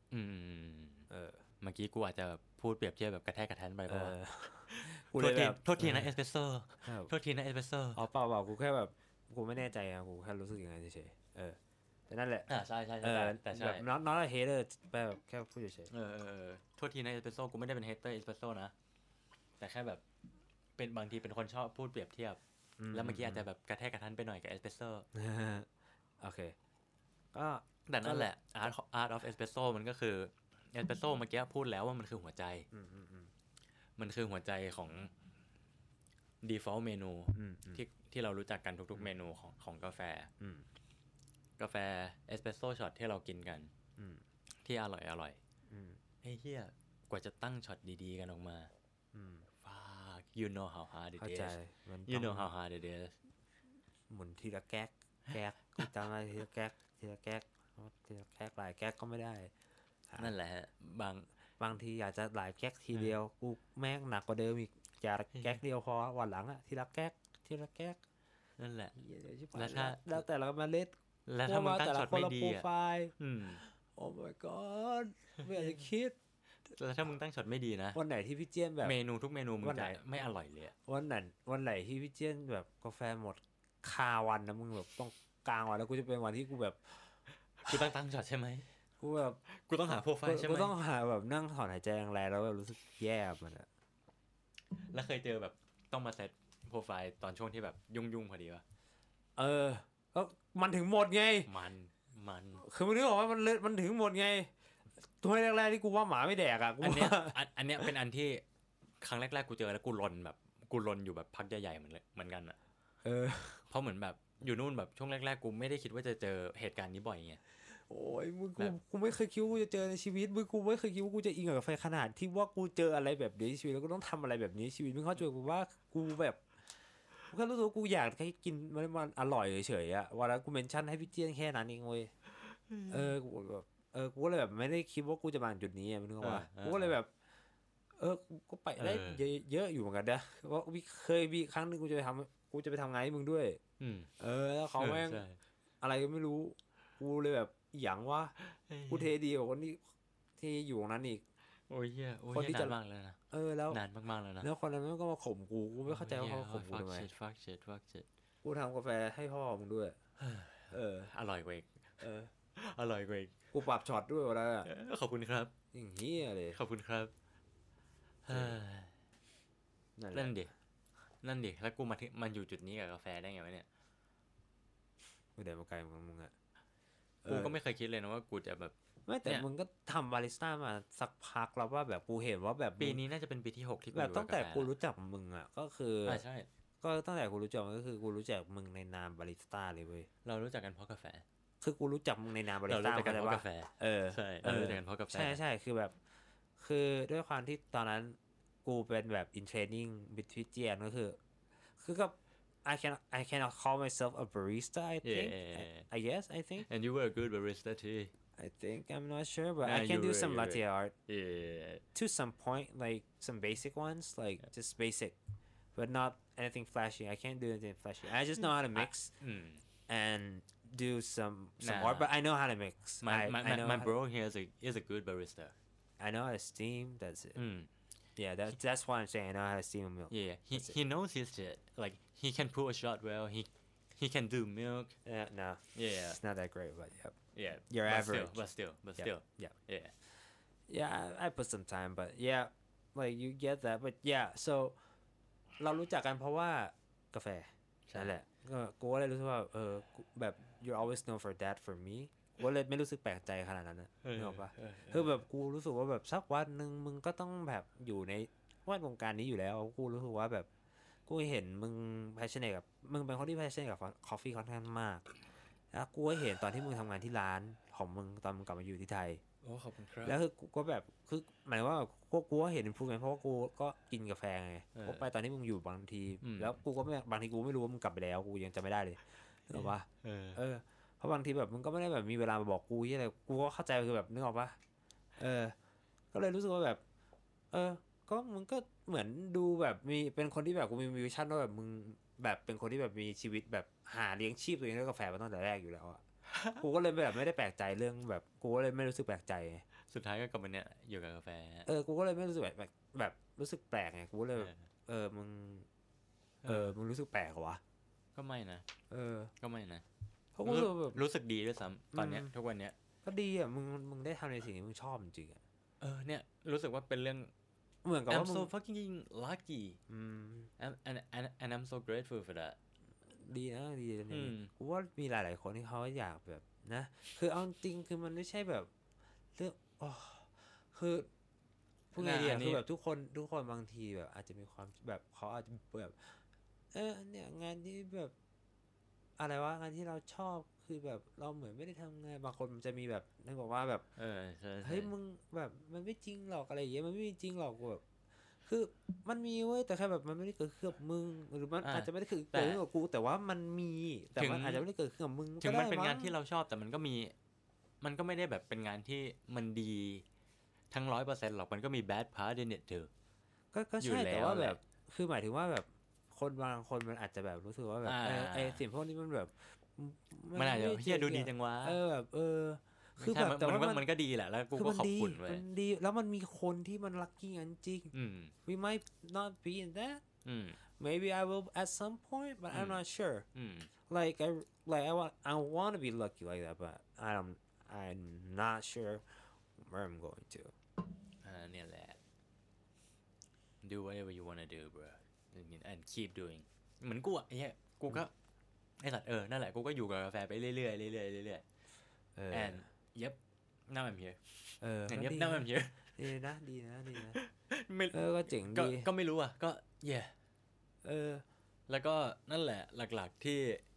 เมื่อกี้กูอาจจะพูดเปรียบเทียบแบบกระแทกกระทันไปเพราะว่ากูเลยแบบโทษทีนะเอสเปรสโซ่โทษทีนะเอสเปรสโซ่เปล่ากูแค่แบบกูไม่แน่ใจอ่ะกูแค่รู้สึกอย่างนั้นเฉยๆแต่นั่นแหละใช่แต่แบบ not a hater แบบแค่พูดเฉยๆโทษทีนะเอสเปรสโซ่กูไม่ได้เป็น hater เอสเปรสโซ่นะแต่แค่แบบเป็นบางทีเป็นคนชอบพูดเปรียบเทียบแล้วเมื่อกี้อาจจะแบบกระแทกกระทันไปหน่อยกับเอสเปรสโซ่โอเคก็แต่นั่นแหละ art of espresso มันก็คือเอสเปรสโซ่เมื่อกี้พูดแล้วว่ามันคือหัวใจมันคือหัวใจของ default เมนูที่เรารู้จักกันทุกๆเมนูของกาแฟเอสเปรสโซ่ช็อตที่เรากินกันที่อร่อยไอ้เหี้ยกว่าจะตั้งช็อตดีๆกันออกมาfuck you know how hard it is you know how hard it is หมุนทีละแก๊กแก๊กกูจำได้ทีละแก๊กทีละแก๊กทีละแก๊กหลายแก๊กก็ไม่ได้นั่นแหละบางทีอยากจะหลายแก๊กทีเดียวกูแม่งหนักกว่าเดิมอีกอย่าแก๊กเดียวพอวันหลังอะทีละแก๊กทีละแก๊กนั่นแหละแล้วแต่เรามาเล่นแล้วถ้ามึงตั้งช็อตไม่ดีอ่ะโอ้ my god ไม่อยากจะคิดแล้วถ้ามึงตั้งช็อตไม่ดีนะวันไหนที่พี่เจี้ยนแบบเมนูทุกเมนูมึงจะไม่อร่อยเลยวันไหนที่พี่เจี้ยนแบบกาแฟหมดคาวันนะมึงแบบต้องกลางวันแล้วกูจะเป็นวันที่กูแบบกูตั้งช็อตใช่ไหมกูแบบกูต้องหาโปรไฟล์ใช่ไหมกูต้องหาแบบนั่งถอนหายใจแรงๆแล้วแบบรู้สึกแย่มันอะแล้วเคยเจอแบบต้องมาเซตโปรไฟล์ตอนช่วงที่แบบยุ่งพอดีวะก็มันถึงหมดไงมันคือมึงนึกออกว่ามันถึงหมดไงตัวแรกๆที่กูว่าหมาไม่แดกอ่ะอันเนี้ยเป็นอันที่ครั้งแรกๆกูเจอแล้วกูลนอยู่แบบพักใหญ่ๆเหมือนกันอ่ะเพราะเหมือนแบบอยู่นู่นแบบช่วงแรกๆกูไม่ได้คิดว่าจะเจอเหตุการณ์นี้บ่อยไงโอ้ยมึงกูไม่เคยคิดว่ากูจะเจอในชีวิตมึงกูไม่เคยคิดว่ากูจะอินกับกาแฟขนาดที่ว่ากูเจออะไรแบบนี้ชีวิตแล้วก็ต้องทำอะไรแบบนี้ชีวิตมึงเข้าใจกูว่ากูแบบกูแค่รู้สึกว่ากูอยากให้กินมันอร่อยเฉยๆอ่ะวันนั้นกูเมนชั่นให้พี่เจี้ยนแค่นั้นเองเว้ยกูแบบกูก็เลยแบบไม่ได้คิดว่ากูจะมาจุดนี้มึงนึกว่ากูก็เลยแบบกูไปได้เยอะอยู่เหมือนกันนะว่าเคยมีครั้งนึงกูจะไปทำงานให้มึงด้วยแล้วเขาแม่งอะไรก็ไม่รู้กูเลยแบบอย่างว่ากูเทดีกว่าคนที่อยู่ตรงนั้นอีกโอ้ยเหี้ยคนที่จะมากเลยนะแล้วนานมากๆแล้วนะแล้วคนนั้นก็มาข่มกูไม่เข้าใจว่าเขาข่มกูทำไม fuck shit กูทำกาแฟให้พ่อมึงด้วยอร่อยกว่าอีกอร่อยกว่าอีกกูปรับช็อตด้วยวะนะขอบคุณครับอย่างเงี้ยเลยขอบคุณครับนั่นดิแล้วกูมันอยู่จุดนี้กับกาแฟได้ไงวะเนี่ยกูเดินมาไกลของมึงอะกูก็ไม่เคยคิดเลยนะว่ากูจะแบบไม่แต่มึงก็ทำบาริสต้ามาสักพักแล้วว่าแบบกูเห็นว่าแบบปีนี้น่าจะเป็นปีที่6ที่กูแบบตั้งแต่กูรู้จักมึงอ่ะก็คือใช่ก็ตั้งแต่กูรู้จักก็คือกูรู้จักมึงในนามบาริสต้าเลยเว้ยเรารู้จักกันเพราะกาแฟคือกูรู้จักมึงในนามบาริสต้าเพราะกาแฟใช่เรารู้จักกันเพราะกาแฟใช่คือแบบคือด้วยความที่ตอนนั้นกูเป็นแบบ in training with พี่เจียนก็คือก็I cannot call myself a barista I think I think and you were a good barista too I think I'm not sure but I can do some latte art to some point like some basic ones like just basic but not anything flashy I can't do anything flashy I just know how to mix and do some art but I know how to mix my bro here is a good barista I know how to steam that's it yeah that's why I'm saying I know how to steam a milk yeah he knows his shit like he can pull a shot well he can do milk no it's not that great but yeah you're average but still yeah I put some time but yeah like you get that but yeah so เรารู้จักกันเพราะว่ากาแฟนั่นแหละกูก็เลยรู้สึกว่าแบบ you're always known for that for me กูเลยไม่รู้สึกแปลกใจขนาดนั้นนะนึกออกปะคือแบบกูรู้สึกว่าแบบสักวันนึงมึงก็ต้องแบบอยู่ในแวดวงการนี้อยู่แล้วกูรู้สึกว่าแบบกูเห็นมึง passionate กับมึงเป็นคนที่ passionate กับ coffee ค่อนข้างมากแล้วกูก็เห็นตอนที่มึงทำงานที่ร้านของมึงตอนมึงกลับมาอยู่ที่ไทยโอ้ขอบคุณครับแล้วคือกูก็แบบคือหมายว่ากูก็เห็น improvement เพราะว่ากูก็กินกาแฟไงกูไปตอนที่มึงอยู่บางทีแล้วกูก็ไม่บางทีกูไม่รู้ว่ามึงกลับไปแล้วกูยังจำไม่ได้เลยนึกออกปะเพราะบางทีแบบมึงก็ไม่ได้แบบมีเวลามาบอกกูอะไรกูก็เข้าใจคือแบบนึกออกปะก็เลยรู้สึกว่าแบบก็มึงก็เหมือนดูแบบมีเป็นคนที่แบบกูมีวิชั่นว่าแบบมึงแบบเป็นคนที่แบบมีชีวิตแบบหาเลี้ยงชีพตัวเองด้วยกาแฟมาตั้งแต่แรกอยู่แล้วอะกูก็เลยแบบไม่ได้แปลกใจเรื่องแบบกูก็เลยไม่รู้สึกแปลกใจสุดท้ายก็กลับมาเนี่ยอยู่กับกาแฟกูก็เลยไม่รู้สึกแบบรู้สึกแปลกไงกูเลยมึงรู้สึกแปลกเหรอวะก็ไม่นะก็ไม่นะเพราะกูแบบรู้สึกดีด้วยซ้ำตอนเนี้ยทุกวันเนี้ยก็ดีอ่ะมึงได้ทำในสิ่งที่มึงชอบจริงๆอ่ะเนี่ยรู้สึกว่าเป็นเรื่องเหมือนกับว่า I'm so fucking lucky and I'm so grateful for that ดีนะดีนะกูว่ามีหลายๆคนที่เขาอยากแบบนะคือเอาจริงคือมันไม่ใช่แบบเรื่องคือพูดไงดีคือแบบทุกคนบางทีแบบอาจจะมีความแบบเขาอาจจะแบบเนี่ยงานที่แบบอะไรวะงานที่เราชอบคือแบบเราเหมือนไม่ได้ทำงานบางคนมันจะมีแบบนึกบอกว่าแบบใช่เฮ้ยมึงแบบมันไม่จริงหรอกอะไรอย่างเงี้ยมันไม่จริงหรอกแบบคคือมันมีเว้ยแต่แค่แบบมันไม่ได้เกิดขึ้นกับมึงหรือมันอาจจะไม่ได้เกิดขึ้นกับกูแต่ว่ามันมีแต่มันอาจจะไม่ได้เกิดขึ้นกับมึงถึงมันเป็นงานที่เราชอบแต่มันก็ไม่ได้แบบเป็นงานที่มันดีทั้ง 100% หรอกมันก็มี bad part in it เถอะก็ใช่แต่ว่าแบบคือหมายถึงว่าแบบคนบางคนมันอาจจะแบบรู้สึกว่าแบบไอ้สิ่งพวกนี้มันแบบมันอาจจะเฮียดูดีจังวะแบบคือแบบแต่ว่ามันก็ดีแหละแล้วกูก็ขอบคุณเว้ยมันดีแล้วมันมีคนที่มันลัคกี้งั้นจริง we might not be in that maybe I will at some point but I'm not sure like I want to be lucky like that but I'm not sure where I'm going to เนี่ยแหละ do whatever you wanna do bro and keep doing เหมือนกูอ่ะไอ้เหี้ยกูก็ไอ้สัตว์นั่นแหละกูก็อยู่กับกาแฟไปเรื่อยๆเรื่อยๆand yep now I'm here and yep now I'm here ดีนะก็เจ๋งดีก็ไม่รู้อ่ะก็ yeah แล้วก็นั่นแหละหลักๆ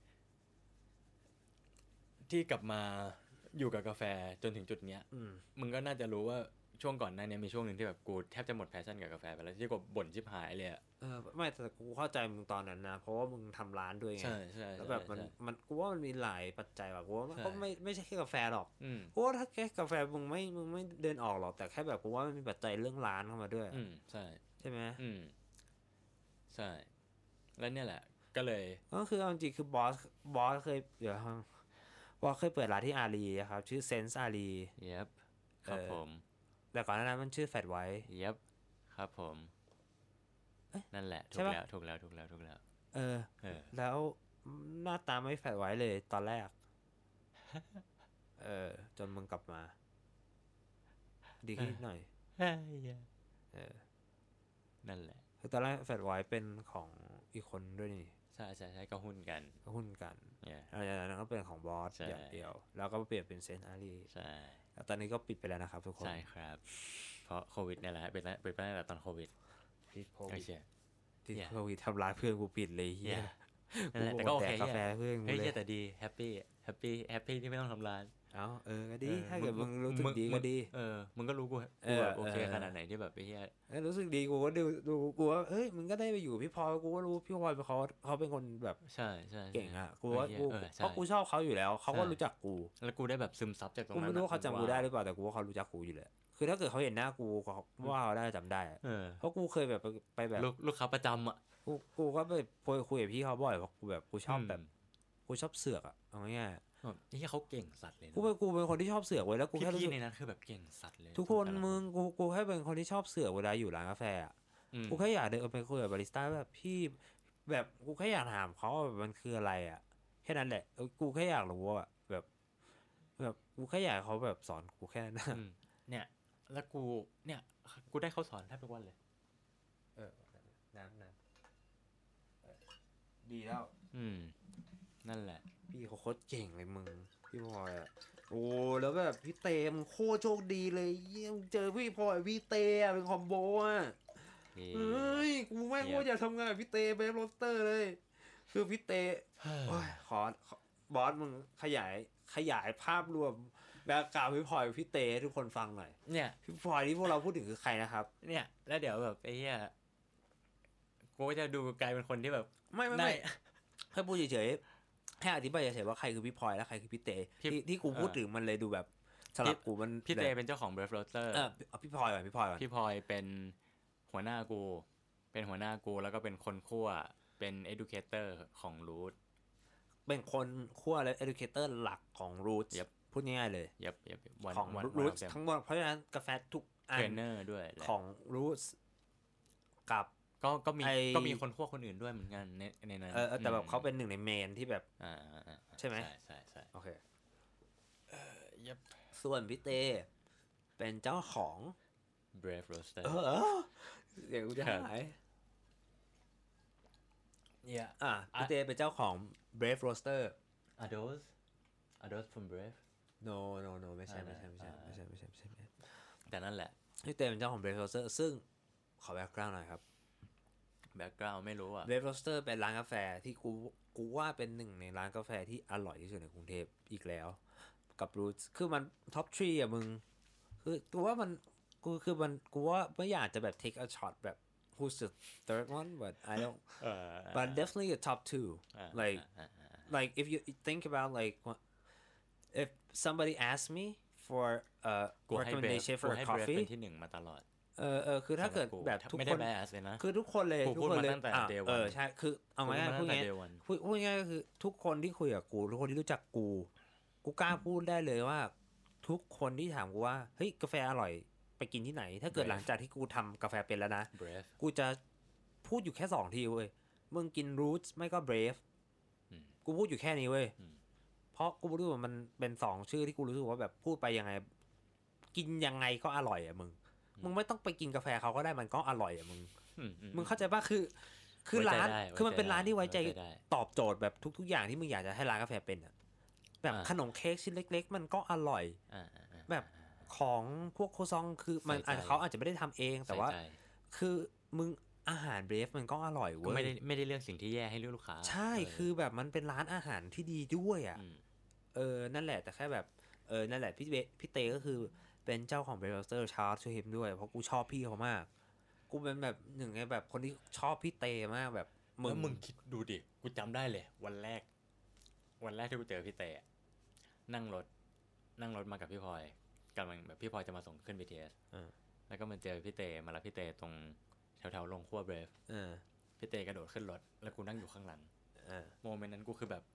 ที่กลับมาอยู่กับกาแฟจนถึงจุดเนี้ยมึงก็น่าจะรู้ว่าช่วงก่อนหน้านี้มีช่วงหนึ่งที่แบบกูแทบจะหมดแพชชั่นกับกาแฟไปแล้วที่กูบ่นชิบหายเลยอ่ะไม่แต่กูเข้าใจมึงตอนนั้นนะเพราะว่ามึงทำร้านด้วยไงใช่แล้วแบบมันกูว่ามันมีหลายปัจจัยว่ะกูว่าก็ไม่ใช่แค่กาแฟหรอกกูว่าถ้าแค่กาแฟมึงไม่เดินออกหรอกแต่แค่แบบกูว่ามันมีปัจจัยเรื่องร้านเข้ามาด้วยใช่ไหมใช่แล้วเนี่ยแหละก็เลยก็คือเอาจริงคือบอสเคยบอสเคยเปิดร้านที่อารีครับชื่อเซนส์อารีครับผมแต่ก่อนหน้านั้นมันชื่อแฟตไวท์ครับผมนั่นแหละถูกแล้วแล้วหน้าตาไม่แฟตไวท์เลยตอนแรกจนมึงกลับมาดีขึ้นหน่อยนั่นแหละคือตอนแรกแฟตไวท์เป็นของอีกคนด้วยนี่ใช่ก็หุ้นกันแล้วก็เป็นของบอสอย่างเดียวแล้วก็เปลี่ยนเป็นเซนอารีใช่แล้วตอนนี้ก็ปิดไปแล้วนะครับทุกคนใช่ครับเพราะโควิดนี่แหละปิดไปตั้งแต่ตอนโควิดที่โควิดทำร้ายเพื่อนกูปิดเลยเฮียแต่ก็โอเคกาแฟเพื่อนกูเลยแต่ดีแฮปปี้ที่ไม่ต้องทำร้านก็ดีถ้าเกิดมึงรู้สึกดีก็ดีมึงก็รู้กูโอเคขนาดไหนที่แบบไอ้เหี้ยรู้สึกดีกูก็ดูกูว่าเฮ้ยมึงก็ได้ไปอยู่พี่พลอยกูก็รู้พี่พลอยเขาเป็นคนแบบใช่เก่งอ่ะกูว่ากูเพราะกูชอบเขาอยู่แล้วเขาก็รู้จักกูแล้วกูได้แบบซึมซับจากตรงนั้นกูไม่รู้เขาจำกูได้หรือเปล่าแต่กูว่าเขารู้จักกูอยู่เลยคือถ้าเกิดเขาเห็นหน้ากูว่าเขาได้จำได้เพราะกูเคยแบบไปแบบลูกค้าประจำอ่ะกูก็ไปคุยกับพี่เขาบ่อยเพราะกูแบบกูชอบแบบกูชอบเสือกอ่ะเอาง่ายๆนี่เขาเก่งสัตว์เลยกูเป็นคนที่ชอบเสือกไว้แล้วกูแค่รู้สึกในนั้นคือแบบเก่งสัตว์เลยทุกคนมึงกูแค่เป็นคนที่ชอบเสือกเวลาอยู่ร้านกาแฟอ่ะกูแค่อยากเดินไปคุยกับบาริสต้าแบบพี่แบบกูแค่อยากถามเขาว่ามันคืออะไรอ่ะแค่นั้นแหละกูแค่อยากรู้ว่าแบบกูแค่อยากเขาแบบสอนกูแค่นั้นเนี่ยแล้วกูได้เขาสอนแทบทุกวันเลยน้ำดีแล้วนั่นแหละพี่เขาโคตรเก่งเลยมึงพี่พลอยอ่ะโอ้แล้วแบบพี่เตมโคตรโชคดีเลยเยี่ยมเจอพี่พลอยพี่เตอ่ะเป็นคอมโบอ่ะเฮ้ยกูแม่งโคตรอยากทำงานกับพี่เตเบฟโรสเตอร์เลยคือพี่เตขอบอสมึงขยายภาพรวมแบ็คกราวด์พี่พลอยพี่เตให้ทุกคนฟังหน่อยเนี่ยพี่พลอยที่พวกเราพูดถึงคือใครนะครับเนี่ยแล้วเดี๋ยวแบบไอ้เหี้ยกูจะดูกลายเป็นคนที่แบบไม่แค่พูดเฉยๆให้อธิบายเฉยๆว่าใครคือพี่พลอยและใครคือพี่เตที่กูพูดถึงมันเลยดูแบบสำหรับกูมันพี่เตเป็นเจ้าของ Brave Roaster พี่พลอยก่อนพี่พลอยเป็นหัวหน้ากูแล้วก็เป็นคนคั่วเป็น educator ของ Root เป็นคนคั่วและ educator หลักของ Root พูดง่ายๆเลยของ Root ทั้งหมดเพราะฉะนั้นกาแฟทุกอัน trainer ด้วยของ Root กับก็มีคนคั่วคนอื่นด้วยเหมือนกันในนั้นแต่แบบเขาเป็นหนึ่งในเมนที่แบบใช่ไหมใช่โอเคส่วนพี่เตเป็นเจ้าของ Brave Roaster เดี๋ยวกูจะหายพี่เตเป็นเจ้าของ Brave Roaster Are those from Brave no ไม่ใช่แต่นั่นแหละพี่เตเป็นเจ้าของ Brave Roaster ซึ่งขอแบ็คกราวด์หน่อยครับแบ็คกราวด์ไม่รู้อ่ะ Brave Roaster เป็นร้านกาแฟที่กูว่าเป็นหนึ่งในร้านกาแฟที่อร่อยที่สุดในกรุงเทพอีกแล้วกับ Roots คือมันท็อป3อ่ะมึงคือกูว่าไม่อยากจะแบบ take a shot แบบ who's the third one, but I don't. But definitely a top two. Like if you think about like if somebody asks me for a กู recommendation for a ให้ coffee เป็นที่หนึ่งมาตลอดคือถ้าเกิดแบบทุกไม่คได้นแบสเลยนะคือทุกคนเลยกูทุกพูดคนมาเลยตั้งแต่ day เออ one ใช่คือเอาง่ายๆพูดง่าย พูดง่ายๆก็คือทุกคนที่คุยกับกูทุกคนที่รู้จักกูกล้าพูดได้เลยว่า ทุกคนที่ถามกูว่าเฮ้ยกาแฟอร่อยไปกินที่ไหน ถ้าเกิด Brave หลังจากที่กูทำกาแฟเป็นแล้วนะ Brave กูจะพูดอยู่แค่2 ทีเว้ยมึงกิน Roots ไม่ก็ Brave กูพูดอยู่แค่นี้เว้ยเพราะกูรู้ว่ามันเป็น2ชื่อที่กูรู้สึกว่าแบบพูดไปยังไงกินยังไงก็อร่อยอ่ะมึงไม่ต้องไปกินกาแฟเขาก็ได้มันก็อร่อยอ่ะมึงเข้าใจป่ะคือร้านคือมันเป็นร้านที่ไว้ใจตอบโจทย์แบบทุกอย่างที่มึงอยากจะให้ร้านกาแฟเป็นอ่ะแบบขนมเค้กชิ้นเล็กๆมันก็อร่อยแบบของพวกโคซองคือมันเขาอาจจะไม่ได้ทำเองแต่ว่าคือมึงอาหารเบรฟมันก็อร่อยเว้ยไม่ได้เลือกสิ่งที่แย่ให้ลูกค้าใช่คือแบบมันเป็นร้านอาหารที่ดีด้วยอ่ะนั่นแหละแต่แค่แบบนั่นแหละพี่เตก็คือเป็นเจ้าของ Brewster Charles ช่วยฮิมด้วยเพราะกูชอบพี่เขามากกูเป็นแบบหนึ่งในแบบคนที่ชอบพี่เตมากแบบมึงคิดดูดิกูจำได้เลยวันแรกที่กูเจอพี่เตนั่งรถมากับพี่พลอยกำลังแบบพี่พลอยจะมาส่งขึ้น BTS แล้วก็มาเจอพี่เตมารับพี่เตตรงแถวๆลงขั้วเบรฟพี่เตกระโดดขึ้นรถแล้วกูนั่งอยู่ข้างหลังโมเมนต์นั้นกูคือแบบ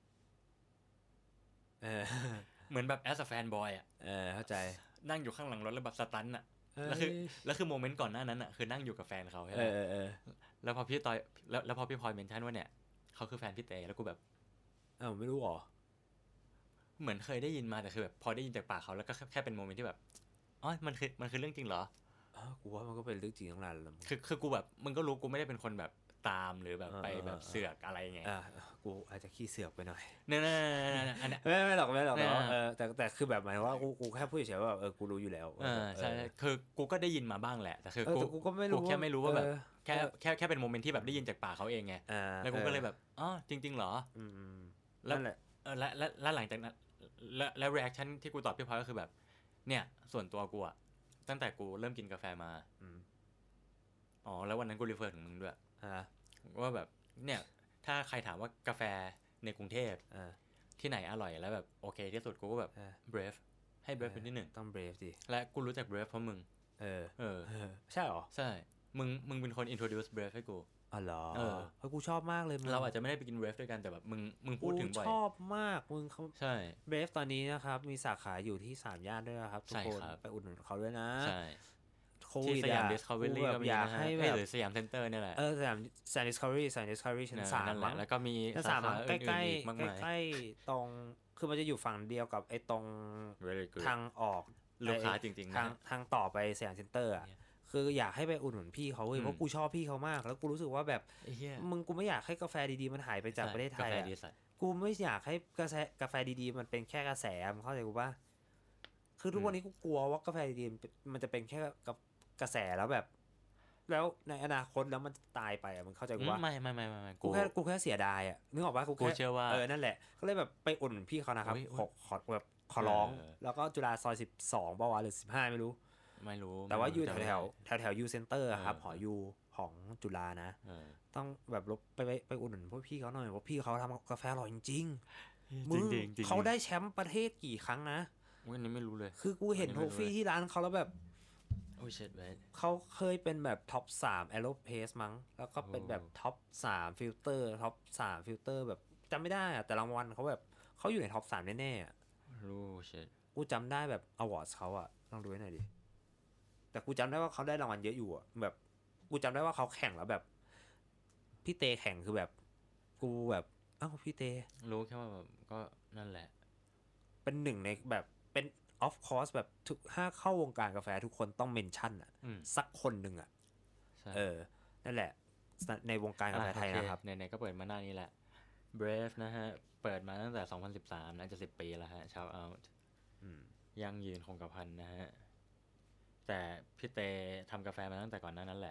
เหมือนแบบ as a fan boy อ่ะเข้าใจนั่งอยู่ข้างหลังรถแล้วแบบสตันอ่ะแล้วคือโมเมนต์ก่อนหน้านั้นอ่ะคือนั่งอยู่กับแฟนเขาใช่ไหมแล้วพอพี่ตอยแล้วพอพี่พลอยเมนชั่นว่าเนี่ยเขาคือแฟนพี่เตแล้วกูแบบไม่รู้หรอเหมือนเคยได้ยินมาแต่คือแบบพอได้ยินจากปากเขาแล้วก็แค่เป็นโมเมนต์ที่แบบอ๋อมันคือเรื่องจริงเหรอกูว่ามันก็เป็นเรื่องจริงทั้งนั้นแหละคือกูแบบมึงก็รู้กูไม่ได้เป็นคนแบบตามหรือแบบไปแบบเสือกอะไรไงกูอาจจะขี้เสือกไปหน่อยเนี่ยอันนี้ไม่หรอกแต่คือแบบหมายว่ากูแค่พูดเฉยๆว่ากูรู้อยู่แล้วใช่คือกูก็ได้ยินมาบ้างแหละแต่คือกูก็ไม่รู้กูแค่ไม่รู้ว่าแบบแค่เป็นโมเมนต์ที่แบบได้ยินจากปากเขาเองไงแล้วกูก็เลยแบบอ๋อจริงๆเหรอนั่นแหละแล้วหลังจากนั้นแล้ว reaction ที่กูตอบพี่พลอยก็คือแบบเนี่ยส่วนตัวกูอะตั้งแต่กูเริ่มกินกาแฟมาอ๋อแล้ววันนั้นกูรีเฟอร์ถึงมึงด้วยว่าแบบเนี่ยถ้าใครถามว่ากาแฟในกรุงเทพที่ไหนอร่อยแล้วแบบโอเคที่สุดกูก็แบบ Brave ให้ Brave เป็นที่1 ต้อง Brave ดิและกูรู้จัก Brave เพราะมึงใช่หรอใช่มึงเป็นคน introduce Brave ให้กูเหรอเพราะกูชอบมากเลยเราอาจจะไม่ได้ไปกิน Brave ด้วยกันแต่แบบมึงพูดถึงบ่อยชอบมากมึงเขาใช่ Brave ตอนนี้นะครับมีสาขาอยู่ที่3 ย่านด้วยนะครับทุกคนไปอุดหนุนเขาด้วยนะใช่ที่สยาม Discovery ก็มีนะฮะหรือสยามเซ็นเตอร์นี่แหละสยาม Discovery ชั้น3 มั้งแล้วก็มีสาขาใกล้ๆตรงคือมันจะอยู่ฝั่งเดียวกับไอ้ตรงทางออกลูกค้าจริงๆทางต่อไปสยามเซ็นเตอร์อ่ะคืออยากให้ไปอุดหนุนพี่เขาเว้ยเพราะกูชอบพี่เขามากแล้วกูรู้สึกว่าแบบกูไม่อยากให้กาแฟดีๆมันหายไปจากประเทศไทยกูไม่อยากให้กาแฟดีๆมันเป็นแค่กระแสมึงเข้าใจกูป่ะคือทุกวันนี้กูกลัวว่ากาแฟดีๆมันจะเป็นแค่กระแสแล้วแบบแล้วในอนาคตแล้วมันตายไปอ่ะมึงเข้าใจกูว่าไม่กูแค่เสียดายอ่ะนึกออกป่ะกูเชื่อว่านั่นแหละก็เลยแบบไปอุดหนุนพี่เขานะครับขอแบบขอร้องแล้วก็จุฬาซอย12ป่าววะหรือ15ไม่รู้แต่ว่าอยู่แถวยูเซ็นเตอร์ครับหอยูของจุฬานะต้องแบบไปอุดหนุนพวกพี่เขาหน่อยเพราะพี่เขาทำกาแฟอร่อยจริงๆมึงเขาได้แชมป์ประเทศกี่ครั้งนะวันนี้ไม่รู้เลยคือกูเห็นโทฟี่ที่ร้านเขาแล้วแบบโอ้ยเช็ดเว้ยเขาเคยเป็นแบบท็อป3 Aeropress มั้งแล้วก็เป็นแบบท็อป3ฟิลเตอร์ท็อป3ฟิลเตอร์แบบจำไม่ได้อะแต่รางวัลเขาแบบเขาอยู่ในท็อป3แน่ๆรู้เช็ดกูจำได้แบบอวอร์ดเขาอะลองดูให้หน่อยดิแต่กูจำได้ว่าเขาได้รางวัลเยอะอยู่อะแบบกูจำได้ว่าเขาแข่งแล้วแบบพี่เตแข่งคือแบบกูแบบพี่เตรู้แค่ว่าแบบก็นั่นแหละเป็นหนึ่งในแบบเป็นof course แบบถ้าเข้าวงการกาแฟทุกคนต้องเมนชั่นอ่ะสักคนหนึ่งอ่ะนั่นแหละในวงการกาแฟไทยนะครับไหนๆก็เปิดมาหน้านี้แหละ Brave นะฮะเปิดมาตั้งแต่2013น่าจะ10 ปีแล้วฮะ shout out ยังยืนคงกระพันนะฮะแต่พี่เตทำกาแฟมาตั้งแต่ก่อนหน้านั้นแหละ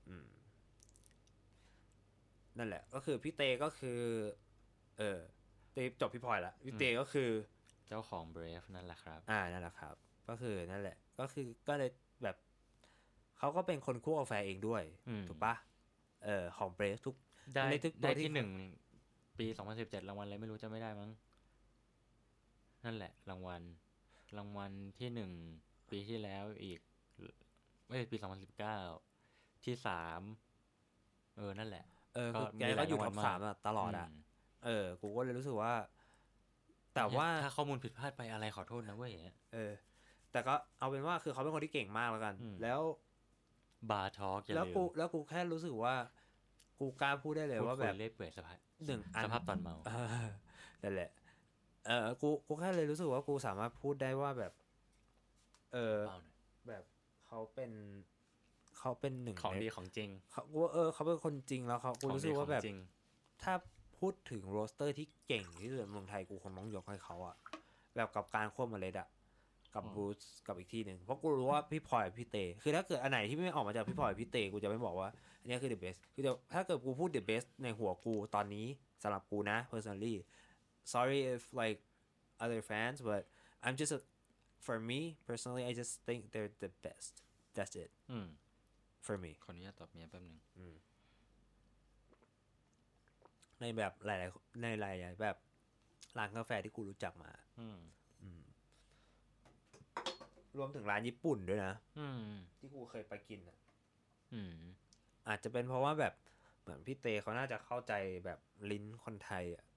นั่นแหละก็คือพี่เตก็คือเตจบพี่พลอยละพี่เตก็คือเจ้าของ Brave นั่นแหละครับนั่นแหละครับก็คือนั่นแหละก็คือก็เลยแบบเขาก็เป็นคนคั่วกาแฟเองด้วยถูกปะของเบรฟทุกได้ที่หนึ่งปี2017รางวัลอะไรไม่รู้จะไม่ได้มั้งนั่นแหละรางวัลที่หนึ่งปีที่แล้วอีกไม่ปี2019ที่3นั่นแหละแกก็อยู่ท็อป3ตลอดกูก็เลยรู้สึกว่าแต่ว่าถ้าข้อมูลผิดพลาดไปอะไรขอโทษนะเว้ยแต่ก็เอาเป็นว่าคือเขาเป็นคนที่เก่งมากแล้วกันแล้วบาร์ทอล์กแล้วกูแค่รู้สึกว่ากูกล้าพูดได้เลยว่าแบบเล่เปื่อยสภาพตอนเมานั่นแหละกูแค่เลยรู้สึกว่ากูสามารถพูดได้ว่าแบบแบบเขาเป็นหนึ่งของดีของจริงเขาเป็นคนจริงแล้วกูรู้สึกว่าแบบถ้าพูดถึงโรสเตอร์ที่เก่งที่สุดในเมืองไทยกูคงต้องยกให้เขาอะแบบกับการควบเมล็ดอะกับบรูซกับอีกที่หนึ่งเพราะกูรู้ว่าพี่พลอยพี่เตคือถ้าเกิดอันไหนที่ไม่ออกมาจากพี่พลอยพี่เตกูจะไม่บอกว่าอันนี้คือ the best คือถ้าเกิดกูพูด the best ในหัวกูตอนนี้สำหรับกูนะ personally sorry if like other fans but I'm just for me personally I just think they're the best that's it for me ขออนุญาตตอบเมียแป๊บนึงในแบบหลายๆแบบร้านกาแฟที่กูรู้จักมารวมถึงร้านญี่ปุ่นด้วยนะที่กูเคยไปกินอาจจะเป็นเพราะว่าแบบเหมือนพี่เตเขาน่าจะเข้าใจแบบลิ้นคนไทยอ่ะ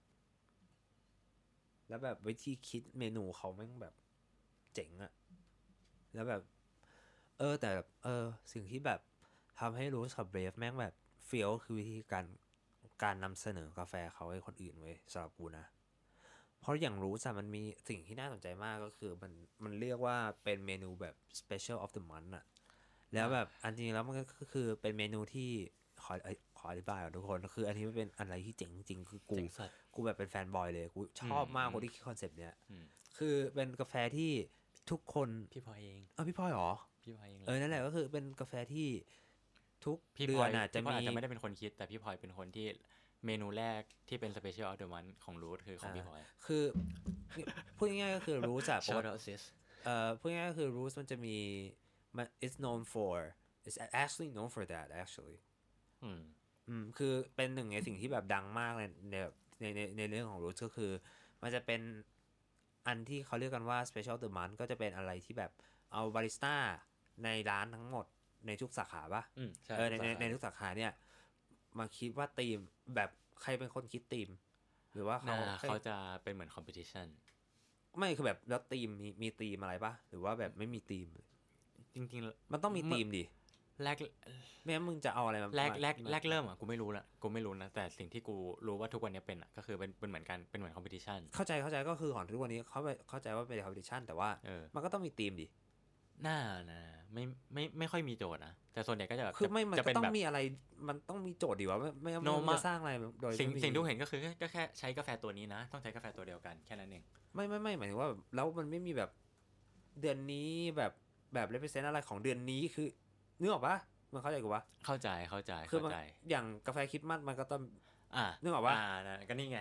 แล้วแบบวิธีคิดเมนูเขาแม่งแบบเจ๋งอ่ะแล้วแบบแต่แบบสิ่งที่แบบทำให้รู้กับเบรฟแม่งแบบเฟี้ยวคือวิธีการนำเสนอกาแฟเขาให้คนอื่นเว้ยสำหรับกูนะเพราะอย่างรู้มันมีสิ่งที่น่าสนใจมากก็คือมันเรียกว่าเป็นเมนูแบบ special of the month อะแล้วแบบอันจริงแล้วมันก็คือเป็นเมนูที่ขออธิบายก่อนทุกคนคืออันนี้มันเป็นอะไรที่เจ๋งจริงคือกูแบบเป็นแฟนบอยเลยกูชอบมากคนที่คิดคอนเซปต์เนี้ยคือเป็นกาแฟที่ทุกคนพี่พลอยเองพี่พลอยหรอพี่พลอยเองนั่นแหละก็คือเป็นกาแฟที่ทุกเดือนน่ะจะไม่ได้เป็นคนคิดแต่พี่พลอยเป็นคนที่เมนูแรกที่เป็น Special of the Month ของรูทคือของพี่พลอยคือพูดง่ายๆก็คือรูทอะพูดง่ายๆก็คือรูทมันจะมีit's known for it's actually known for that actually คือเป็นหนึ่งในสิ่งที่แบบดังมากเลยในเรื่องของรูทก็คือมันจะเป็นอันที่เขาเรียกกันว่า Special of the Month ก็จะเป็นอะไรที่แบบเอาบาริสต้าในร้านทั้งหมดในทุกสาขาป่ะในทุกสาขาเนี่ยมาคิดว่าธีมแบบใครเป็นคนคิดธีมหรือว่าเขาจะเป็นเหมือนคอมเพติชันไม่คือแบบแล้วธีมมีธีมอะไรป่ะหรือว่าแบบไม่มีธีมจริงๆมันต้องมีธีมดิแรกไม่งั้นมึงจะเอาอะไรมาแรกเริ่มอ่ะกูไม่รู้นะแต่สิ่งที่กูรู้ว่าทุกวันนี้เป็นอ่ะก็คือเป็นเหมือนกันเป็นเหมือนคอมเพติชันเข้าใจก็คือของทุกวันนี้เข้าใจว่าเป็นคอมเพติชันแต่ว่ามันก็ต้องมีธีมดิน่านะไม่ค่อยมีโจทย์นะแต่ส่วนใหญ่ก็จะแบบคือไม่มันก็ต้องมีอะไรมันต้องมีโจทย์ดิวะไม่มาสร้างอะไรโดยสิ่งที่เห็นก็คือก็แค่ใช้กาแฟตัวนี้นะต้องใช้กาแฟตัวเดียวกันแค่นั้นเองไม่หมายถึงว่าแล้วมันไม่มีแบบเดือนนี้แบบเรปเรสเซนต์อะไรของเดือนนี้คือนึกออกปะมันเข้าใจกูปะเข้าใจคืออย่างกาแฟคริสต์มาสมันก็ต้องนึกออกปะก็นี่ไง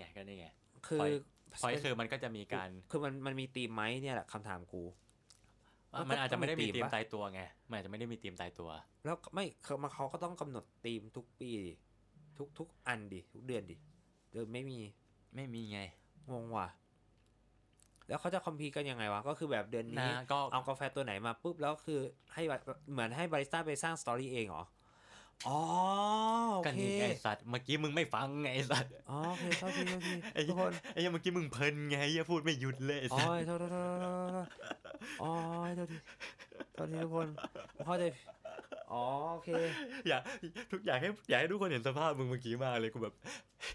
คือมันก็จะมีการคือมันมีธีมไหมเนี่ยแหละคำถามกูมันอาจจะไม่ได้มีธีมตายตัวไงมันอาจจะไม่ได้มีธีมตายตัวแล้วไม่เขาก็ต้องกำหนดธีมทุกปีทุกอันดิทุกเดือนดิเดือนไม่มีไงงงว่ะแล้วเขาจะคอมพีกันยังไงวะก็คือแบบเดือนนี้เอากาแฟตัวไหนมาปุ๊บแล้วคือให้เหมือนให้บาริสต้าไปสร้างสตอรี่เองเหรออ๋อโอเคไอ้สัตว์เมื่อกี้มึงไม่ฟังไงไอ้สัตว์อ๋อโอเคโทษทีทุกคนไอ้เมื่อกี้มึงเพลินไงอย่าพูดไม่หยุดเลยอ๋อโทษอ๋อโทษทีทุกคนเข้าใจอ๋อโอเคอยากให้ทุกคนเห็นสภาพมึงเมื่อกี้มากเลยกูแบบ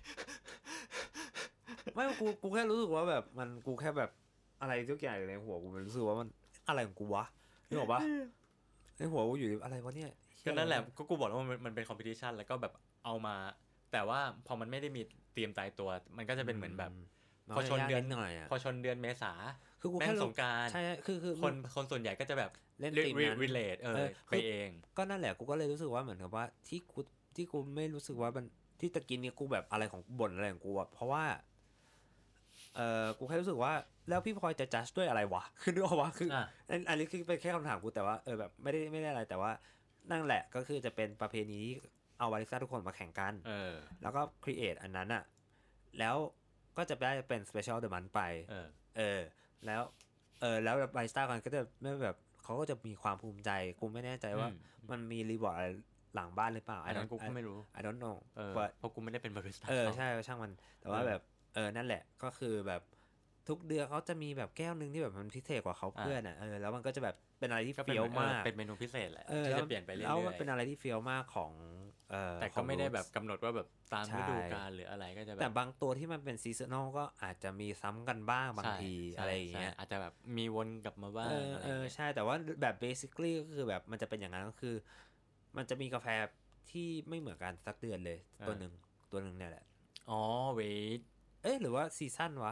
ไม่กูแค่รู้สึกว่าแบบมันกูแค่แบบอะไรทุกอย่างในหัวกูมันรู้สึกว่ามันอะไรของกูวะนึกออกปะในหัวกูอยู่อะไรวะเนี่ยก็นั่นแหละก็กูบอกแล้วมันเป็นคอมเพติชันแล้วก็แบบเอามาแต่ว่าพอมันไม่ได้มีเตรียมตายตัวมันก็จะเป็นเหมือนแบบพอชนเดือนเมษาคือกูแม่งสงกรานต์ใช่คือคนส่วนใหญ่ก็จะแบบเล่นธีมนั้น relate ไปเองก็นั่นแหละกูก็เลยรู้สึกว่าเหมือนกับว่าที่กูไม่รู้สึกว่ามันที่ตะกินเนี่ยกูแบบอะไรของบ่นอะไรของกูอ่ะเพราะว่ากูแค่รู้สึกว่าแล้วพี่พลอยจะจัดด้วยอะไรวะคือนึกออกวะคืออันนี้คือเป็นแค่คำถามกูแต่ว่าแบบไม่ได้อะไรแต่ว่านั่นแหละก็คือจะเป็นประเพณีที่เอาบาริสต้าทุกคนมาแข่งกันแล้วก็ครีเอทอันนั้นอ่ะแล้วก็จะได้เป็นสเปเชียลเดอะมันไปแล้วแล้วบาริสต้ากันก็จะไม่แบบเขาก็จะมีความภูมิใจกูไม่แน่ใจว่ามันมีรีวอร์ดอะไรหลังบ้านหรือเปล่าอันนั้นกูก็ไม่รู้ I don't know เพราะกูไม่ได้เป็นบาริสต้าใช่ช่างมันแต่ว่าแบบนั่นแหละก็คือแบบทุกเดือนเขาจะมีแบบแก้วนึงที่แบบมันพิเศษกว่าเขาเพื่อนแล้วมันก็จะแบบเป็นอะไรที่เฟี้ยวมากเป็นเมนูพิเศษแหละที่จะเปลี่ยนไปเรื่อยๆแล้วมันเป็นอะไรที่เฟี้ยวมากของแต่ก็ไม่ได้แบบกำหนดว่าแบบตามฤดูกาลหรืออะไรก็จะแบบแต่บางตัวที่มันเป็นซีซันอลก็อาจจะมีซ้ำกันบ้างบางทีอะไรอย่างเงี้ยอาจจะแบบมีวนกลับมาบ้างใช่แต่ว่าแบบ basically ก็คือแบบมันจะเป็นอย่างนั้นก็คือมันจะมีกาแฟที่ไม่เหมือนกันสักเดือนเลยตัวหนึ่งเนี่ยแหละอ๋อwait หรือว่าซีซั่นวะ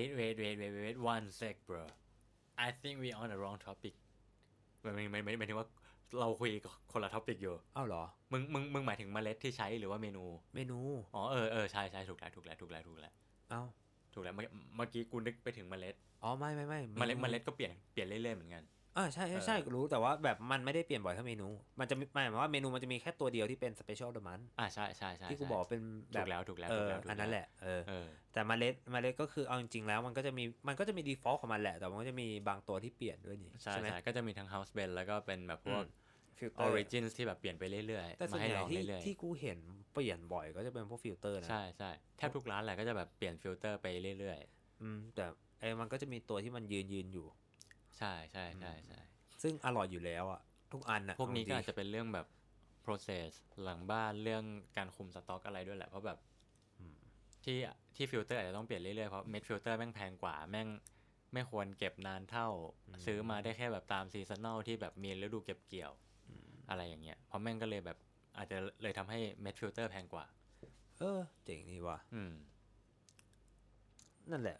wait one sec bro I think we on the wrong topic ไม่ถึงว่าเราคุยคนละท็อปิกอยู่อ้าวเหรอมึงหมายถึงเมล็ดที่ใช้หรือว่าเมนูอ๋อใช่ถูกแล้วอ้าวถูกแล้วเมื่อกี้กูนึกไปถึงเมล็ดอ๋อไม่เมล็ดก็เปลี่ยนเรื่อยๆเหมือนกันใช่รู้แต่ว่าแบบมันไม่ได้เปลี่ยนบ่อยเท่าเมนูมันจะหมายว่าเมนูมันจะมีแค่ตัวเดียวที่เป็นสเปเชียลเดอะมันใช่ที่กูบอกเป็นแบบถูกแล้วอันนั้นแหละแต่เมล็ดก็คือเอาจริงๆแล้วมันก็จะมีดีฟอลต์ของมันแหละแต่มันก็จะมีบางตัวที่เปลี่ยนด้วยนี่ใช่ไหมก็จะมีทั้ง House Blend แล้วก็เป็นแบบพวกOrigins ที่แบบเปลี่ยนไปเรื่อยๆแต่ส่วนใหญ่ที่กูเห็นเปลี่ยนบ่อยก็จะเป็นพวกฟิลเตอร์นะใช่แทบทุกร้านแหละก็จะแบบเปลี่ยนฟิลเตอร์ไปเรื่อยๆแต่มันก็จะมีตัวที่มันยืนอยู่ใช่ซึ่งอร่อยอยู่แล้วอ่ะทุกอันอ่ะพวกนี้ก็อาจจะเป็นเรื่องแบบ process หลังบ้านเรื่องการคุมสต็อกอะไรด้วยแหละเพราะแบบที่ฟิลเตอร์อาจจะต้องเปลี่ยนเรื่อยๆเพราะเม็ดฟิลเตอร์แม่งแพงกว่าแม่งไม่ควรเก็บนานเท่าซื้อมาได้แค่แบบตามซีซันนอลที่แบบมีฤดูเก็บเกี่ยวอะไรอย่างเงี้ยเพราะแม่งก็เลยแบบอาจจะเลยทำให้เม็ดฟิลเตอร์แพงกว่าเจ๋งนี่ว่ะนั่นแหละ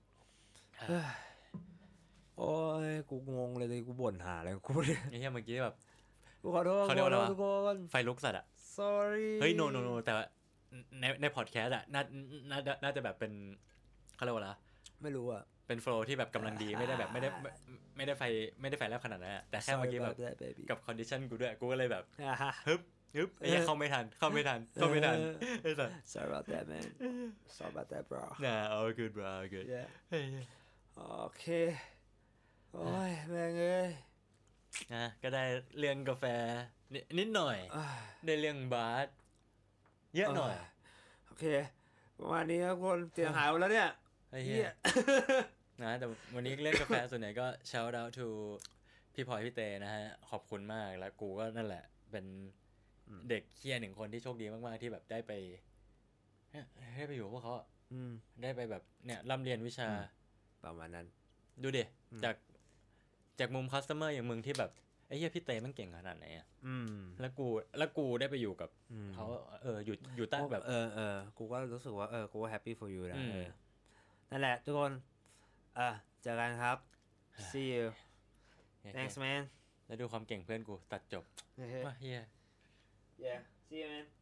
โอ้ยกูงงเลยกูบ่นหาอะไรกูเนี่ยไอ้เหี้ยเมื่อกี้แบบกูขอโทษทุกคนไฟลุกสัตว์อะ sorry เฮ้ย no แต่ในพอดแคสต์อะน่าจะแบบเป็นเขาเรียกว่าอะไรไม่รู้อะเป็นโฟลว์ที่แบบกำลังดีไม่ได้แบบไม่ได้ไฟแลบขนาดนั้นอะแต่แค่เมื่อกี้แบบกับคอนดิชันกูด้วยกูก็เลยแบบฮึบไอ้เหี้ยเข้าไม่ทันไอ้สัส sorry about that man sorry about that bro all good bro all good โอเคโอ้ยแม่งเอ้ยก็ได้เรื่องกาแฟนิดหน่อยได้เรื่องบาสเยอะหน่อยโอเคประมาณนี้ครับคนเสียงหายหมดแล้วเนี่ยเหี้ยแต่วันนี้เล่นกาแฟส่วนใหญ่ก็ shout out to พี่พลอยพี่เตนะฮะขอบคุณมากแล้วกูก็นั่นแหละเป็นเด็กเคียหนึ่งคนที่โชคดีมากๆที่แบบได้ไปอยู่กับพวกเขาได้ไปแบบเนี่ยร่ำเรียนวิชาประมาณนั้นดูดิจากมุมคัสเตอร์อย่างมึงที่แบบไอ้เหี้ยพี่เตมันเก่งขนาดไหนอ่ะแล้วกูได้ไปอยู่กับเขาอยู่ใต้แบบกูก็รู้สึกว่ากูก็แฮปปี้ for you นะนั่นแหละทุกคนเจอกันครับ see you thanks man แล้วดูความเก่งเพื่อนกูตัดจบว่าเฮีย yeah see you man